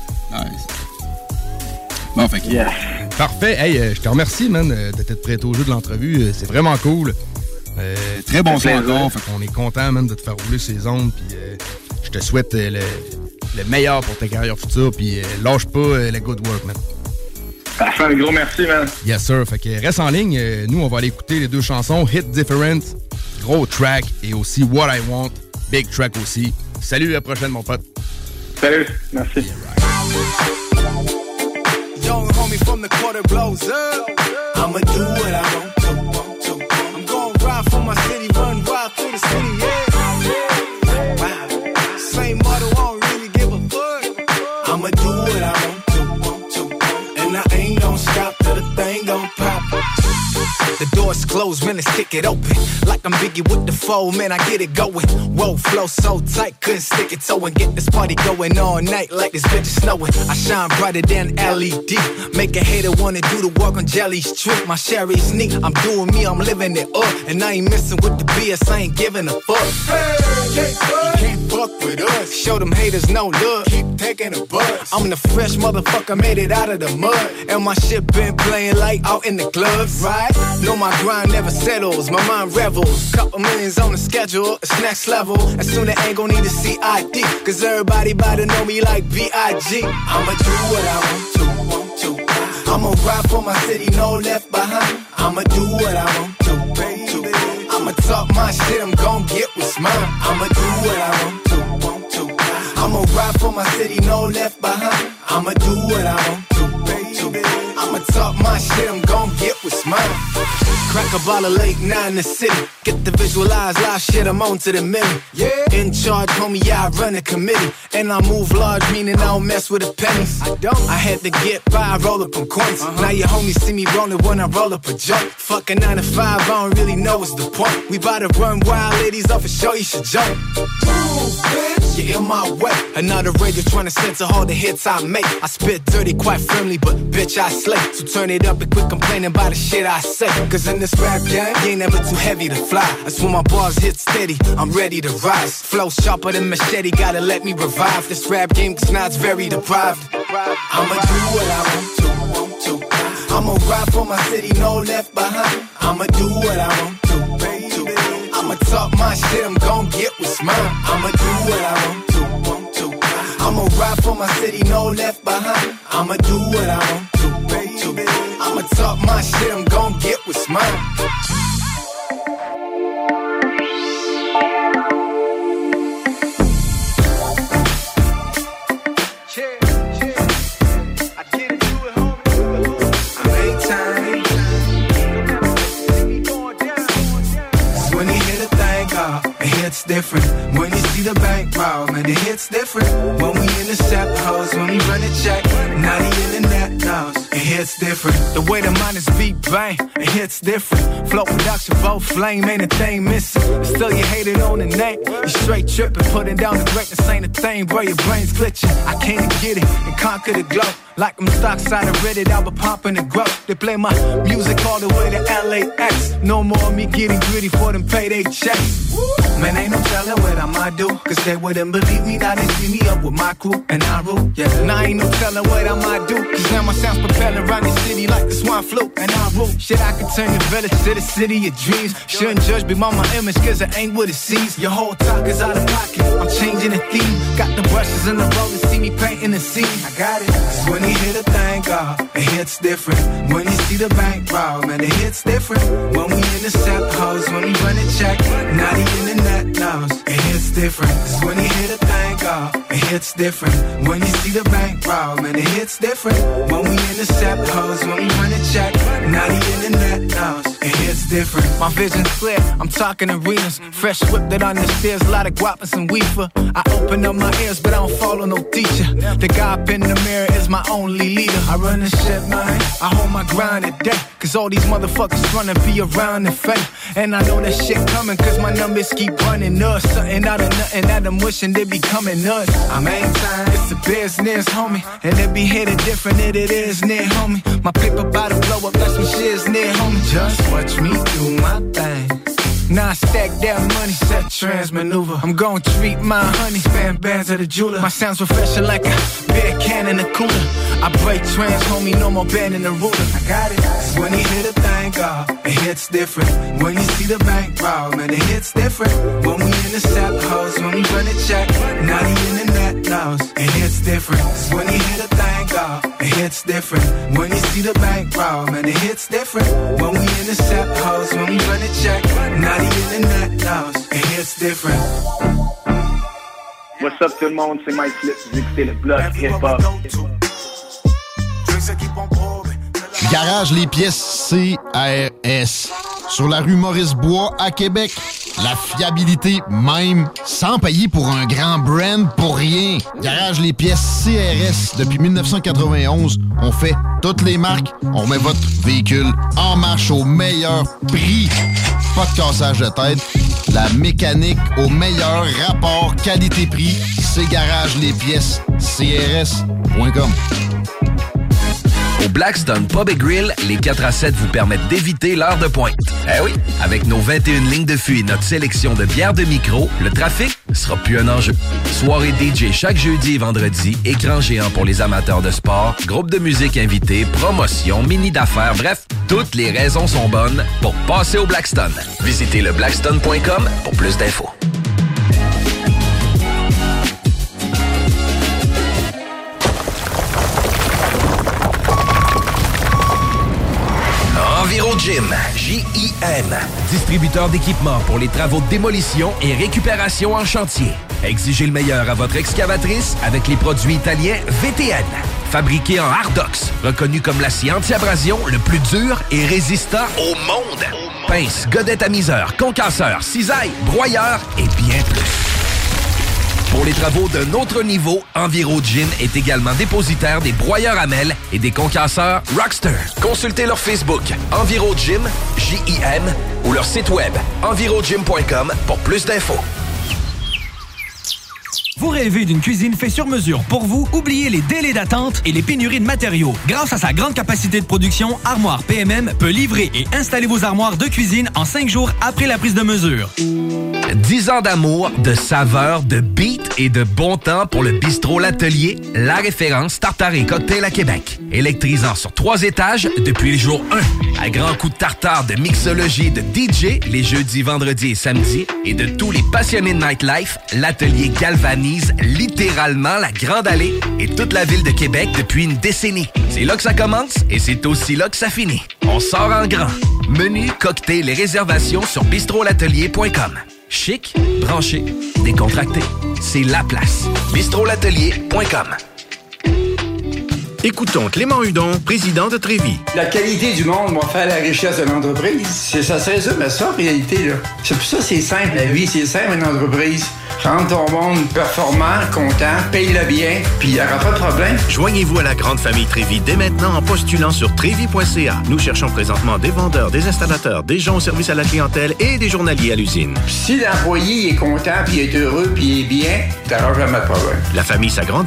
Bon, fait que... Yes. Parfait. Hey, euh, je te remercie, man, d'être prêt au jeu de l'entrevue. Euh, c'est vraiment cool. Euh, Très bon son encore. Fait qu'on est content, man, de te faire rouler ces ondes. Puis euh, je te souhaite euh, le, le meilleur pour ta carrière future. Puis euh, lâche pas euh, le good work, man. Parfait, un gros merci, man. Yes, sir. Fait que reste en ligne. Euh, nous, on va aller écouter les deux chansons. Hit Different, gros track. Et aussi What I Want, big track aussi. Salut, à la prochaine, mon pote. Salut, merci. Yeah, right. Young homie from the quarter blows up. I'ma do what I want to, want to. I'm gonna ride for my city, run wild through the city, yeah. Wow. Same motto, I don't really give a fuck. I'ma do what I want to, want to. And I ain't gonna stop till the thing gon' pop. The door's closed, man, let's kick it open. Like I'm Biggie with the foe, man, I get it going. Whoa, flow so tight, couldn't stick it toe and get this party going all night like this bitch is snowing. I shine brighter than L E D. Make a hater wanna do the work on Jelly's trick. My Sherry's neat, I'm doing me, I'm living it up. And I ain't messing with the B S, I ain't giving a fuck. Hey, you can't fuck with us. Show them haters no love, keep taking a buzz. I'm the fresh motherfucker, made it out of the mud. And my shit been playing like out in the clubs, right? No, my grind never settles, my mind revels. Couple millions on the schedule, it's next level. And soon they ain't gon' need a C I D, cause everybody bout to know me like B I G. I'ma do what I want to, want to. I'ma ride for my city, no left behind. I'ma do what I want to, baby. I'ma talk my shit, I'm gon' get what's mine. I'ma do what I want to, want to. I'ma ride for my city, no left behind. I'ma do what I want to, baby. I'ma talk my shit, I'm gon' get what's mine. Crack a bottle late night in the city. Get the visualize live shit, I'm on to the million. Yeah. In charge, homie, yeah, I run a committee. And I move large, meaning I don't mess with the pennies. I don't. I had to get by, roll up on coins. Uh-huh. Now your homies see me rolling when I roll up a joint. Fucking nine to five, I don't really know what's the point. We bout to run wild, ladies off a show, you should jump. Move, bitch. You're in my way. Another radio trying to censor all the hits I make. I spit dirty quite firmly, but bitch, I slay. So turn it up and quit complaining about the shit I say. Cause in this rap game, you ain't never too heavy to fly. That's when my bars hit steady, I'm ready to rise. Flow sharper than machete, gotta let me revive this rap game, cause now it's very deprived. I'ma do what I want to, want to. I'ma ride for my city, no left behind. I'ma do what I want to, baby. I'ma talk my shit, I'm gon' get what's mine. I'ma do what I want to, want to. I'ma ride for my city, no left behind. I'ma do what I want to, baby. I'ma talk my shit, I'm gon' get what's mine. It's different when you see the bank roll, man. The hits different when we intercept hoes, when we run a check. Now the internet knows it hits different. The way the miners beat bang, it hits different. Flow production, both flame, ain't a thing missing. Still you hate it on the name, you straight tripping, putting down the greatness ain't a thing, bro. Your brain's glitching. I came to get it and conquer the glow. Like I'm stock side of Reddit, I was pumping and grow. They play my music all the way to L A X. No more me getting gritty for them payday checks. Man, ain't no telling what I might do, cause they wouldn't believe me. Now they see me up with my crew and I rule. Yeah, now ain't no telling what I might do, cause now my sound's propelling around the city like the swine flu and I rule. Shit, I could turn the village to the city of dreams. Shouldn't judge me by my image, cause it ain't what it seems. Your whole talk is out of pocket. I'm changing the theme. Got the brushes and the rollers, see me painting the scene. I got it. Cause when you hear the thing go, it hits different. When you see the bank roll, man, it hits different. When we intercept hoes, when we run a check, now the internet knows it hits different. Cause when you hear the thing go, it hits different. When you see the bank roll, man, it hits different. When we intercept hoes, when we run a check, now the internet knows it hits different. My vision's clear, I'm talking arenas. Fresh whip that understeers, a lot of guap and some weefer. I open up my ears, but I don't follow no teacher. The guy up in the mirror is my only leader. I run the shit, man. I hold my grind today. Cause all these motherfuckers tryna be around the fake. And I know that shit coming, cause my numbers keep running up. Something out of nothing that I'm wishing they be coming up. I'm ain't time, it's a business, homie. And it be hitting different than it is near, homie. My paper about to blow up, that's some shit's near, homie. Just watch me do my thing. Now I stack that money, set trans maneuver. I'm gon' treat my honey, spam bands at the jeweler. My sound's refreshing like a beer can in a cooler. I break trans, homie, no more band in the ruler. I got it. Cause when you hear the thing go, it hits different. When you see the bank roll, man, it hits different. When we intercept hoes, when we run a check, now the internet knows it hits different. Cause when you hear the thing go, it hits different. When you see the bank roll, man, it hits different. When we intercept hoes, when we run a check, now the internet knows it hits different. What's up tout le monde, c'est Mike Flip, vous écoutez le Bloc Hip-Hop. Garage les pièces C R S. Sur la rue Maurice-Bois à Québec. La fiabilité même, sans payer pour un grand brand pour rien. Garage les pièces C R S. Depuis dix-neuf cent quatre-vingt-onze, on fait toutes les marques. On remet votre véhicule en marche au meilleur prix. Pas de cassage de tête. La mécanique au meilleur rapport qualité-prix. C'est Garage les pièces C R S point com. Au Blackstone Pub et Grill, les quatre à sept vous permettent d'éviter l'heure de pointe. Eh oui! Avec nos vingt et une lignes de fût et notre sélection de bières de micro, le trafic sera plus un enjeu. Soirée D J chaque jeudi et vendredi, écran géant pour les amateurs de sport, groupe de musique invité, promotion, mini d'affaires, bref, toutes les raisons sont bonnes pour passer au Blackstone. Visitez le blackstone point com pour plus d'infos. EnviroGym, J I M, distributeur d'équipements pour les travaux de démolition et récupération en chantier. Exigez le meilleur à votre excavatrice avec les produits italiens V T N. Fabriqué en Hardox, reconnu comme l'acier anti-abrasion le plus dur et résistant au monde. Pince, godette amiseur, concasseur, cisaille, broyeur et bien plus. Pour les travaux d'un autre niveau, EnviroGym est également dépositaire des broyeurs à mêles et des concasseurs Rockster. Consultez leur Facebook EnviroGym, J I M, ou leur site web envirogym point com pour plus d'infos. Vous rêvez d'une cuisine faite sur mesure pour vous? Oubliez les délais d'attente et les pénuries de matériaux. Grâce à sa grande capacité de production, Armoire P M M peut livrer et installer vos armoires de cuisine en cinq jours après la prise de mesure. dix ans d'amour, de saveur, de beat et de bon temps pour le bistrot L'Atelier, la référence tartare et cocktail à Québec. Électrisant sur trois étages depuis le jour un. À grands coups de tartare, de mixologie, de D J, les jeudis, vendredis et samedis, et de tous les passionnés de nightlife, L'Atelier galvanise littéralement la Grande Allée et toute la ville de Québec depuis une décennie. C'est là que ça commence et c'est aussi là que ça finit. On sort en grand. Menu, cocktail et réservations sur bistrot l'atelier point com. Chic, branché, décontracté. C'est la place. bistrot l'atelier point com. Écoutons Clément Hudon, président de Trévis. La qualité du monde va faire la richesse de l'entreprise. C'est ça, c'est ça, mais ça, en réalité, là. C'est pour ça que c'est simple, la vie, c'est simple, une entreprise. Rendre ton monde performant, content, paye-le bien, puis il n'y aura pas de problème. Joignez-vous à la grande famille Trévis dès maintenant en postulant sur trévis point c a. Nous cherchons présentement des vendeurs, des installateurs, des gens au service à la clientèle et des journaliers à l'usine. Si l'employé est content, puis est heureux, puis est bien, t'auras jamais de problème. La famille s'agrandit.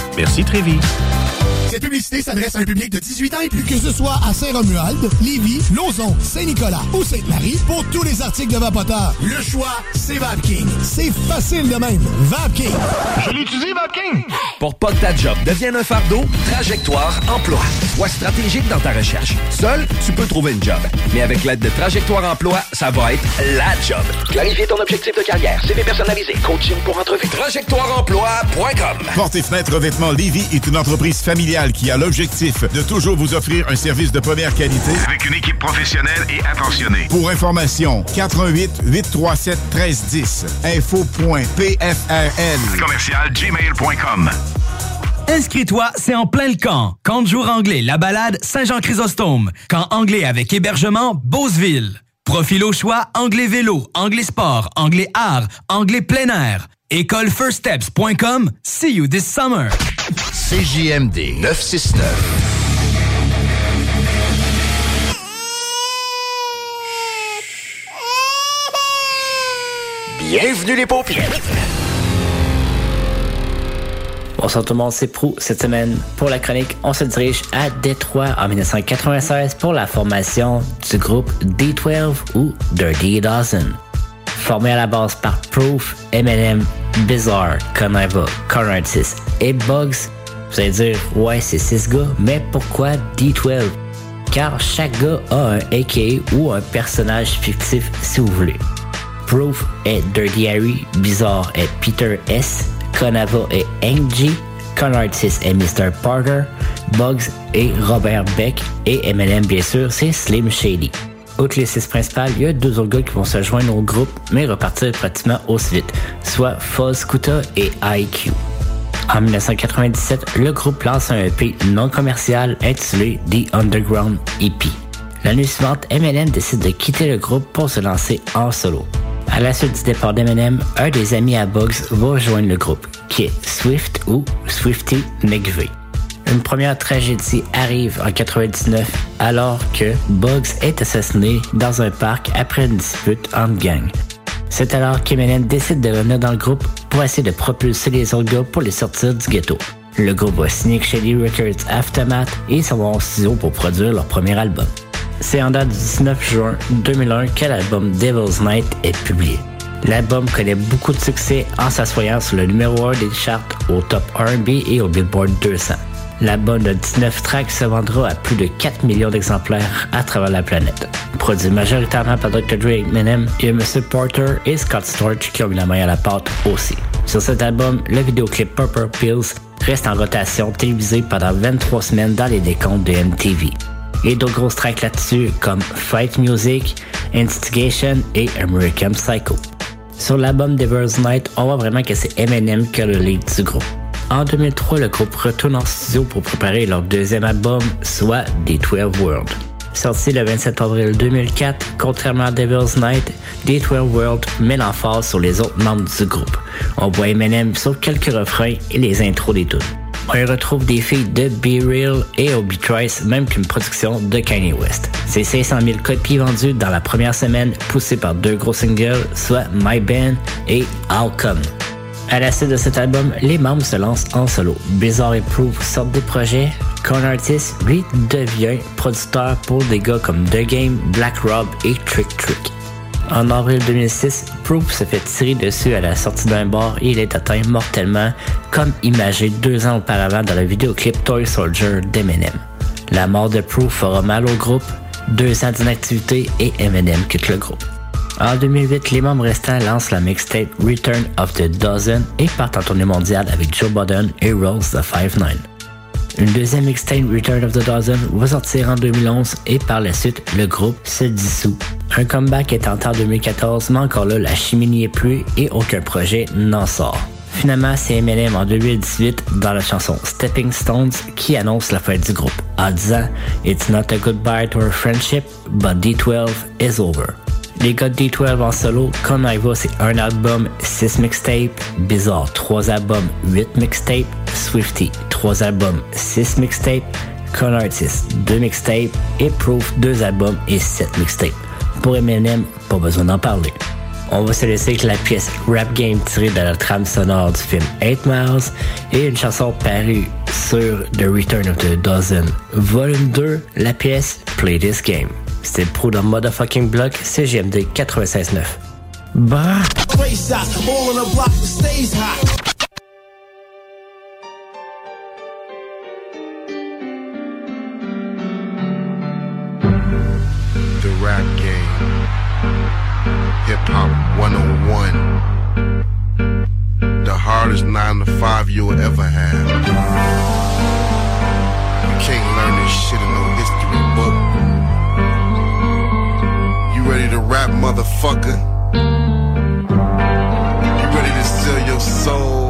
Merci Trévi. Cette publicité s'adresse à un public de dix-huit ans et plus. Que ce soit à Saint-Romuald, Lévis, Lauson, Saint-Nicolas ou Sainte-Marie, pour tous les articles de Vapoteur, le choix, c'est VapKing. C'est facile de même. VapKing. Je l'utilise, VapKing! Pour pas que ta job devienne un fardeau, Trajectoire Emploi. Sois stratégique dans ta recherche. Seul, tu peux trouver une job. Mais avec l'aide de Trajectoire Emploi, ça va être la job. Clarifier ton objectif de carrière, C V personnalisé, coaching pour entrevue. trajectoire emploi point com. Portes et Fenêtres Revêtements Lévis est une entreprise familiale qui a l'objectif de toujours vous offrir un service de première qualité Avec une équipe professionnelle et attentionnée. Pour information, quatre un huit, huit trois sept, un trois un zéro. info point p f r l Commercial gmail point com. Inscris-toi, c'est en plein le camp. Camp de jour anglais, La Balade, Saint-Jean-Chrysostome. Camp anglais avec hébergement, Beauceville. Profil au choix, anglais vélo, anglais sport, anglais art, anglais plein air. école first steps point com. See you this summer. C J M D neuf cent soixante-neuf. Bienvenue les paupières. Bonsoir tout le monde, c'est Prou. Cette semaine, pour la chronique, on se dirige à Détroit en dix-neuf quatre-vingt-seize pour la formation du groupe D douze ou Dirty Dozen. Formé à la base par Proof, Eminem, Bizarre, Conniva, Cornartis et Bugs, vous allez dire, ouais, c'est six gars, mais pourquoi D douze? Car chaque gars a un A K A ou un personnage fictif si vous voulez. Proof est Dirty Harry, Bizarre est Peter S, Conniva est Hank G, Conartis est mister Parker, Bugs est Robert Beck et Eminem bien sûr c'est Slim Shady. Outre les six principales, il y a deux autres gars qui vont se joindre au groupe mais repartir pratiquement aussi vite, soit Fuzz Kuta et I Q. En dix-neuf quatre-vingt-dix-sept, le groupe lance un E P non commercial intitulé The Underground E P. L'année suivante, Eminem décide de quitter le groupe pour se lancer en solo. À la suite du départ d'Eminem, un des amis à Bugs va rejoindre le groupe, qui est Swift ou Swifty McVeigh. Une première tragédie arrive en quatre-vingt-dix-neuf alors que Bugs est assassiné dans un parc après une dispute entre gangs. C'est alors qu'Eminem décide de revenir dans le groupe pour essayer de propulser les autres gars pour les sortir du ghetto. Le groupe va signer Shady Records Aftermath et s'en va en studio pour produire leur premier album. C'est en date du dix-neuf juin deux mille un que l'album Devil's Night est publié. L'album connaît beaucoup de succès en s'assoyant sur le numéro un des charts au top R and B et au Billboard deux cents. L'album de dix-neuf tracks se vendra à plus de quatre millions d'exemplaires à travers la planète. Produit majoritairement par docteur Dre et Eminem, il y a M. Porter et Scott Storch qui ont mis la main à la pâte aussi. Sur cet album, le vidéoclip Purple Pills reste en rotation télévisée pendant vingt-trois semaines dans les décomptes de M T V. Et d'autres grosses tracks là-dessus comme Fight Music, Instigation et American Psycho. Sur l'album Devil's Night, on voit vraiment que c'est Eminem qui a le lead du groupe. En deux mille trois, le groupe retourne en studio pour préparer leur deuxième album, soit D douze World. Sorti le vingt-sept avril deux mille quatre, contrairement à Devil's Night, D douze World met l'emphase sur les autres membres du groupe. On voit Eminem sur quelques refrains et les intros des tunes. On y retrouve des filles de Be Real et Obi Trice, même qu'une production de Kanye West. C'est cinq cent mille copies vendues dans la première semaine, poussées par deux gros singles, soit My Band et I'll Come. À la suite de cet album, les membres se lancent en solo. Bizarre et Proof sortent des projets. Cornartis, lui, devient producteur pour des gars comme The Game, Black Rob et Trick Trick. En avril deux mille six, Proof se fait tirer dessus à la sortie d'un bar et il est atteint mortellement, comme imagé deux ans auparavant dans le vidéoclip Toy Soldier d'Eminem. La mort de Proof fera mal au groupe, deux ans d'inactivité et Eminem quitte le groupe. En deux mille huit, les membres restants lancent la mixtape Return of the Dozen et partent en tournée mondiale avec Joe Budden et Rolls the five nine. Une deuxième mixtape Return of the Dozen va sortir en deux mille onze et par la suite, le groupe se dissout. Un comeback est tenté en deux mille quatorze, mais encore là, la chimie n'y est plus et aucun projet n'en sort. Finalement, c'est Eminem en deux mille dix-huit dans la chanson Stepping Stones qui annonce la fin du groupe en disant « It's not a goodbye to our friendship, but D douze is over ». Les gars de D douze en solo, Conniva c'est un album, six mixtapes, Bizarre trois albums, huit mixtapes, Swifty trois albums, six mixtapes, Conartis deux mixtapes et Proof deux albums et sept mixtapes. Pour Eminem, pas besoin d'en parler. on va se laisser avec la pièce Rap Game tirée de la trame sonore du film eight miles et une chanson parue sur The Return of the Dozen Volume deux, la pièce Play This Game. C'était Pro dans Motherfucking Block, C G M D quatre-vingt-seize neuf. Bah! The rap game, hip hop one oh one, the hardest nine to five you'll ever have. You can't learn this shit in no history book. You ready to rap, motherfucker? You ready to sell your soul?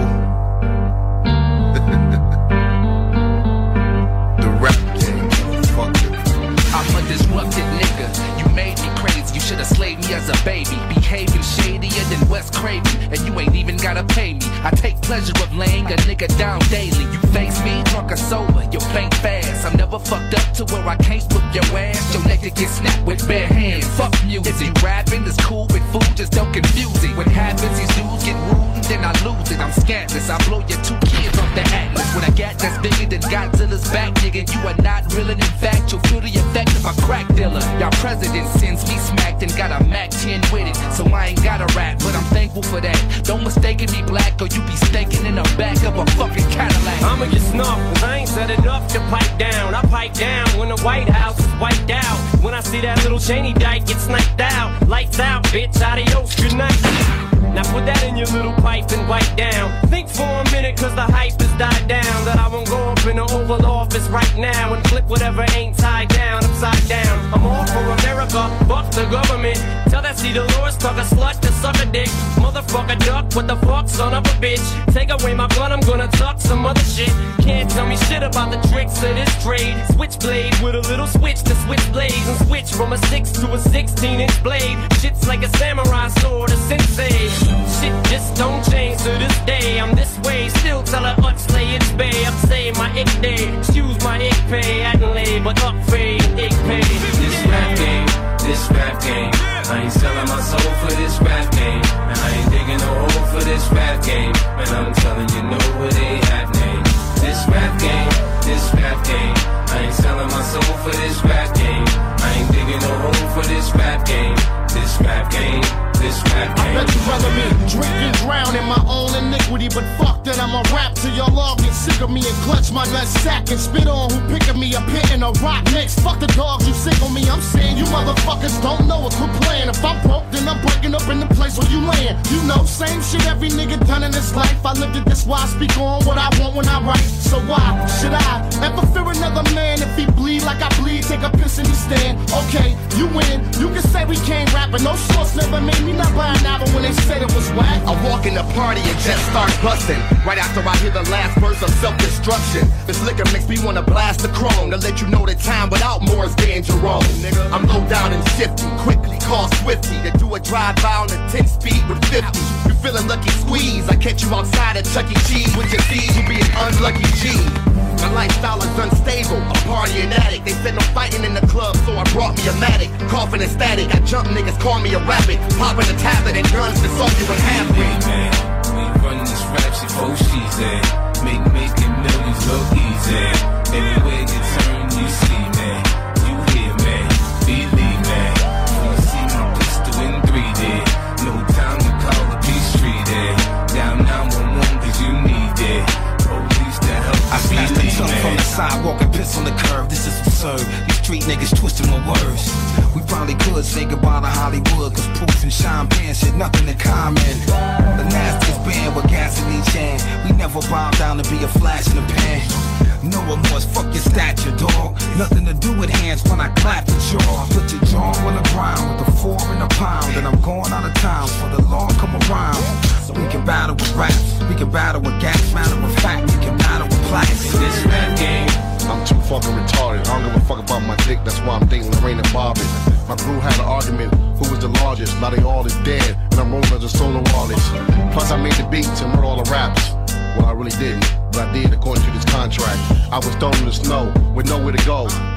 The rap game, motherfucker. I'm a disrupted nigga. You made me crazy. You should've slaved me as a baby. Behaving shadier than Wes Craven, and you ain't even gotta pay me. I take pleasure of laying a nigga down daily. You face me, drunk or sober, you faint fast. I'm never fucked up to where I can't whip your ass. Your neck to get snapped with bare hands. Fuck music. Is you rapping? It's cool with food, just don't confuse it. What happens, these dudes get rude and then I lose it. I'm scantless, I blow your two kids off the atlas. When I got that's bigger than Godzilla's back, nigga, you are not real, and in fact, you'll feel the effect of a crack dealer. Y'all president sends me smacked and got a Mac ten with it, so I ain't gotta rap, but I'm thankful for that. Don't mistake me black or you be staking in the back of a fucking Cadillac. I'ma get snuffed, cause I ain't said enough to pipe down. I pipe down when the White House is wiped out. When I see that little Cheney dyke get sniped out. Lights out, bitch, adios, good night. Now put that in your little pipe and wipe down. Think for a minute cause the hype has died down. That I won't go up in the Oval Office right now and flip whatever ain't tied down upside down. I'm all for America, fuck the government. Tell that see Dolores tuck a slut to suck a dick. Motherfucker duck, what the fuck, son of a bitch. Take away my gun, I'm gonna tuck some other shit. Can't tell me shit about the tricks of this trade. Switchblade with a little switch to switch blades. And switch from a six to a sixteen inch blade. Shit's like a samurai sword, a sensei. Shit just don't change to this day. I'm this way, still tell her Utsley it's bay. Up say my ick day, excuse my ick pay. Adelaide, but up fade, ick pay. This rap game, this rap game. I ain't selling my soul for this rap game. And I ain't digging a hole for this rap game. And I'm telling you, no, it ain't happening. This rap game, this rap game. I ain't selling my soul for this rap game. I ain't digging a hole for this rap game. This rap game. This rap game. I bet you rather me drink and drown in my own iniquity, but fuck that, I'ma rap till y'all all get sick of me and clutch my nut sack and spit on who picking me a pit in a rock mix. Fuck the dogs, you sick on me, I'm saying you motherfuckers don't know it, quit playing. If I'm broke, then I'm breaking up in the place where you land. You know, same shit every nigga done in this life. I lived it, this why I speak on what I want when I write. So why should I ever fear another man if he bleed like I bleed? Take a piss in his stand. Okay, you win. You can say we can't rap, but no source never made me not buy an album when they said it was whack. I walk in the party and just start busting. Right after I hear the last verse of self-destruction. This liquor makes me wanna blast the chrome to let you know that time without more is getting Jerome. Nigga, I'm low down and shifty, quickly call Swifty to do a drive-by on a ten speed with fifty. You feeling lucky squeeze? I catch you outside at Chuck E. Cheese with your D's. You be an unlucky G. My lifestyle is unstable, a party and addict. They said no fighting in the club, so I brought me a Matic. Coughing and static, I jump niggas, call me a rabbit. Popping a tablet and guns, that's all you would have. Hey man, we running this rap shit for she's at. Make making millions look easy. Everywhere you turn, you see man. You hear man, believe man. When you see my pistol in three D, no time to call the peace street there. Down nine one one cause you need it. Police to help. I snatched the tongue from the sidewalk and piss on the curb. This is absurd. These street niggas twisting my words. We probably could say goodbye to Hollywood, cause Proof and Sean Penn said nothing in common. The nastiest band with gas in each hand. We never bow down to be a flash in the pan. No remorse, fuck your stature, dog. Nothing to do with hands when I clap the jaw. Put your jaw on the ground with a four and a pound. And I'm going out of town for the law come around. So we can battle with raps, we can battle with gas, matter of fact, we can battle with plastic. This rap game. I'm too fucking retarded. I don't give a fuck about my dick, that's why I'm dating Lorraine and Bobby. My crew had an argument, who was the largest? Now they all is dead, and I'm rolling as a solo artist. Plus I made the beats and wrote all the raps. Well, I really didn't, but I did according to this contract. I was thrown in the snow with nowhere to go.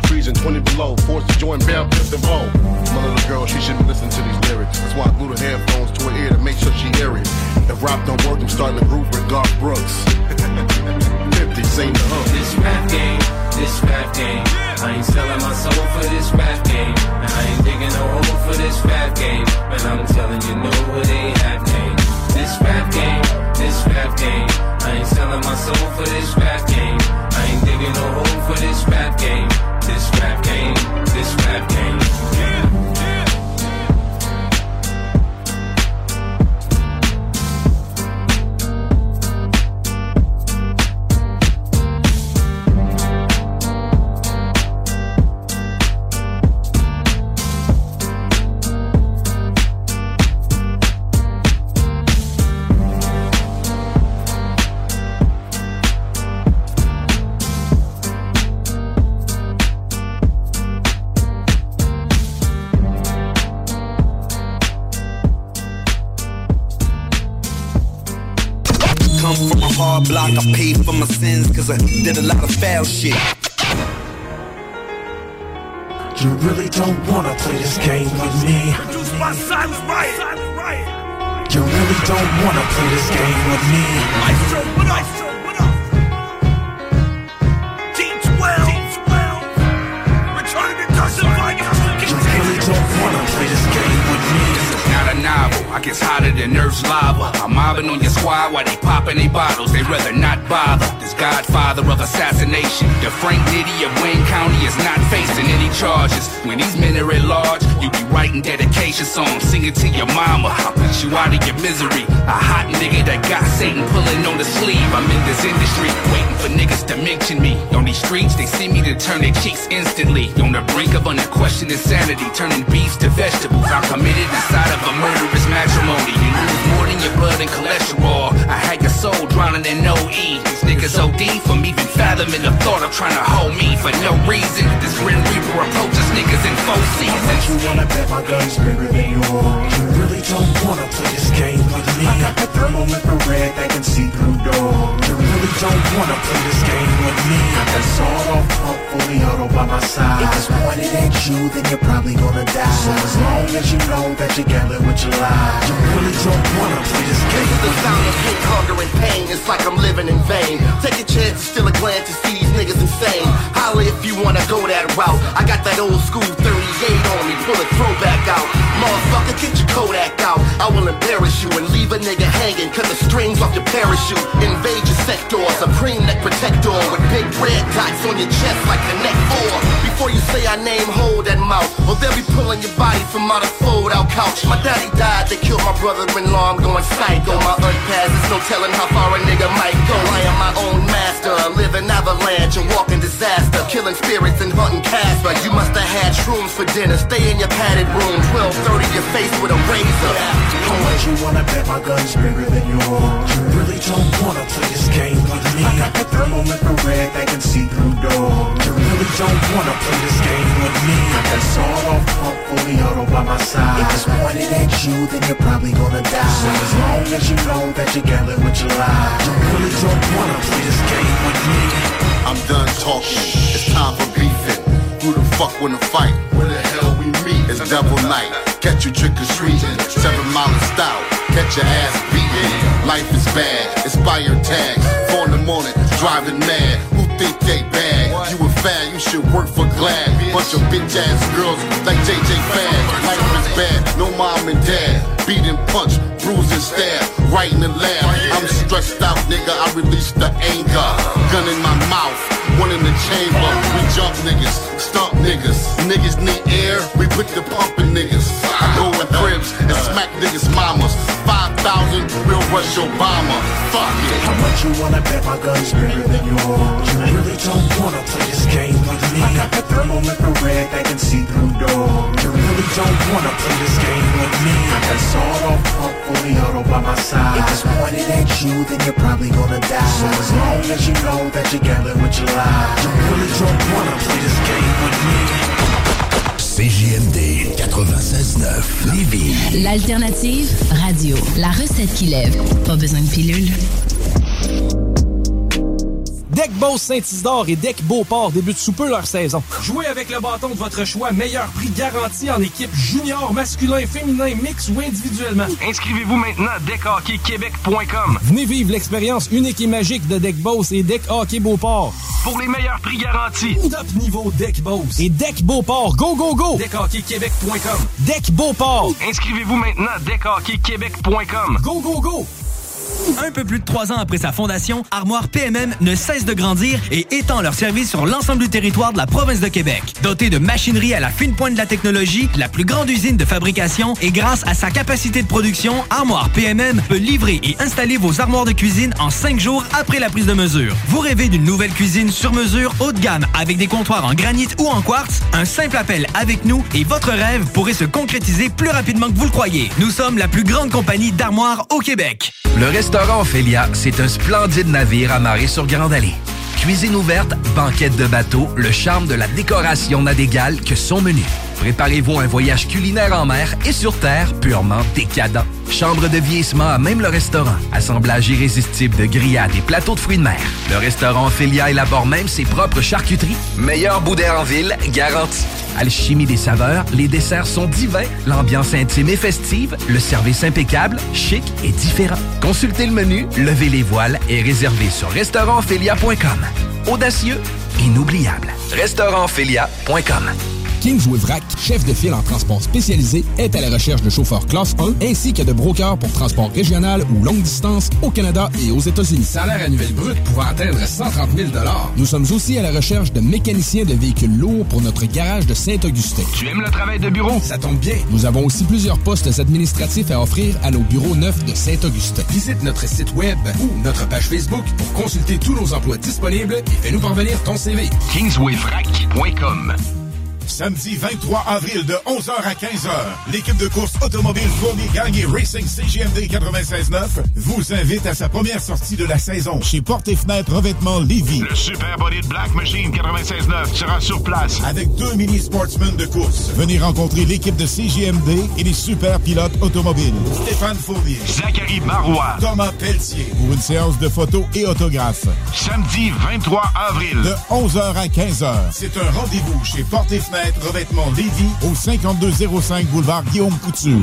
freezing twenty below, forced to join Bell Pips and Vogue. My little girl, she shouldn't listen to these lyrics. That's why I glued her headphones to her ear to make sure she hear it. If rap don't work, I'm starting a group with Garth Brooks. fifty, sing the hook. This rap game, this rap game. I ain't selling my soul for this rap game. And I ain't digging no hole for this rap game. And I'm telling you, no, it ain't happening. This rap game, this rap game. I ain't selling my soul for this rap game. I ain't digging no hole for this rap game. This rap game, this rap game. Yeah. Block, I paid for my sins cause I did a lot of foul shit. You really don't wanna play this game with me. Produced by Silent Riot. You really don't wanna play this game with me. Maestro, what up? What up? Team twelve. Team twelve. Return to Dustin Vikings. You really don't wanna play this game with me. Not a novel, I guess hotter than Earth's lava. I'm mobbing on your squad while they popping they bottles. They rather not bother. This godfather of assassination, the Frank Nitty of Wayne County, is not facing any charges. When these men are at large, you be writing dedication songs, singing to your mama. I'll put you out of your misery. A hot nigga that got Satan pulling on the sleeve. I'm in this industry, waiting for niggas to mention me. On these streets, they see me to turn their cheeks instantly. On the brink of unquestioned insanity, turning beefs to vegetables. I'm committed inside of a murderous matrimony. You lose more than your blood and cholesterol. I had your soul drowning in no E. These niggas O D from even fathoming the thought of trying to hold me for no reason. This Grim Reaper approaches niggas in four seasons. You wanna bet my gun's bigger than yours. You really don't wanna play this game with me. I got the thermal infrared that can see through doors. You really don't wanna play this game with me. I got sawed off pump fully auto by my side. If it's pointed at you, then you're probably gonna die. So as long as you know that you're gambling with your life, you really don't wanna play this game with me. The sound of hate, hunger, and pain. It's like I'm living in vain. Take a chance to steal a glance to see these niggas insane. Holla if you wanna go that route. I got that old school thirty-eight on me. Pull a throwback out. Motherfucker, get your Kodak out. I will embarrass you and leave a nigga hanging. Cut the strings off your parachute. Invade your sector. Supreme neck protector with big red dots on your chest like the neck four. Before you say our name, hold that mouth, or they'll be pulling your body from out a fold-out couch. My daddy died, they killed my brother-in-law. I'm going psycho. My unpassed, there's no telling how far a nigga might go. I am my own master, a living avalanche, a walking disaster, killing spirits and hunting Casper. You must have had shrooms for dinner. Stay in your padded room. twelve thirty, your face with a razor. How much you wanna bet my gun's bigger than yours? You really don't wanna play this game with me. I got the thermal infrared that can see through doors. You really don't wanna play this game with me. I got sawed off pump fully auto by my side. If it's pointed at you, then you're probably gonna die. So as long as you know that you're gambling with your life, you really don't wanna play this game with me. I'm done talking, it's time for beefing. Who the fuck wanna fight? Where the hell we meet? It's double night, catch you trick or treating. Seven mile style, catch your ass beating. Life is bad, expired tags. Four in the morning, driving mad. Who think they bad? You a fan, you should work for Glad. Bunch of bitch ass girls like J J Fad. Life is bad, no mom and dad. Beat and punch, bruise and stab, right in the lab. I'm stressed out, nigga, I release the anger. Gun in my mouth, one in the chamber. We jump niggas, stump niggas. Niggas need air, we put the pump in niggas. I go in cribs and smack niggas' mamas. Five thousand, we'll rush Obama. Fuck it. How much you wanna bet my gun's bigger than yours? You really don't wanna play this game with me. I got the thermal infrared that can see through doors. You really don't wanna play this game with me. I got sawed off pump fully auto by my side. If it's pointed at you, then you're probably gonna die. So as long as you know that you're gambling with your life, you really don't wanna play this game with me. C J M D quatre-vingt-seize neuf Lévis. L'alternative radio. La recette qui lève. Pas besoin de pilule. Deck Boss Saint-Isidore et Deck Beauport débutent sous peu leur saison. Jouez avec le bâton de votre choix, meilleur prix garanti en équipe junior, masculin, féminin, mix ou individuellement. Inscrivez-vous maintenant à deck hockey québec point com. Venez vivre l'expérience unique et magique de Deck Boss et Deck Hockey Beauport. Pour les meilleurs prix garantis. Top niveau Deck Boss et Deck Beauport. Go, go, go! deck hockey québec point com. Deck Beauport. Inscrivez-vous maintenant à deck hockey québec point com. Go, go, go! Un peu plus de trois ans après sa fondation, Armoire P M M ne cesse de grandir et étend leur service sur l'ensemble du territoire de la province de Québec. Dotée de machinerie à la fine pointe de la technologie, la plus grande usine de fabrication et grâce à sa capacité de production, Armoire P M M peut livrer et installer vos armoires de cuisine en cinq jours après la prise de mesure. Vous rêvez d'une nouvelle cuisine sur mesure haut de gamme avec des comptoirs en granit ou en quartz? Un simple appel avec nous et votre rêve pourrait se concrétiser plus rapidement que vous le croyez. Nous sommes la plus grande compagnie d'armoires au Québec. Le restaurant Ophélia, c'est un splendide navire amarré sur Grande Allée. Cuisine ouverte, banquette de bateau, le charme de la décoration n'a d'égal que son menu. Préparez-vous un voyage culinaire en mer et sur terre purement décadent. Chambre de vieillissement à même le restaurant. Assemblage irrésistible de grillades et plateaux de fruits de mer. Le restaurant Ophélia élabore même ses propres charcuteries. Meilleur boudin en ville, garanti. Alchimie des saveurs, les desserts sont divins, l'ambiance intime et festive, le service impeccable, chic et différent. Consultez le menu, levez les voiles et réservez sur restaurant ophélia point com. Audacieux, inoubliable. restaurant ophélia point com. Kingsway Vrac, chef de file en transport spécialisé, est à la recherche de chauffeurs classe un ainsi que de brokers pour transport régional ou longue distance au Canada et aux États-Unis. Salaire annuel brut pouvant atteindre cent trente mille dollars. Nous sommes aussi à la recherche de mécaniciens de véhicules lourds pour notre garage de Saint-Augustin. Tu aimes le travail de bureau? Ça tombe bien. Nous avons aussi plusieurs postes administratifs à offrir à nos bureaux neufs de Saint-Augustin. Visite notre site web ou notre page Facebook pour consulter tous nos emplois disponibles et fais-nous parvenir ton C V. kingsway vrac point com. Samedi vingt-trois avril de onze heures à quinze heures, l'équipe de course automobile Fournier Gagné Racing C G M D quatre-vingt-seize neuf vous invite à sa première sortie de la saison chez Portes et Fenêtres Revêtement Lévis. Le Super Body de Black Machine quatre-vingt-seize neuf sera sur place avec deux mini sportsmen de course. Venez rencontrer l'équipe de C G M D et les super pilotes automobiles. Stéphane Fournier, Zachary Marois, Thomas Pelletier pour une séance de photos et autographes. Samedi vingt-trois avril de onze heures à quinze heures. C'est un rendez-vous chez Portes et Fenêtres Revêtement Lévis au cinquante-deux zéro cinq boulevard Guillaume Couture.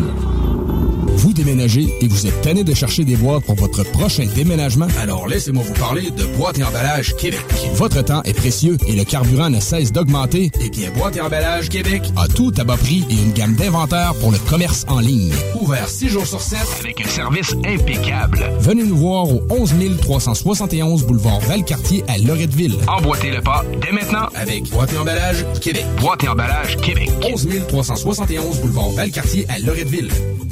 Vous déménagez et vous êtes tanné de chercher des boîtes pour votre prochain déménagement? Alors laissez-moi vous parler de Boîte et Emballage Québec. Votre temps est précieux et le carburant ne cesse d'augmenter. Eh bien, Boîte et Emballage Québec a tout à bas prix et une gamme d'inventaires pour le commerce en ligne. Ouvert six jours sur sept avec un service impeccable. Venez nous voir au onze mille trois cent soixante et onze boulevard Valcartier à Loretteville. Emboîtez le pas dès maintenant avec Boîte et Emballage Québec. Boîte et Emballage Québec. onze mille trois cent soixante et onze boulevard Valcartier à Loretteville.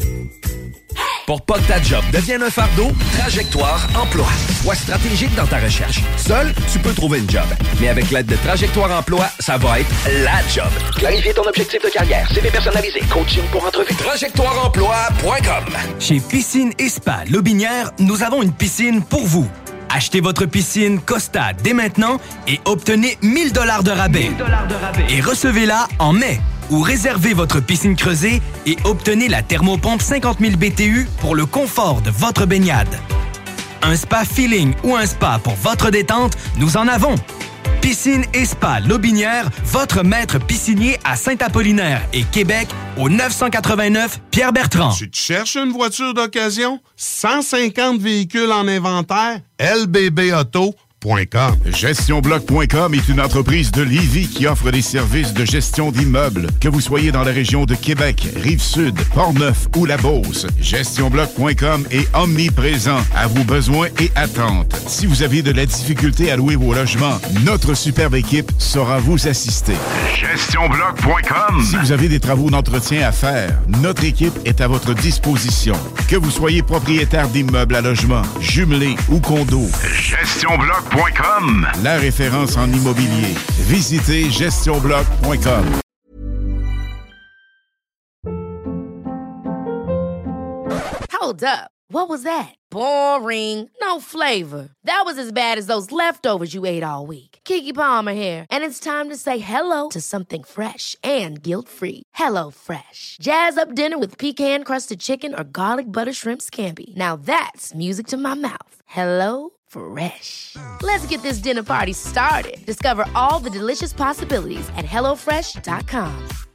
Pour pas que ta job devienne un fardeau, Trajectoire Emploi. Sois stratégique dans ta recherche. Seul, tu peux trouver une job. Mais avec l'aide de Trajectoire Emploi, ça va être la job. Clarifier ton objectif de carrière, C V personnalisé, coaching pour entrevue. trajectoire emploi point com. Chez Piscine et Spa Lobinière, nous avons une piscine pour vous. Achetez votre piscine Costa dès maintenant et obtenez mille dollars de rabais. mille dollars de rabais. Et recevez-la en mai. Ou réservez votre piscine creusée et obtenez la thermopompe cinquante mille B T U pour le confort de votre baignade. Un spa feeling ou un spa pour votre détente, nous en avons. Piscine et Spa Lobinière, votre maître piscinier à Saint-Apollinaire et Québec au neuf cent quatre-vingt-neuf Pierre-Bertrand. Tu te cherches une voiture d'occasion? cent cinquante véhicules en inventaire? L B B Auto. gestion bloc point com est une entreprise de Lévis qui offre des services de gestion d'immeubles. Que vous soyez dans la région de Québec, Rive-Sud, Port-Neuf ou La Beauce, gestion bloc point com est omniprésent à vos besoins et attentes. Si vous avez de la difficulté à louer vos logements, notre superbe équipe saura vous assister. gestion bloc point com. Si vous avez des travaux d'entretien à faire, notre équipe est à votre disposition. Que vous soyez propriétaire d'immeubles à logement, jumelés ou condos, gestion bloc point com. La référence en immobilier. Visitez gestion bloc point com. Hold up. What was that? Boring. No flavor. That was as bad as those leftovers you ate all week. Keke Palmer here, and it's time to say hello to something fresh and guilt-free. Hello Fresh. Jazz up dinner with pecan-crusted chicken or garlic butter shrimp scampi. Now that's music to my mouth. Hello Fresh. Let's get this dinner party started. Discover all the delicious possibilities at hello fresh dot com.